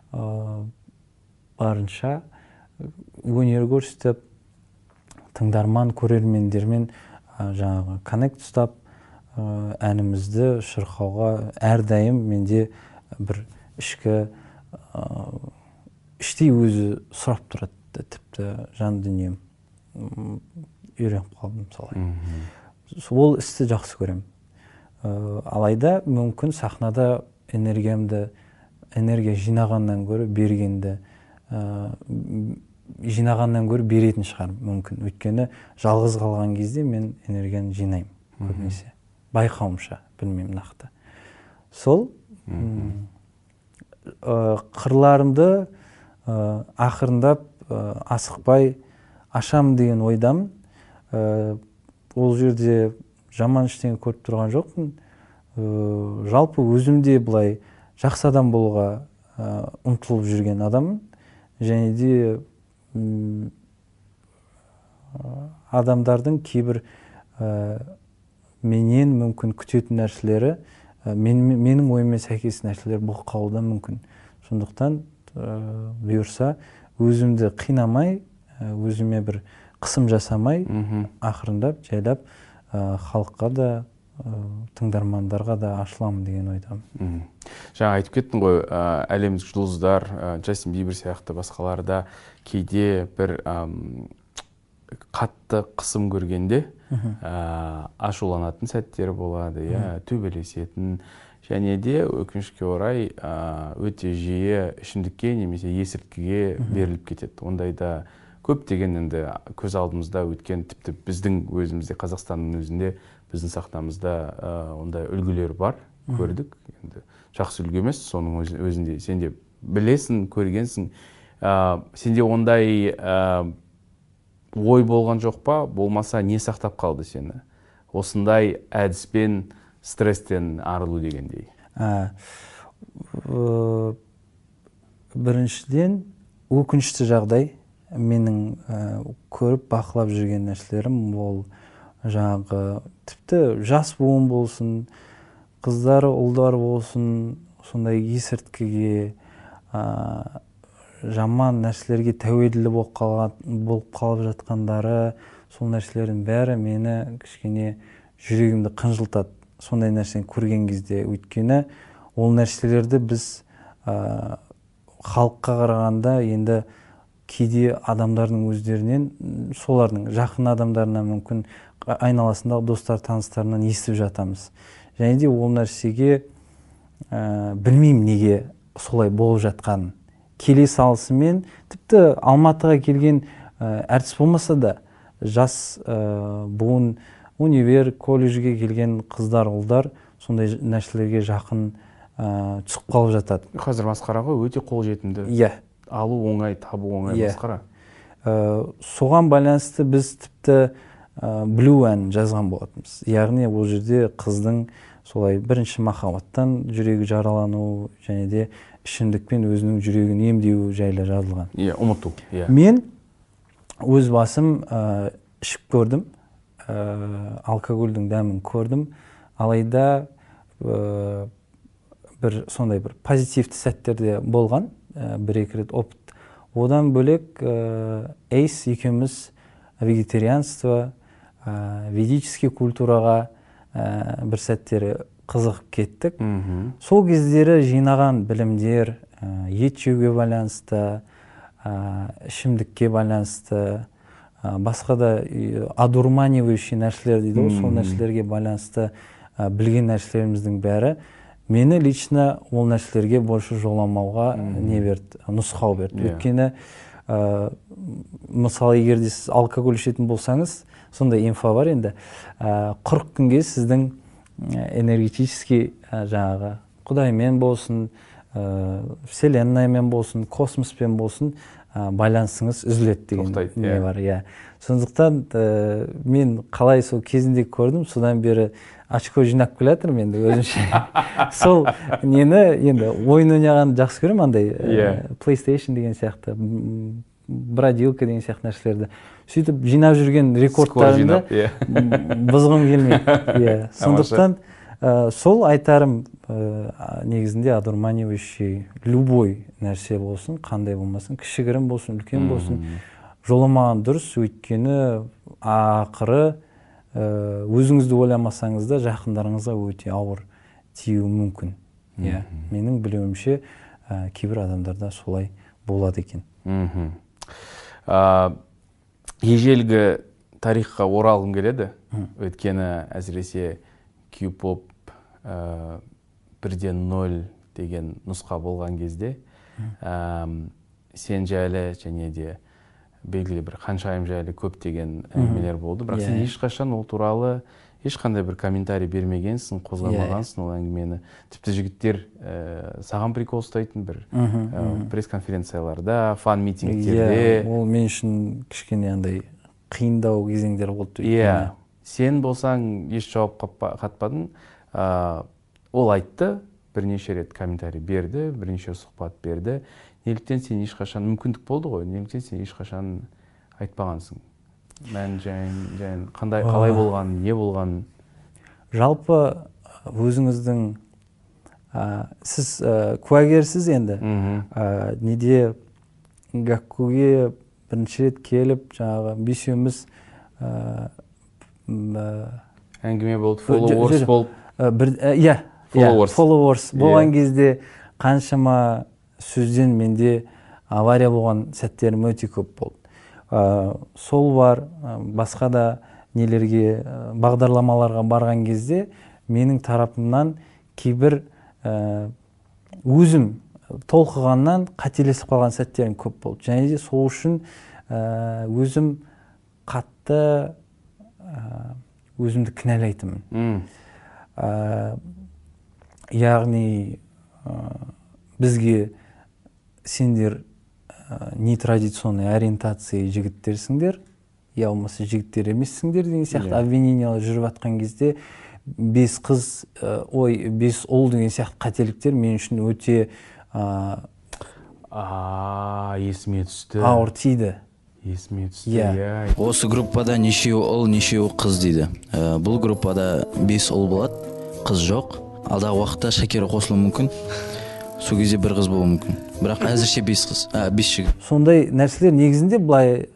барынша өнер көрсетіп, тыңдарман, көрермендермен жаңағы коннект ұстап, әнімізді шырқауға әрдайым менде бір ішкі іштей өзі сұрап тұрады, тіпті жан дүнием үйреніп қалдым солай. Ол істі жақсы көремін. Алайда мүмкін сахнада энергиямды, энергия жинағаннан көрі бергенді, жинағаннан көрі беретін шығар мүмкін. Өйткені жалғыз қалған кезде мен энергияны жинаймын көбінесе. Байқауымша, білмеймін нақты. Сол қырларымды ақырындап асықпай ашам деген ойдамын. Ол жерде жаман ештеңе көріп тұрған жоқпын. Жалпы өзімде былай жақсы адам болуға ұмтылып жүрген адаммын. Және де адамдардың кейбір менен мүмкін күтетін нәрселері, менің ойыма сәйкес нәрселер болып қалуы да мүмкін. Сондықтан бұйырса өзімді қинамай, өзіме бір қысым жасамай, ақырындап, жайлап халыққа да, тыңдармандарға да ашыламын деген ойдамын. Жаңа айтып кеттің ғой, әлемдік жұлдыздар, Джастин Бибер сияқты басқаларда кейде бір қатты қысым көргенде ашуланатын сәттер болады, төбелесетін, және де өкінішке орай өте жиі ішімдікке немесе есірткіге беріліп кетеді. Ондайда көптеген енді көз алдымызда өткен, тіпті біздің өзімізде, Қазақстанның өзінде, біздің сахнамызда ондай үлгілер бар, көрдік. Енді жақсы үлгі емес, соның өзінде сен де білесің, көргенсің. Сенде ондай ой болған жоқ па? Болмаса не сақтап қалды сені? Осындай әдіспен стресстен арылу дегендей. Біріншіден, өкінішті жағдай менің көріп бақылап жүрген нәрселерім, ол жаңағы тіпті жас буын болсын, қыздары, ұлдар болсын, сондай есірткіге, жаман нәрселерге тәуелді болып қалып жатқандары, сол нәрселердің бәрі мені кішкене жүрегімді қынжылтады. Сондай нәрсені көрген кезде, өйткені ол нәрселерді біз халыққа қарағанда енді кейде адамдардың өздерінен, солардың жақын адамдарынан, мүмкін айналасындағы достар, таныстарынан естіп жатамыз. Және де ол нәрсеге білмеймін неге солай болып жатқанын. Келе салысымен, тіпті Алматыға келген әртіс болмаса да, жас буын, универ, колледжге келген қыздар, ұлдар сондай нәрселерге жақын түсіп қалып жатады. Қазір масқара ғой, өте қолжетімді. Иә. Алу оңай, табу оңай масқара. Соған байланысты біз тіпті Blue әнін жазған болатынбыз. Яғни ол жерде қыздың солай бірінші махаббаттан жүрегі жаралану және де ішімдікпен өзінің жүрегін емдеу жайлы жазылған. Иә, ұмыту. Мен өз басым ішіп көрдім, алкогольдің дәмін көрдім, алайда бір сондай бір позитивті сәттерде болған, бір-екі рет опыт. Одан бөлек Эйс екеуміз вегетарианство, ведический культураға бір сәттері қызығып кеттік. Сол кездері жинаған білімдер, ет жеуге байланысты, ішімдікке байланысты, басқа да одурманивающий нәрселер дейді, сол нәрселерге байланысты білген нәрселеріміздің бәрі мені лично ол нәрселерге больше жоламауға не берді, нұсқау берді. Өйткені мысалы, егер де сіз алкоголь ішетін болсаңыз, сондай инфо бар енді, қырық күнге сіздің энергетический жаңағы Құдаймен болсын, вселенныймен болсын, космоспен болсын байланысыңыз үзіледі деген не бар. Сондықтан мен қалай сол кезінде көрдім, содан бері очко жинап келатырмын енді өзімше. Сол нені енді ойын ойнағанды жақсы көремін, андай PlayStation деген сияқты, бродилка деген сияқты нәрселерді. Сөйтіп жинап жүрген рекордтарымды бұзғым келмейді. Сондықтан сол айтарым негізінде одурманивающий любой нәрсе болсын, қандай болмасын, кішігірім болсын, үлкен болсын, жоламаған дұрыс. Өйткені ақыры өзіңізді ойламасаңыз да жақындарыңызға өте ауыр тиюі мүмкін. Менің білуімше кейбір адамдарда солай болады екен. Ежелгі тарихқа оралғым келеді. Өйткені әсіресе Q-pop бірден нөл деген нұсқа болған кезде сен жайлы және де белгілі бір Ханшайым жайлы көп деген әңгімелер болды. Бірақ сен ешқашан ол туралы ешқандай бір комментарий бермегенсің, қозғамағансың ол әңгімені. Тіпті жігіттер саған прикол ұстайтын бір пресс-конференцияларда, фан-митингтерде. Ол мен үшін кішкене андай қиындау кезеңдер болды. Иә, сен болсаң еш жауап қатпадың. Ол айтты, бірнеше рет комментарий берді, бірнеше сұхбат берді. Неліктен сен ешқашан, мүмкіндік болды ғой, неліктен сен ешқашан айтпағансың? Мән жайын, қандай, қалай болған, не болған? Жалпы өзіңіздің, сіз куәгерсіз енді, неде Гаккуге бірінші рет келіп, жаңағы бесеуміз әңгіме болды, followers болып. Иә, followers болған кезде қаншама сөзден менде авария болған сәттерім өте көп болды. Сол бар, басқа да нелерге, бағдарламаларға барған кезде менің тарапымнан кейбір өзім толқығаннан қателесіп қалған сәттерім көп болды. Және де сол үшін өзім қатты өзімді кінәлайтынмын. Яғни бізге сендер нетрадиционный ориентация жігіттерсіңдер, я болмаса жігіттер емессіңдер деген сияқты обвинениялар жүріп жатқан кезде бес қыз, ой, бес ұл деген сияқты қателіктер мен үшін өте есіме түсті. Ауыр тиді. Есіме түсті. Осы группада нешеу ұл, нешеу қыз дейді. Бұл группада бес ұл болады, қыз жоқ. Алдағы уақытта Шакира қосылуы мүмкін. Сол кезде бір қыз болуы мүмкін. Бірақ әзірше бес қыз, бес жігіт. Сондай нәрселер негізінде былай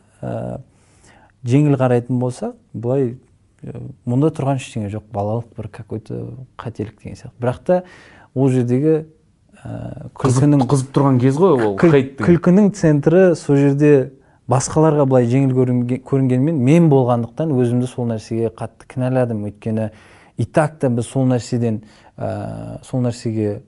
жеңіл қарайтын болса, былай мұнда тұрған ештеңе жоқ, балалық бір какой-то қателік деген сияқты. Бірақ та ол жердегі күлкінің қызып тұрған кез ғой ол. Күлкінің центрі сол жерде басқаларға былай жеңіл көрінгенмен, мен болғандықтан өзімді сол нәрсеге қатты кінәладым. Өйткені и так та біз сол нәрседен сол нәрсеге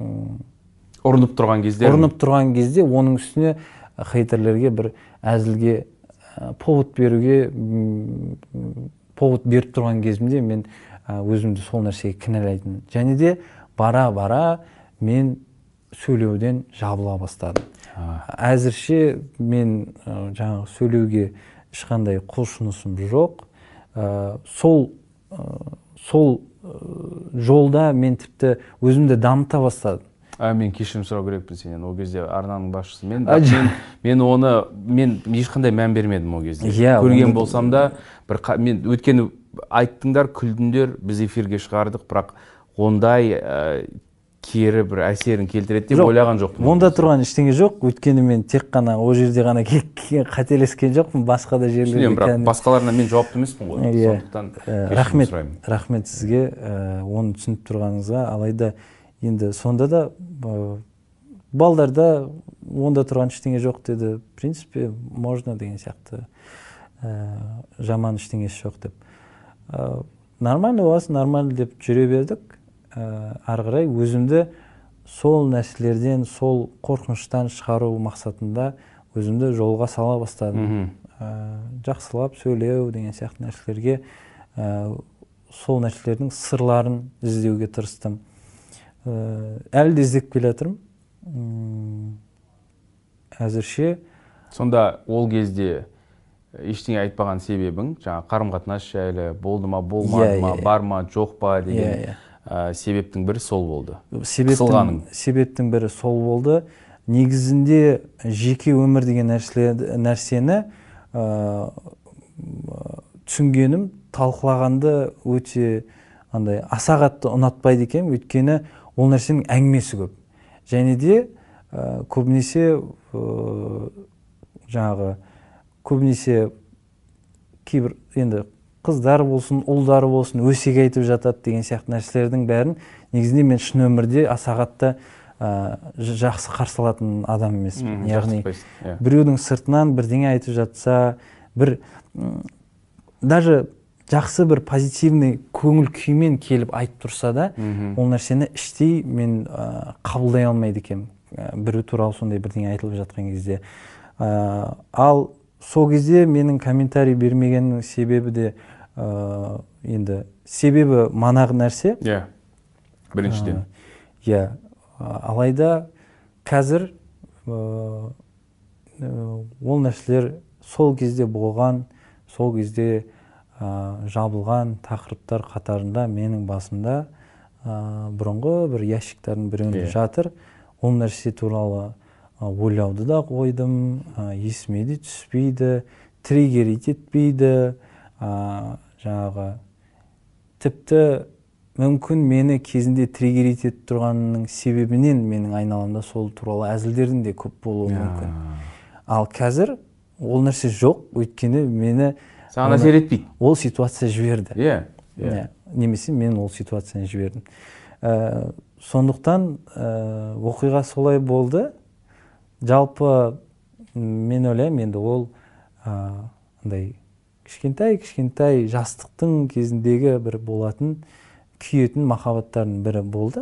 ұрынып тұрған кезде ұрынып тұрған кезде оның үстіне хейтерлерге бір әзілге повод беруге повод беріп тұрған кезімде мен өзімді сол нәрсеге кінәлайтын. Және де бара-бара мен сөйлеуден жабыла бастадым. Әзірше мен жаңағы сөйлеуге ешқандай құлшынысым жоқ. Сол сол жолда мен тіпті өзімді дамыта бастадым. Мен кешірім сұрау керекпін сенен, ол кезде арнаның басшысы. Мен мен оны мен ешқандай мән бермедім ол кезде. Көрген болсам да бір мен өткені айттыңдар, күлдіңдер, біз эфирге шығардық, бірақ ондай кері бір әсерін келтіреді деп ойлаған жоқпын. Онда тұрған ештеңе жоқ. Өткені мен тек қана ол жерде ғана қателескен жоқпын, басқа да жерлерде. Бірақ басқаларына мен жауапты емеспін ғой. Сондықтан кешірім сұраймын. Рахмет сізге оны түсініп тұрғаныңызға. Алайда енді сонда да балдарда онда тұрған ештеңе жоқ деді. В принципе, можно деген сияқты жаман ештеңесі жоқ деп. Нормально боласың, нормально деп жүре бердік. Ары қарай өзімді сол нәрселерден, сол қорқыныштан шығару мақсатында өзімді жолға сала бастадым. Жақсылап сөйлеу деген сияқты нәрселерге, сол нәрселердің сырларын іздеуге тырыстым. Әлі де іздеп келе жатырмын. Әзірше. Сонда ол кезде ештеңе айтпаған себебің, жаңа қарым-қатынас жайлы болды ма, болмады ма, бар ма, жоқ па деген себептің бірі сол болды. Себептің бірі сол болды. Негізінде жеке өмір деген нәрсені түсінгенім, талқылағанды өте андай аса қатты ұнатпайды екен, өйткені ол нәрсенің әңгімесі көп. Және де көбінесе жаңағы көбінесе кейбір енді қыздар болсын, ұлдары болсын, өсек айтып жатады деген сияқты нәрселердің бәрін негізінде мен шын өмірде аса қатты жақсы қарсы алатын адам емеспін. Яғни біреудің сыртынан бірдеңе айтып жатса, бір даже жақсы бір позитивный көңіл күймен келіп айтып тұрса да, ол нәрсені іштей мен қабылдай алмайды екенмін. Біреу туралы сондай бірдеңе айтылып жатқан кезде. Ал сол кезде менің комментарий бермегеннің себебі де енді себебі манағы нәрсе. Иә. Біріншіден. Иә. Алайда қазір ол нәрселер сол кезде болған, сол кезде жабылған тақырыптар қатарында менің басымда бұрынғы бір ящиктардың бірінде жатыр. Ол нәрсе туралы ойлауды да қойдым, есіме де түспейді, триггерит етпейді. Жаңағы тіпті мүмкін мені кезінде триггерит етіп тұрғанның себебінен менің айналамда сол туралы әзілдердің де көп болуы мүмкін. Ал қазір ол нәрсе жоқ, өйткені мені саған әсер етпейді. Ол ситуация жіберді. Иә. Немесе мен ол ситуацияны жібердім. Сондықтан оқиға солай болды. Жалпы мен ойлаймын, енді ол андай кішкентай-кішкентай жастықтың кезіндегі бір болатын күйетін махаббаттардың бірі болды.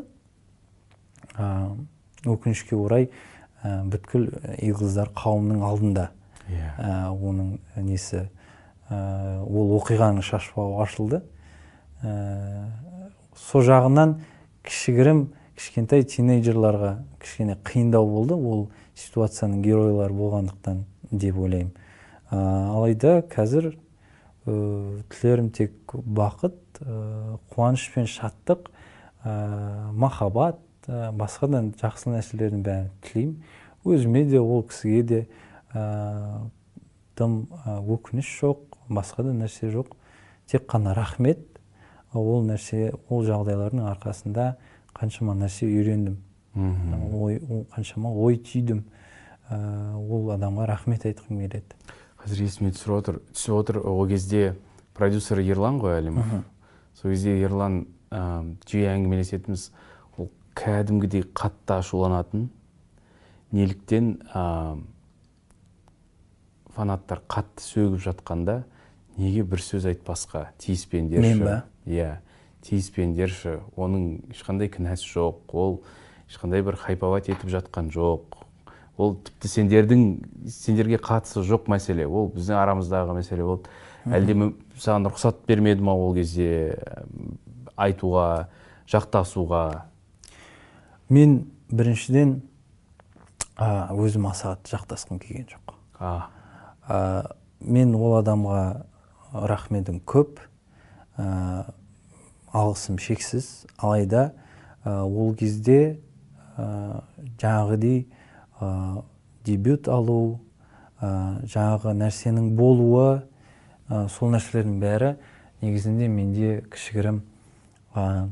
Өкінішке орай бүткіл үй қыздар қауымның алдында Ә, оның несі ә, ол оқиғаның шашбауы ашылды. Ә, сол жағынан кішігірім кішкентай тинейджерларға кішкене қиындау болды, ол ситуацияның геройлары болғандықтан деп ойлаймын. Ә, алайда қазір ә, тілерім тек бақыт, ә, қуаныш пен шаттық, ә, махаббат, ә, басқадан жақсы нәрселердің бәрін тілеймін. Өзіме де, ол кісіге де ә, тым ә, өкініш жоқ, басқа да нәрсе жоқ. Тек қана рахмет. Ол нәрсе, ол жағдайлардың арқасында қаншама нәрсе үйрендім. Ой, қаншама ой түйдім. Ә, ол адамға рахмет айтқым келеді. Қазір есіме түсіп отыр, түсіп отыр, ол кезде продюсер Ерлан ғой Әлімов. Сол кезде Ерлан ә, жиі әңгімелесетіміз, ол кәдімгідей қатты ашуланатын. Неліктен ә, фанаттар қатты сөгіп жатқанда неге бір сөз айтпасқа, тиіспендерші. Мен ба? Иә, тиіспендерші. Оның ешқандай кінәсі жоқ. Ол ешқандай бір хайпават етіп жатқан жоқ. Ол тіпті сендердің, сендерге қатысы жоқ мәселе. Ол біздің арамыздағы мәселе болды. Әлде саған рұқсат бермеді ма ол кезде айтуға, жақтасуға? Мен біріншіден өзім аса жақтасқым келген жоқ. А, мен ол адамға рахметім көп, ә, алғысым шексіз. Алайда ә, ол кезде ә, жаңағыдей ә, дебют алу, ә, жаңағы нәрсенің болуы, ә, сол нәрселердің бәрі негізінде менде кішігірім ә,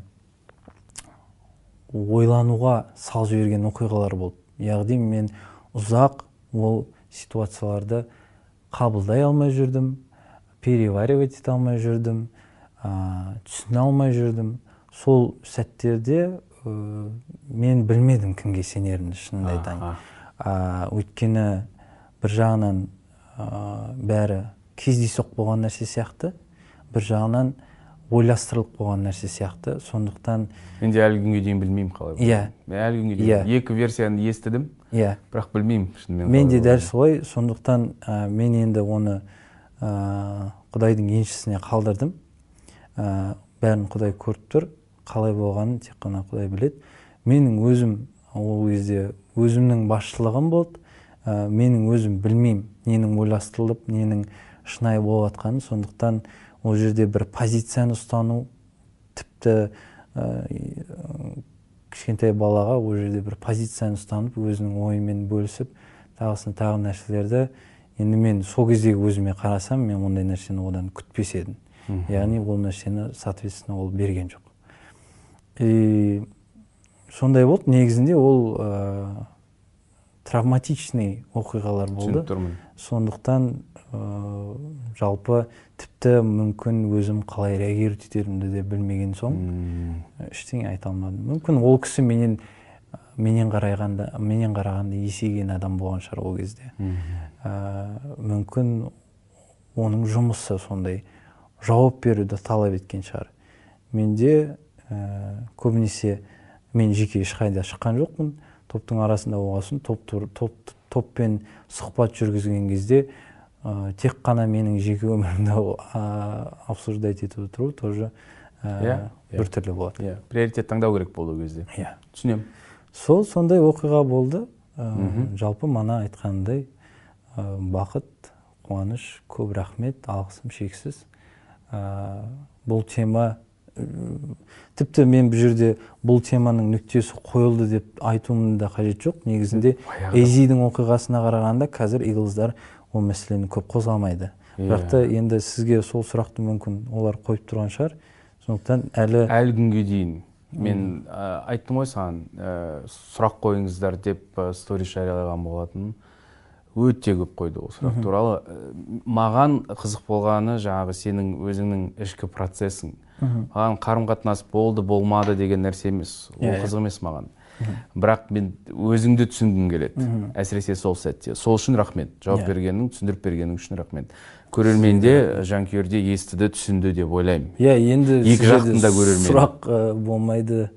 ойлануға сал жіберген оқиғалар болды. Яғни мен ұзақ ол ситуацияларды қабылдай алмай жүрдім, переваривать ете алмай жүрдім, ә, түсіне алмай жүрдім. Сол сәттерде ә, мен білмедім кімге сенерімді, шынымды айтайын. Ә, өйткені бір жағынан ә, бәрі кездейсоқ болған нәрсе сияқты, бір жағынан ойластырылып болған нәрсе сияқты. Сондықтан мен де әлі күнге дейін білмеймін қалай. Иә. Мен әлі күнге дейін екі версияны естідім. Иә. Бірақ білмеймін шынымен. Мен де дәл солай. Сондықтан ә, мен енді оны ә, Құдайдың еншісіне қалдырдым. Ә, бәрін Құдай көріп тұр. Қалай болғанын тек қана Құдай біледі. Менің өзім ол кезде өзімнің басшылығым болды. Ә, менің өзім білмеймін ненің ойластырылып, ненің шынайы болып жатқанын. Сондықтан ол жерде бір позицияны ұстану, тіпті ә, кішкентай балаға ол жерде бір позицияны ұстанып, өзінің ойымен бөлісіп, тағысын тағы нәрселерді, енді мен сол кездегі өзіме қарасам, мен ондай нәрсені одан күтпес едім. Яғни ол нәрсені, соответственно, ол берген жоқ. И сондай болды, негізінде ол ә, травматичный оқиғалар болды. Сондықтан ә, жалпы тіпті мүмкін өзім қалай реагировать етерімді де білмеген соң ештеңе айта алмадым. Мүмкін ол кісі менен менен қарағанда, менен қарағанда есейген адам болған шығар ол кезде. Ә, мүмкін оның жұмысы сондай жауап беруді талап еткен шығар. Менде ә, көбінесе мен жеке ешқайда шыққан жоқпын. Топтың арасында болғасын, топ, топ, топпен сұхбат жүргізген кезде ә, тек қана менің жеке өмірімді обсуждать етіп отыру тоже ә, бір түрлі болады. Yeah. Приоритет таңдау керек болды ол кезде. Yeah. Түсінемін. Сол сондай оқиға болды. Ә, жалпы мана айтқандай ә, бақыт, қуаныш, көп рахмет, алғысым шексіз. Ә, бұл тема тіпті мен бұл жерде бұл теманың нүктесі қойылды деп айтуымның да қажет жоқ. Негізінде Эйзидің оқиғасына қарағанда қазір Иглздар ол мәселені көп қозғамайды. Бірақ та енді сізге сол сұрақты мүмкін олар қойып тұрған шығар. Сондықтан әлі әлі күнге дейін мен ә, айттым ғой саған, ә, сұрақ қойыңыздар деп ә, сторис жариялаған болатын. Өте көп қойды ол сұрақ туралы. Маған қызық болғаны жаңағы сенің өзіңнің ішкі процессің. Маған қарым-қатынас болды, болмады деген нәрсе емес. Ол қызық емес маған. Бірақ мен өзіңді түсінгім келеді. Әсіресе сол сәтте. Сол үшін рахмет. Жауап бергенің, түсіндіріп бергенің үшін рахмет. Көрерменде, жанкүйерде естіді, түсінді деп ойлаймын. Иә, енді екі жақтың да көрермені. Сұрақ болмайды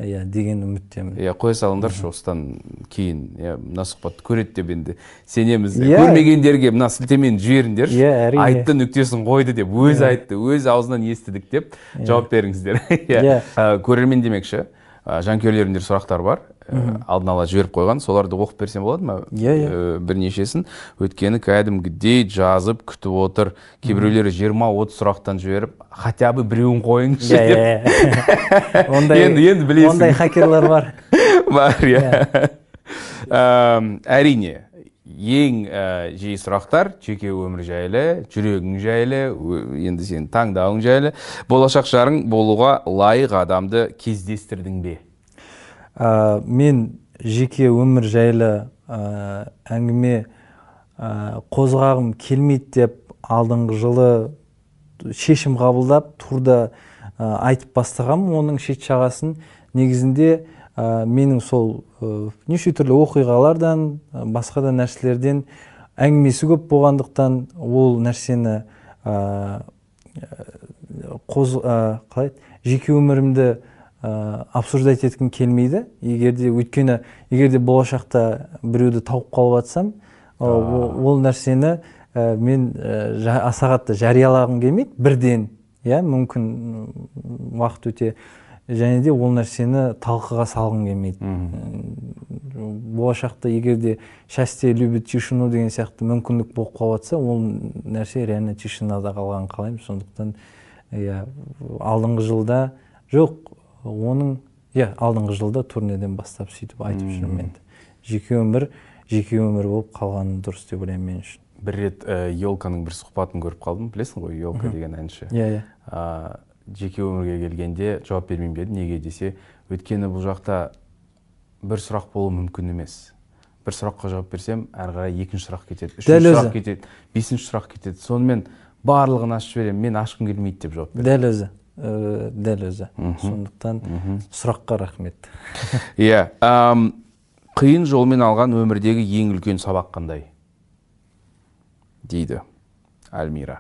иә деген үміттемін. Иә, қоя салыңдаршы осыдан кейін. Иә, мына сұхбатты көреді деп енді сенеміз. Иә. Көрмегендерге мына сілтемені жіберіңдерші. Иә, әрине. Айтты, нүктесін қойды деп, өзі айтты, өз аузынан естідік деп жауап беріңіздер. Иә. Көрермен демекші, жанкүйерлерімдер сұрақтар бар. Алдын ала жіберіп қойған, соларды оқып берсем болады ма? Иә, иә. Бірнешесін. Өткені кәдімгідей жазып күтіп отыр. Кейбіреулері жиырма отыз сұрақтан жіберіп, хотя бы біреуін қойыңызшы деп. Енді енді білесің. Ондай хакерлар бар. Бар, иә. Әрине, ең жиі сұрақтар жеке өмір жайлы, жүрегің жайлы, енді сен таңдауың жайлы. Болашақ жарың болуға лайық адамды кездестірдің бе? Мен жеке өмір жайлы әңгіме қозғағым келмейді деп алдыңғы жылы шешім қабылдап турда айтып бастағам оның шет жағасын. Негізінде менің сол неше түрлі оқиғалардан, басқа да нәрселерден әңгімесі көп болғандықтан ол нәрсені қалай жеке өмірімді обсуждать еткім келмейді. Егерде өйткені егерде болашақта біреуді тауып қалып жатсам, ол нәрсені мен аса қатты жариялағым келмейді бірден. Иә, мүмкін уақыт өте, және де ол нәрсені талқыға салғым келмейді. Болашақта егерде счастье любит тишину деген сияқты мүмкіндік болып қалып жатса, ол нәрсе реально тишинада қалғанын қалаймын. Сондықтан иә, алдыңғы жылда жоқ, оның иә, алдыңғы жылда турнеден бастап сөйтіп айтып жүрмін енді. Жеке өмір, жеке өмір болып қалғаны дұрыс деп ойлаймын мен үшін. Бір рет Елканың бір сұхбатын көріп қалдым, білесің ғой, Елка деген әнші. Иә, иә. Жеке өмірге келгенде жауап бермеймін деді. Неге десе, өйткені бұл жақта бір сұрақ болуы мүмкін емес. Бір сұраққа жауап берсем, әрі қарай екінші сұрақ кетеді, үшінші сұрақ кетеді, бесінші сұрақ кетеді. Сонымен барлығын ашып жіберемін, мен ашқым келмейді деп жауап берді. Дәл өзі. Дәл өзі. Сондықтан сұраққа рахмет. Иә. Қиын жолмен алған өмірдегі ең үлкен сабақ қандай? Дейді Альмира.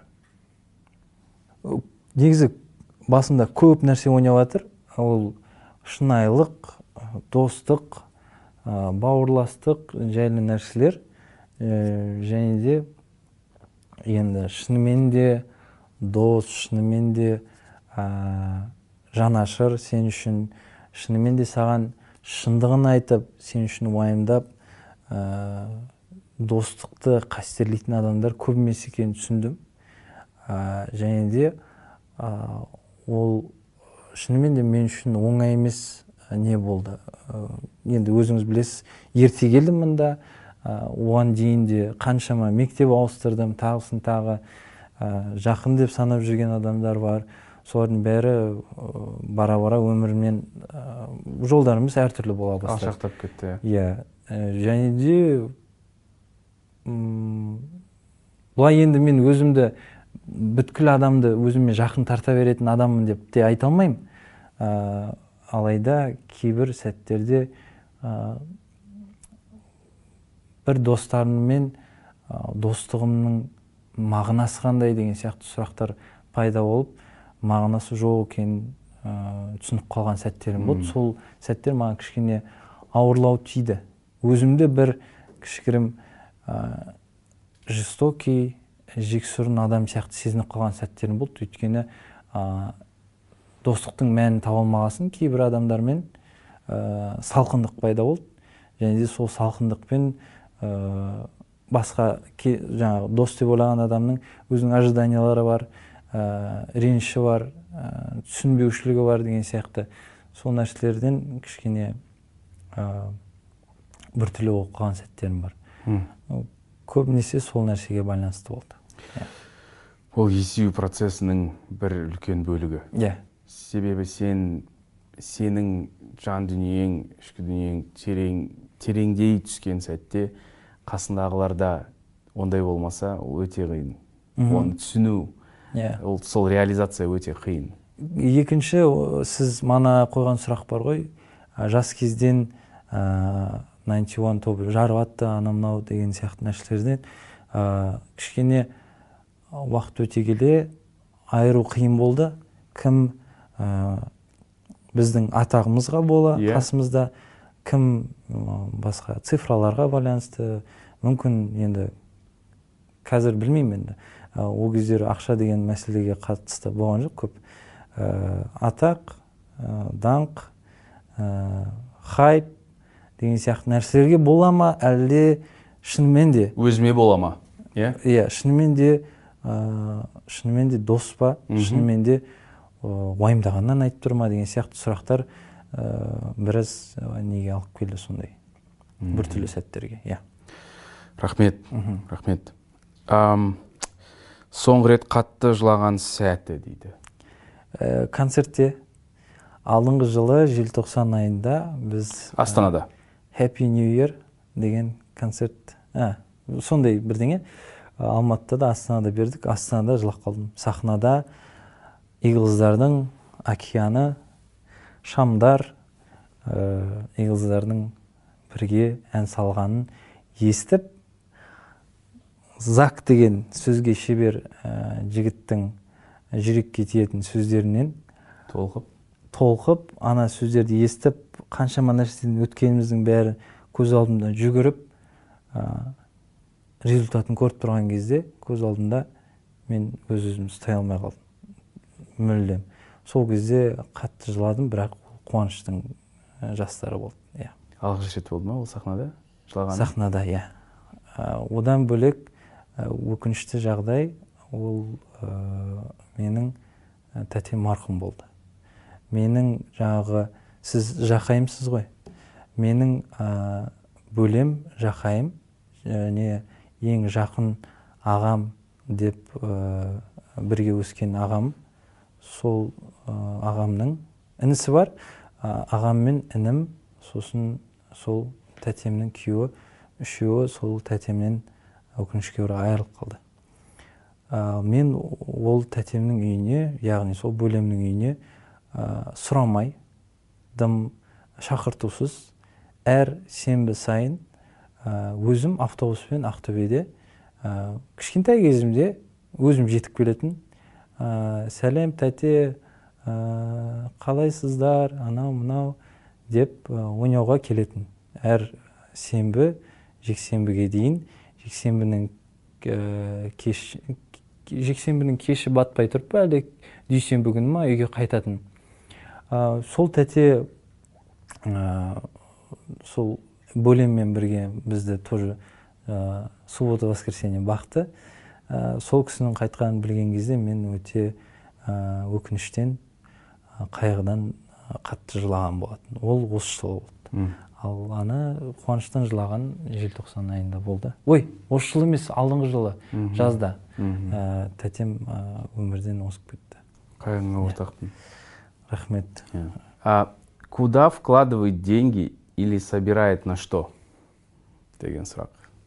Негізі басында көп нәрсе ойнап жатыр. Ол шынайылық, достық, бауырластық жайлы нәрселер. Және де енді шынымен де дос, шынымен де жанашыр, сен үшін шынымен де саған шындығын айтып, сен үшін уайымдап, достықты қастерлейтін адамдар көбімес екенін түсіндім. Және де ол шынымен де мен үшін оңай емес не болды. Енді өзіңіз білесіз, ерте келдім мұнда, оған дейін де қаншама мектеп ауыстырдым, тағысын тағы жақын деп санап жүрген адамдар бар. Солардың бәрі бара-бара өмірмен жолдарымыз әртүрлі бола бастады. Алшақтап кетті. Иә, және де бұлай енді мен өзімді бүткіл адамды өзіме жақын тарта беретін адаммын деп те айта алмаймын. Алайда кейбір сәттерде бір достарыммен достығымның мағынасы қандай деген сияқты сұрақтар пайда болып, мағынасы жоқ екенін түсініп қалған сәттерім болды. Сол сәттер маған кішкене ауырлау тиді. Өзімді бір кішкірім жестокий, жексұрын адам сияқты сезініп қалған сәттерім болды. Өйткені достықтың мәнін таба алмағасын кейбір адамдармен салқындық пайда болды. Және де сол салқындықпен басқа жаңағы дос деп ойлаған адамның өзінің ожиданиялары бар, реніші бар, түсінбеушілігі бар деген сияқты сол нәрселерден кішкене біртүрлі болып қалған сәттерім бар. Көбінесе сол нәрсеге байланысты болды. Ол есею процесінің бір үлкен бөлігі. Иә. Себебі сен сенің жан дүниең, ішкі дүниең терең тереңдей түскен сәтте қасындағыларда ондай болмаса, ол өте қиын. Оны түсіну, ол сол реализация өте қиын. Екінші, сіз мана қойған сұрақ бар ғой, жас кезден тоғыз бір тобы жарып атты, анамнау деген сияқты нәрселерден кішкене уақыт өте келе айыру қиын болды. Кім біздің атағымызға бола, Иә. қасымызда кім м, басқа цифраларға байланысты, мүмкін енді қазір білмеймін енді. Ә, Ол кездері ақша деген мәселеге қатысты болған жоқ көп. Ә, Атақ, ә, даңқ, ә, хайп деген сияқты нәрселерге бола ма, әлде шынымен де Өзіме бола ма? Иә? иә шынымен де ә, шынымен де дос па, шынымен де ә, уайымдағаннан айтып тұр ма деген сияқты сұрақтар ә, біраз ә, неге алып келді сондай біртүрлі сәттерге. Иә. Рахмет. Рахмет. Ам, соңғы рет қатты жылаған сәті дейді. Ә, концертте алдыңғы жылы желтоқсан айында біз Астанада. Happy New Year деген концерт, ә, сондай бірдеңе Алматыда да Астанада бердік. Астанада жылап қалдым. Сахнада Иглздардың океаны, шамдар, ә, Иглздардың бірге ән салғанын естіп, Зак деген сөзге шебер ә, жігіттің жүрекке тиетін сөздерінен Толқып. толқып, ана сөздерді естіп, қаншама нәрседен өткеніміздің бәрі көз алдымда жүгіріп, ә, результатын көріп тұрған кезде көз алдымда мен өз өзімді ұстай алмай қалдым. Мүлдем. Сол кезде қатты жыладым, бірақ қуаныштың ә, жастары болды. Иә. Алғаш рет болды ма ол сахнада? Жылаған? Сахнада, иә. Ә, Одан бөлек ә, өкінішті жағдай ол ә, менің ә, тәтем марқұм болды. Менің жаңағы, сіз жақайымсыз ғой. Менің ә, бөлем жақайым, және ең жақын ағам деп ә, бірге өскен ағам, сол ә, ағамның інісі бар. Ә, ағам мен інім, сосын сол тәтемнің күйеуі, үшеуі сол тәтемнен өкінішке орай айырылып қалды. Ә, мен ол тәтемнің үйіне, яғни сол бөлемнің үйіне ә, сұрамай, дым шақыртусыз, әр сенбі сайын ә, өзім автобуспен Ақтөбеде ә, кішкентай кезімде өзім жетіп келетін. Ә, сәлем тәте, ә, қалайсыздар, анау мынау деп ә, ойнауға келетін. Әр сенбі, жексенбіге дейін, жексенбінің ә, кеш, жексенбінің кеші батпай тұрып, әлде дүйсенбі күні ма үйге қайтатын. Ә, сол тәте ә, сол бөлеммен бірге бізді тоже ә, суббота воскресенье бақты. Ә, сол кісінің қайтқанын білген кезде мен өте ә, өкініштен, ә, қайғыдан қатты жылаған болатын. Ол осы жылы болды. Ал ана қуаныштан жылаған желтоқсан айында болды. Ой, осы жылы емес, алдыңғы жылы жазда ә, тәтем ә, өмірден озып кетті. Қайғыңа ортақпын. Рахмет. А куда вкладывает деньги или собирает на что? Деген сұрақ.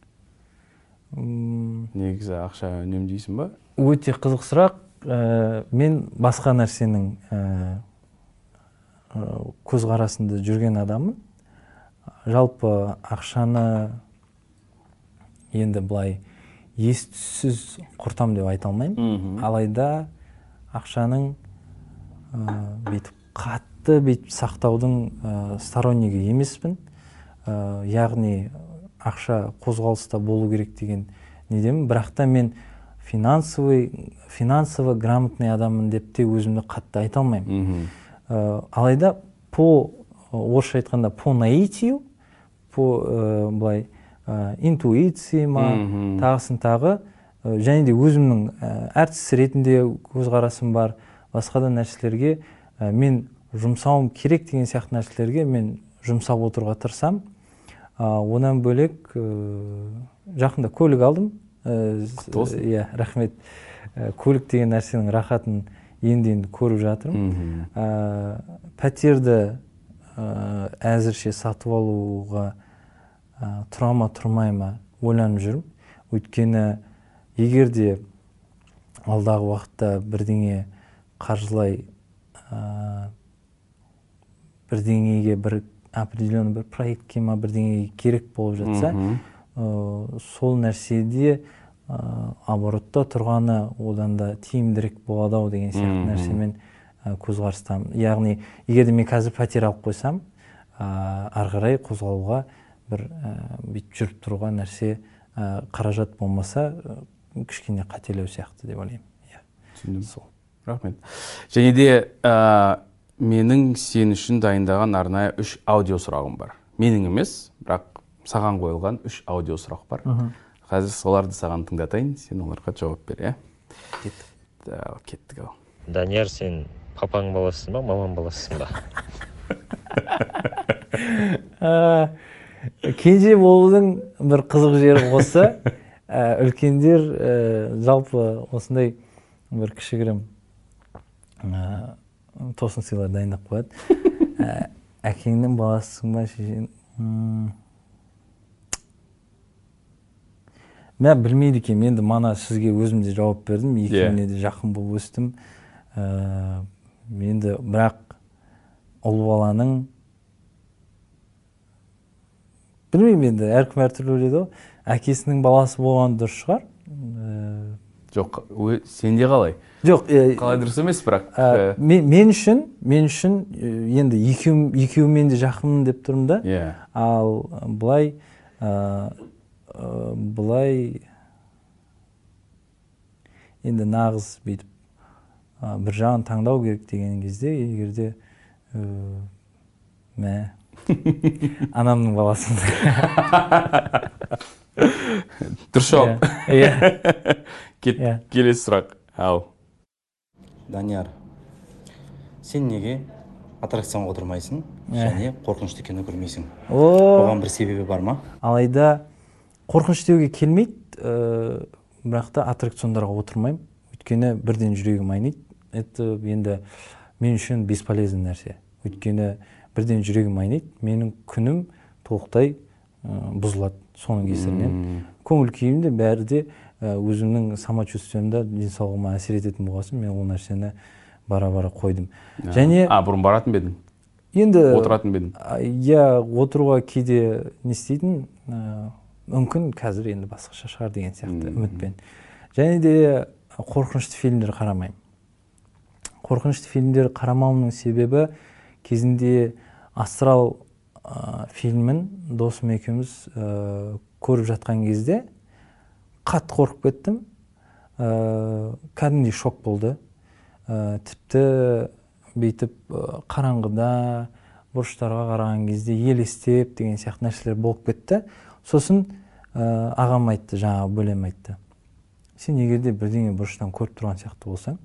Негізі ақша үнемдейсің ба? Өте қызық сұрақ. Ә, мен басқа нәрсенің ә, көзқарасында жүрген адаммын. Жалпы ақшаны енді былай ес-түссіз құртам деп айта алмаймын. Алайда ақшаның ә, бүйтіп қатты бүйтіп сақтаудың ә, стороннигі емеспін. Ә, яғни ақша қозғалыста болу керек деген недемін. Бірақ та мен финансовый, финансово грамотный адаммын деп те өзімді қатты айта алмаймын. Ә, алайда по орысша айтқанда по наитию, по ә, былай ә, интуиции ма, тағысын тағы, ә, және де өзімнің ә, әртіс ретінде көзқарасым бар, басқа да нәрселерге ә, мен жұмсауым керек деген сияқты нәрселерге мен жұмсап отыруға тырысам. Ә, одан бөлек ә, жақында көлік алдым. Құтты болсын. Иә, рахмет. Ә, көлік деген нәрсенің рахатын енді-енді көріп жатырмын. Ә, пәтерді ә, әзірше сатып алуға ә, тұра ма тұрмай ма ойланып жүрмін. Өйткені егер де алдағы уақытта бірдеңе қаржылай ә, бірдеңеге бір определенный бір проектке ма бірдеңеге керек болып жатса, ә, сол нәрседе ә, оборотта тұрғаны одан да тиімдірек болады ау деген сияқты нәрсемен көзқарастамын. Яғни егер де мен қазір пәтер алып қойсам, ары қарай қозғалуға бір бүйтіп жүріп тұруға нәрсе қаражат болмаса кішкене қателеу сияқты деп ойлаймын. Түсіндім. Сол. Рахмет. Және де менің сен үшін дайындаған арнайы үш аудио сұрағым бар. Менің емес, бірақ саған қойылған үш аудио сұрақ бар. Қазір соларды саған тыңдатайын, сен оларға жауап бер, иә? Кеттік. Да, кеттік ау. Данияр, сен папаң баласысың ба, мамаң баласысың ба? Кенже болудың бір қызық жері осы. Үлкендер жалпы осындай бір кішігірім тосын сыйлар дайындап қояды. Әкеңнің баласысың ба, шешең? Мен білмейді екен, енді мана сізге өзім де жауап бердім, екеуіне де жақын болып өстім. Енді бірақ ұл баланың білмеймін, енді әркім әртүрлі ойлайды ғой. Әкесінің баласы болған дұрыс шығар. Жоқ, сенде қалай? Жоқ, қалай дұрыс емес, бірақ мен үшін, мен үшін енді екеуімен де жақынмын деп тұрмын да. Ал былай былай енді нағыз бүйтіп бір жағын таңдау керек деген кезде, егерде мә анамның баласын дұрыс жауап. Келесі сұрақ. Ау. Данияр, сен неге аттракционға отырмайсың және қорқынышты кино көрмейсің? Оған бір себебі бар ма? Алайда қорқыныш деуге келмейді, бірақ та аттракциондарға отырмаймын. Өйткені бірден жүрегім айниды. Это енді мен үшін бесполезный нәрсе. Өйткені бірден жүрегім айниды. Менің күнім толықтай бұзылады соның кесірінен. Көңіл күйім де бәрі де өзімнің самочувствиемде, денсаулығыма әсер ететін болғасын, мен ол нәрсені бара-бара қойдым. Және А, бұрын баратын бедің? Енді отыратын бедің? Я отыруға кейде не істейтін, мүмкін қазір енді басқаша шығар деген сияқты үмітпен. Және де қорқынышты фильмдер қарамаймын. Қорқынышты фильмдер қарамауымның себебі кезінде Астрал фильмін досым екеуміз көріп жатқан кезде қатты қорқып кеттім. Кәдімгідей шок болды. Тіпті бүйтіп қараңғыда бұрыштарға қараған кезде елестеп деген сияқты нәрселер болып кетті. Сосын ағам айтты, жаңағы бөлем айтты. Сен егер де бірдеңе бұрыштан көріп тұрған сияқты болсаң,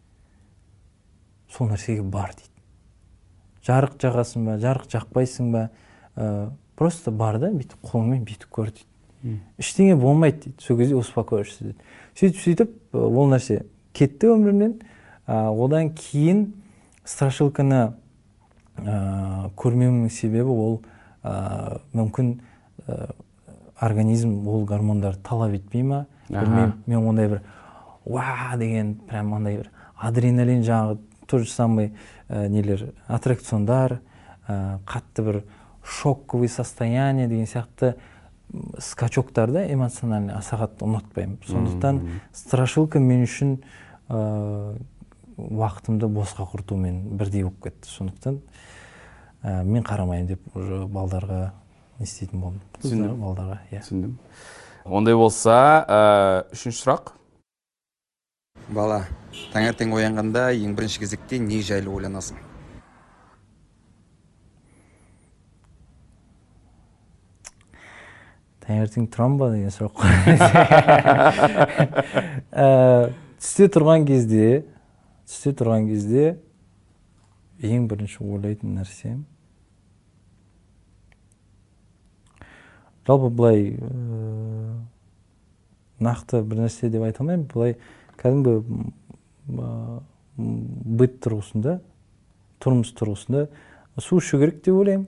сол нәрсеге бар дейді. Жарық жағасың ба, жарық жақпайсың ба, просто бар да, бүйтіп қолыңмен бүйтіп көр дейді. Ештеңе болмайды дейді. Сол кезде успокоишься дейді. Сөйтіп сөйтіп ол нәрсе кетті өмірімнен. Одан кейін страшилканы көрмеуімнің себебі ол мүмкін организм ол гормондар талап етпей ма? Білмеймін, мен ондай бір уа деген прям ондай бір адреналин жаңағы то же самый нелер аттракциондар, қатты бір шоковый состояние деген сияқты скачоктарды эмоциональный аса қатты ұнатпаймын. Сондықтан страшилка мен үшін уақытымды босқа құртумен бірдей болып кетті. Сондықтан мен қарамайын деп уже балдарға не істейтін болдым. Түсіндім. Балдарға, иә. Түсіндім. Ондай болса, үшінші сұрақ. Бала, таңертең оянғанда ең бірінші кезекте не жайлы ойланасың? Таңертең тұрам ба деген сұрақ. Түсте тұрған кезде, түсте тұрған кезде ең бірінші ойлайтын нәрсем. Жалпы бұлай нақты бір нәрсе деп айта алмаймын. Бұлай кәдімгі быт тұрғысында, тұрмыс тұрғысында су ішу керек деп ойлаймын.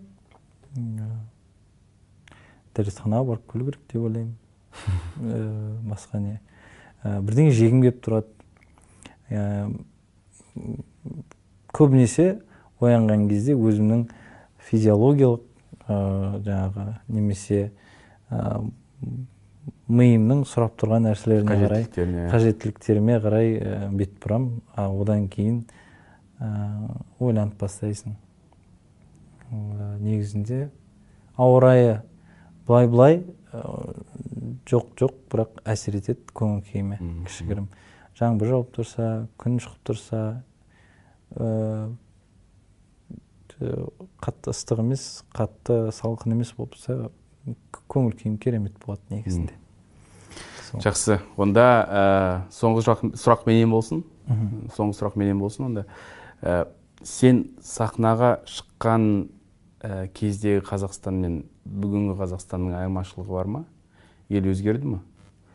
Дәрісханаға барып келу керек деп ойлаймын. Басқа не. Бірдеңе жегім келіп тұрады. Көбінесе оянған кезде өзімнің физиологиялық жаңағы немесе миымның сұрап тұрған нәрселеріне қарай, қажеттіліктеріме қарай бет бұрам. Одан кейін ойланып бастайсың. Негізінде ауа райы былай-былай жоқ-жоқ, бірақ әсер етеді көңіл күйіме кішігірім. Жаңбыр жауып тұрса, күн шығып тұрса, қатты ыстық емес, қатты салқын емес болып тұрса, көңіл күйім керемет болады негізінде. Жақсы. Онда соңғы сұрақ менен болсын. Соңғы сұрақ менен болсын. Онда сен сахнаға шыққан кездегі Қазақстан мен бүгінгі Қазақстанның айырмашылығы бар ма? Ел өзгерді ме?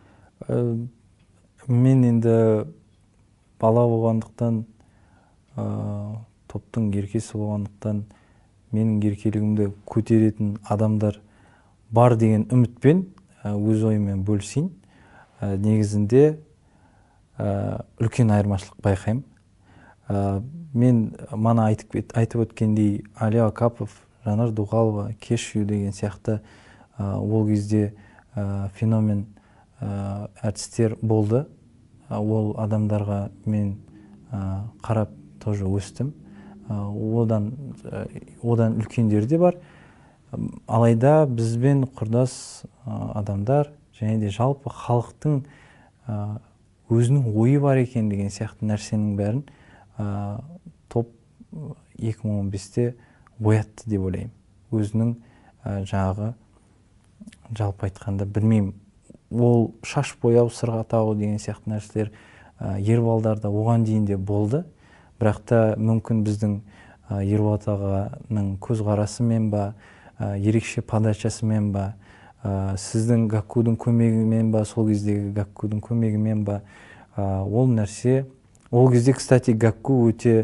Мен енді бала болғандықтан, топтың еркесі болғандықтан, менің еркелігімді көтеретін адамдар бар деген үмітпен өз ойыммен бөлісейін. Негізінде үлкен айырмашылық байқаймын. Мен мана айтып өткендей Али Акапов, Жанар Дұғалова, Кешью деген сияқты ол кезде феномен әртістер болды. Ол адамдарға мен қарап тоже өстім. Одан үлкендер де бар. Алайда бізбен құрдас адамдар және де жалпы халықтың өзінің ойы бар екен деген сияқты нәрсенің бәрін топ екі мың он бесте оятты деп ойлаймын. Өзінің жағы жалпы айтқанда білмеймін, ол шаш бояу, сырға тағу деген сияқты нәрселер ер балдарда оған дейін де болды. Бірақ та мүмкін біздің Ерболат ағаның көзқарасымен ба, ерекше подачасымен ба, сіздің Гаккудың көмегімен ба, сол кездегі Гаккудың көмегімен ба, ол нәрсе, ол кезде, кстати, Гакку өте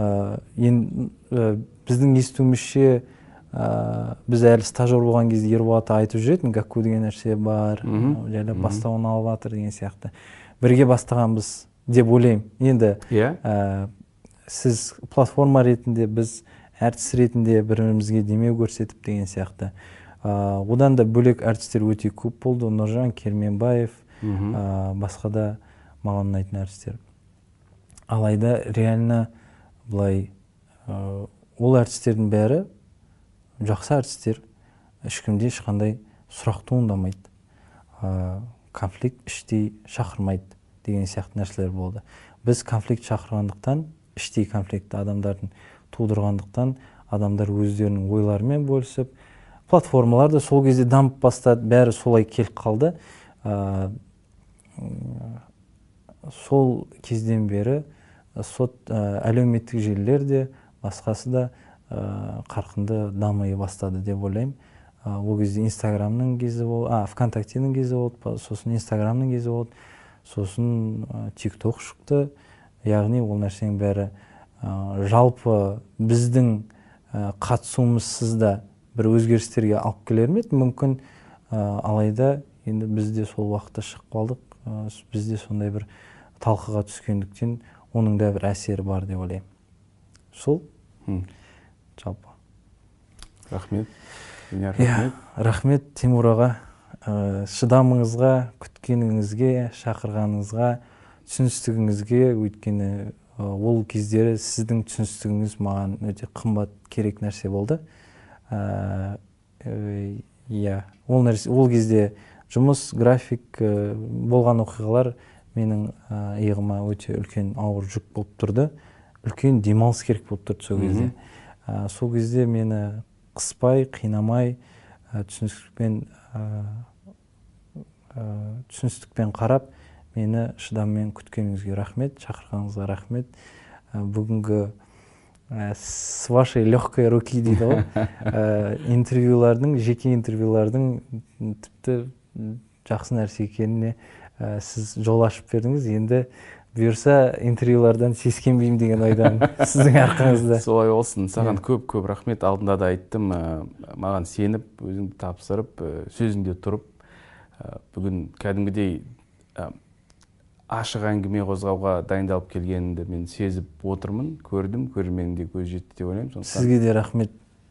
біздің естуімізше, біз әлі стажер болған кезде Ерболат айтып жүретін, Гакку деген нәрсе бар, жайлап бастауын алып жатыр деген сияқты. Бірге бастағанбыз деп ойлаймын. Енді сіз платформа ретінде, біз әртіс ретінде бірімізге демеу көрсетіп деген сияқты. Одан да бөлек әртістер өте көп болды. Нұржан Керменбаев, басқа да маған ұнайтын әртістер. Алайда реально былай ол әртістердің бәрі жақсы әртістер, ешкімде ешқандай сұрақ туындамайды, конфликт іштей шақырмайды деген сияқты нәрселер болды. Біз конфликт шақырғандықтан, іштей конфликтті адамдардың тудырғандықтан, адамдар өздерінің ойларымен бөлісіп, платформалар да сол кезде дамып бастады, бәрі солай келіп қалды. Сол кезден бері сот әлеуметтік желілер де, басқасы да қарқынды дамый бастады деп ойлаймын. Ол кезде Инстаграмның кезі болды, ВКонтактенің кезі болды, сосын Инстаграмның кезі болды, сосын ТикТок шықты. Яғни ол нәрсенің бәрі жалпы біздің қатысуымызсыз да бір өзгерістерге алып келер ме еді мүмкін, алайда енді бізде сол уақытта шығып қалдық, бізде сондай бір талқыға түскендіктен оның да бір әсері бар деп ойлаймын. Сол жалпы. Рахмет. Рахмет. Рахмет Тимур аға, шыдамыңызға, күткеніңізге, шақырғаныңызға, түсіністігіңізге, өйткені ол кездері сіздің түсіністігіңіз маған өте қымбат керек нәрсе болды. Ол кезде жұмыс, график болған оқиғалар менің иығыма өте үлкен ауыр жүк болып тұрды. Үлкен демалыс керек болып тұрды сол кезде. Сол кезде мені қыспай, қинамай, түсіністікпен қарап, мені шыдаммен күткеніңізге рахмет, шақырғаныңызға рахмет. Бүгінгі с вашей легкой руки дейді ғой, интервьюлардың, жеке интервьюлардың тіпті жақсы нәрсе екеніне сіз жол ашып бердіңіз. Енді бұйырса интервьюлардан сескенбеймін деген ойдан сіздің арқаңызда. Солай болсын. Саған көп-көп рахмет. Алдында да айттым, маған сеніп, өзіңді тапсырып, сөзіңде тұрып, бүгін кәдімгідей ашық әңгіме қозғауға дайындалып келгенімді мен сезіп отырмын, көрдім, көрерменде көз жетті деп ойлаймын. Сізге де рахмет.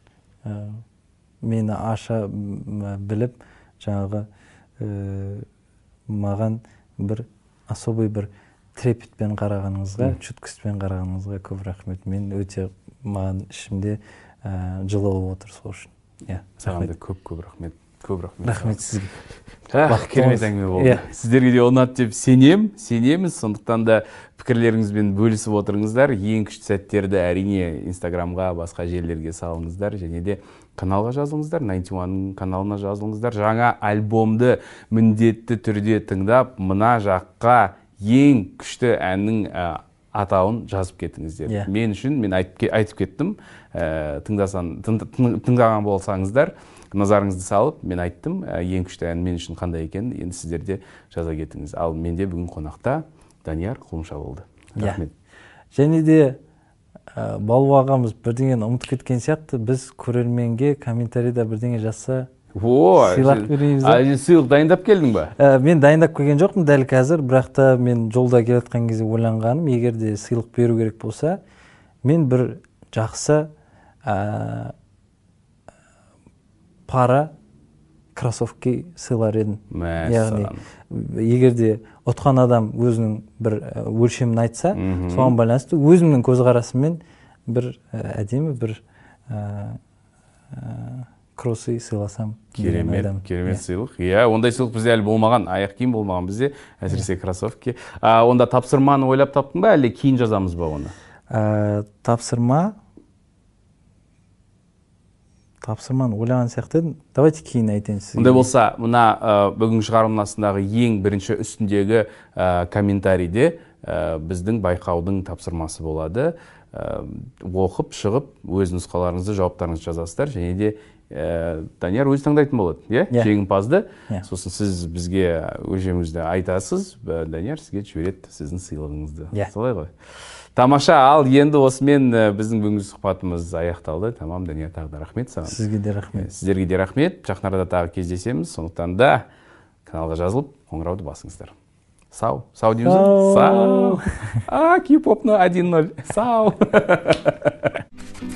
Мені аша біліп, жаңағы маған бір особый бір трепетпен қарағаныңызға, чуткостьпен қарағаныңызға көп рахмет. Мен өте маған ішімде жылы болып отыр сол үшін. Иә, саған да көп-көп рахмет. Көп рахмет. Рахмет сізге. Керемет әңгіме болды. Сіздерге де ұнады деп сенем, сенеміз. Сондықтан да пікірлеріңізбен бөлісіп отырыңыздар. Ең күшті сәттерді әрине Инстаграмға, басқа желілерге салыңыздар, және де каналға жазылыңыздар, найнти уанның каналына жазылыңыздар. Жаңа альбомды міндетті түрде тыңдап, мына жаққа ең күшті әннің атауын жазып кетіңіздер. Мен үшін, мен айтып кеттім, тыңдаған болсаңыздар, назарыңызды салып, мен айттым, ең күшті ән мен үшін қандай екен, енді сіздер де жаза кетіңіз. Ал менде бүгін қонақта Данияр Құлымша болды. Рахмет. Және де Балу ағамыз бірдеңені ұмытып кеткен сияқты, біз көрерменге комментарийда бірдеңе жазса, сыйлық береміз. Сыйлық дайындап келдің ба? Мен дайындап келген жоқпын дәл қазір, бірақ та мен жолда келатқан кезде ойланғаным, егер де сыйлық беру керек болса, мен бір жақсы пара кроссовки сыйлар едім. Яғни, егер де ұтқан адам өзінің бір өлшемін айтса, соған байланысты өзімнің көзқарасыммен бір әдемі бір кроссы сыйласам. Керемет, керемет сыйлық. Иә, ондай сыйлық бізде әлі болмаған, аяқ киім болмаған бізде, әсіресе кроссовки. Онда тапсырманы ойлап таптың ба, әлі кейін жазамыз ба оны? Тапсырма Тапсырманы ойлаған сияқты, давайте кейін айтайын сізге. Ондай болса, мына бүгінгі шығарылымнасындағы ең бірінші үстіндегі комментарийде біздің байқаудың тапсырмасы болады. Оқып, шығып, өз нұсқаларыңызды, жауаптарыңызды жазасыздар, және де Данияр өзі таңдайтын болады, жеңімпазды. Сосын сіз бізге өлшеміңізді айтасыз, Данияр сізге жібереді сіздің сыйлығыңызды. Солай ғой. Тамаша, ал енді осымен біздің бүгінгі сұхбатымыз аяқталды. Тамам, Данияр, тағы да рахмет саған. Сізге де рахмет. Сіздерге де рахмет. Жақын арада тағы кездесеміз. Сондықтан да каналға жазылып, қоңырауды басыңыздар. Сау. Сау дейміз. Сау. А, кей-попны один ноль. Сау.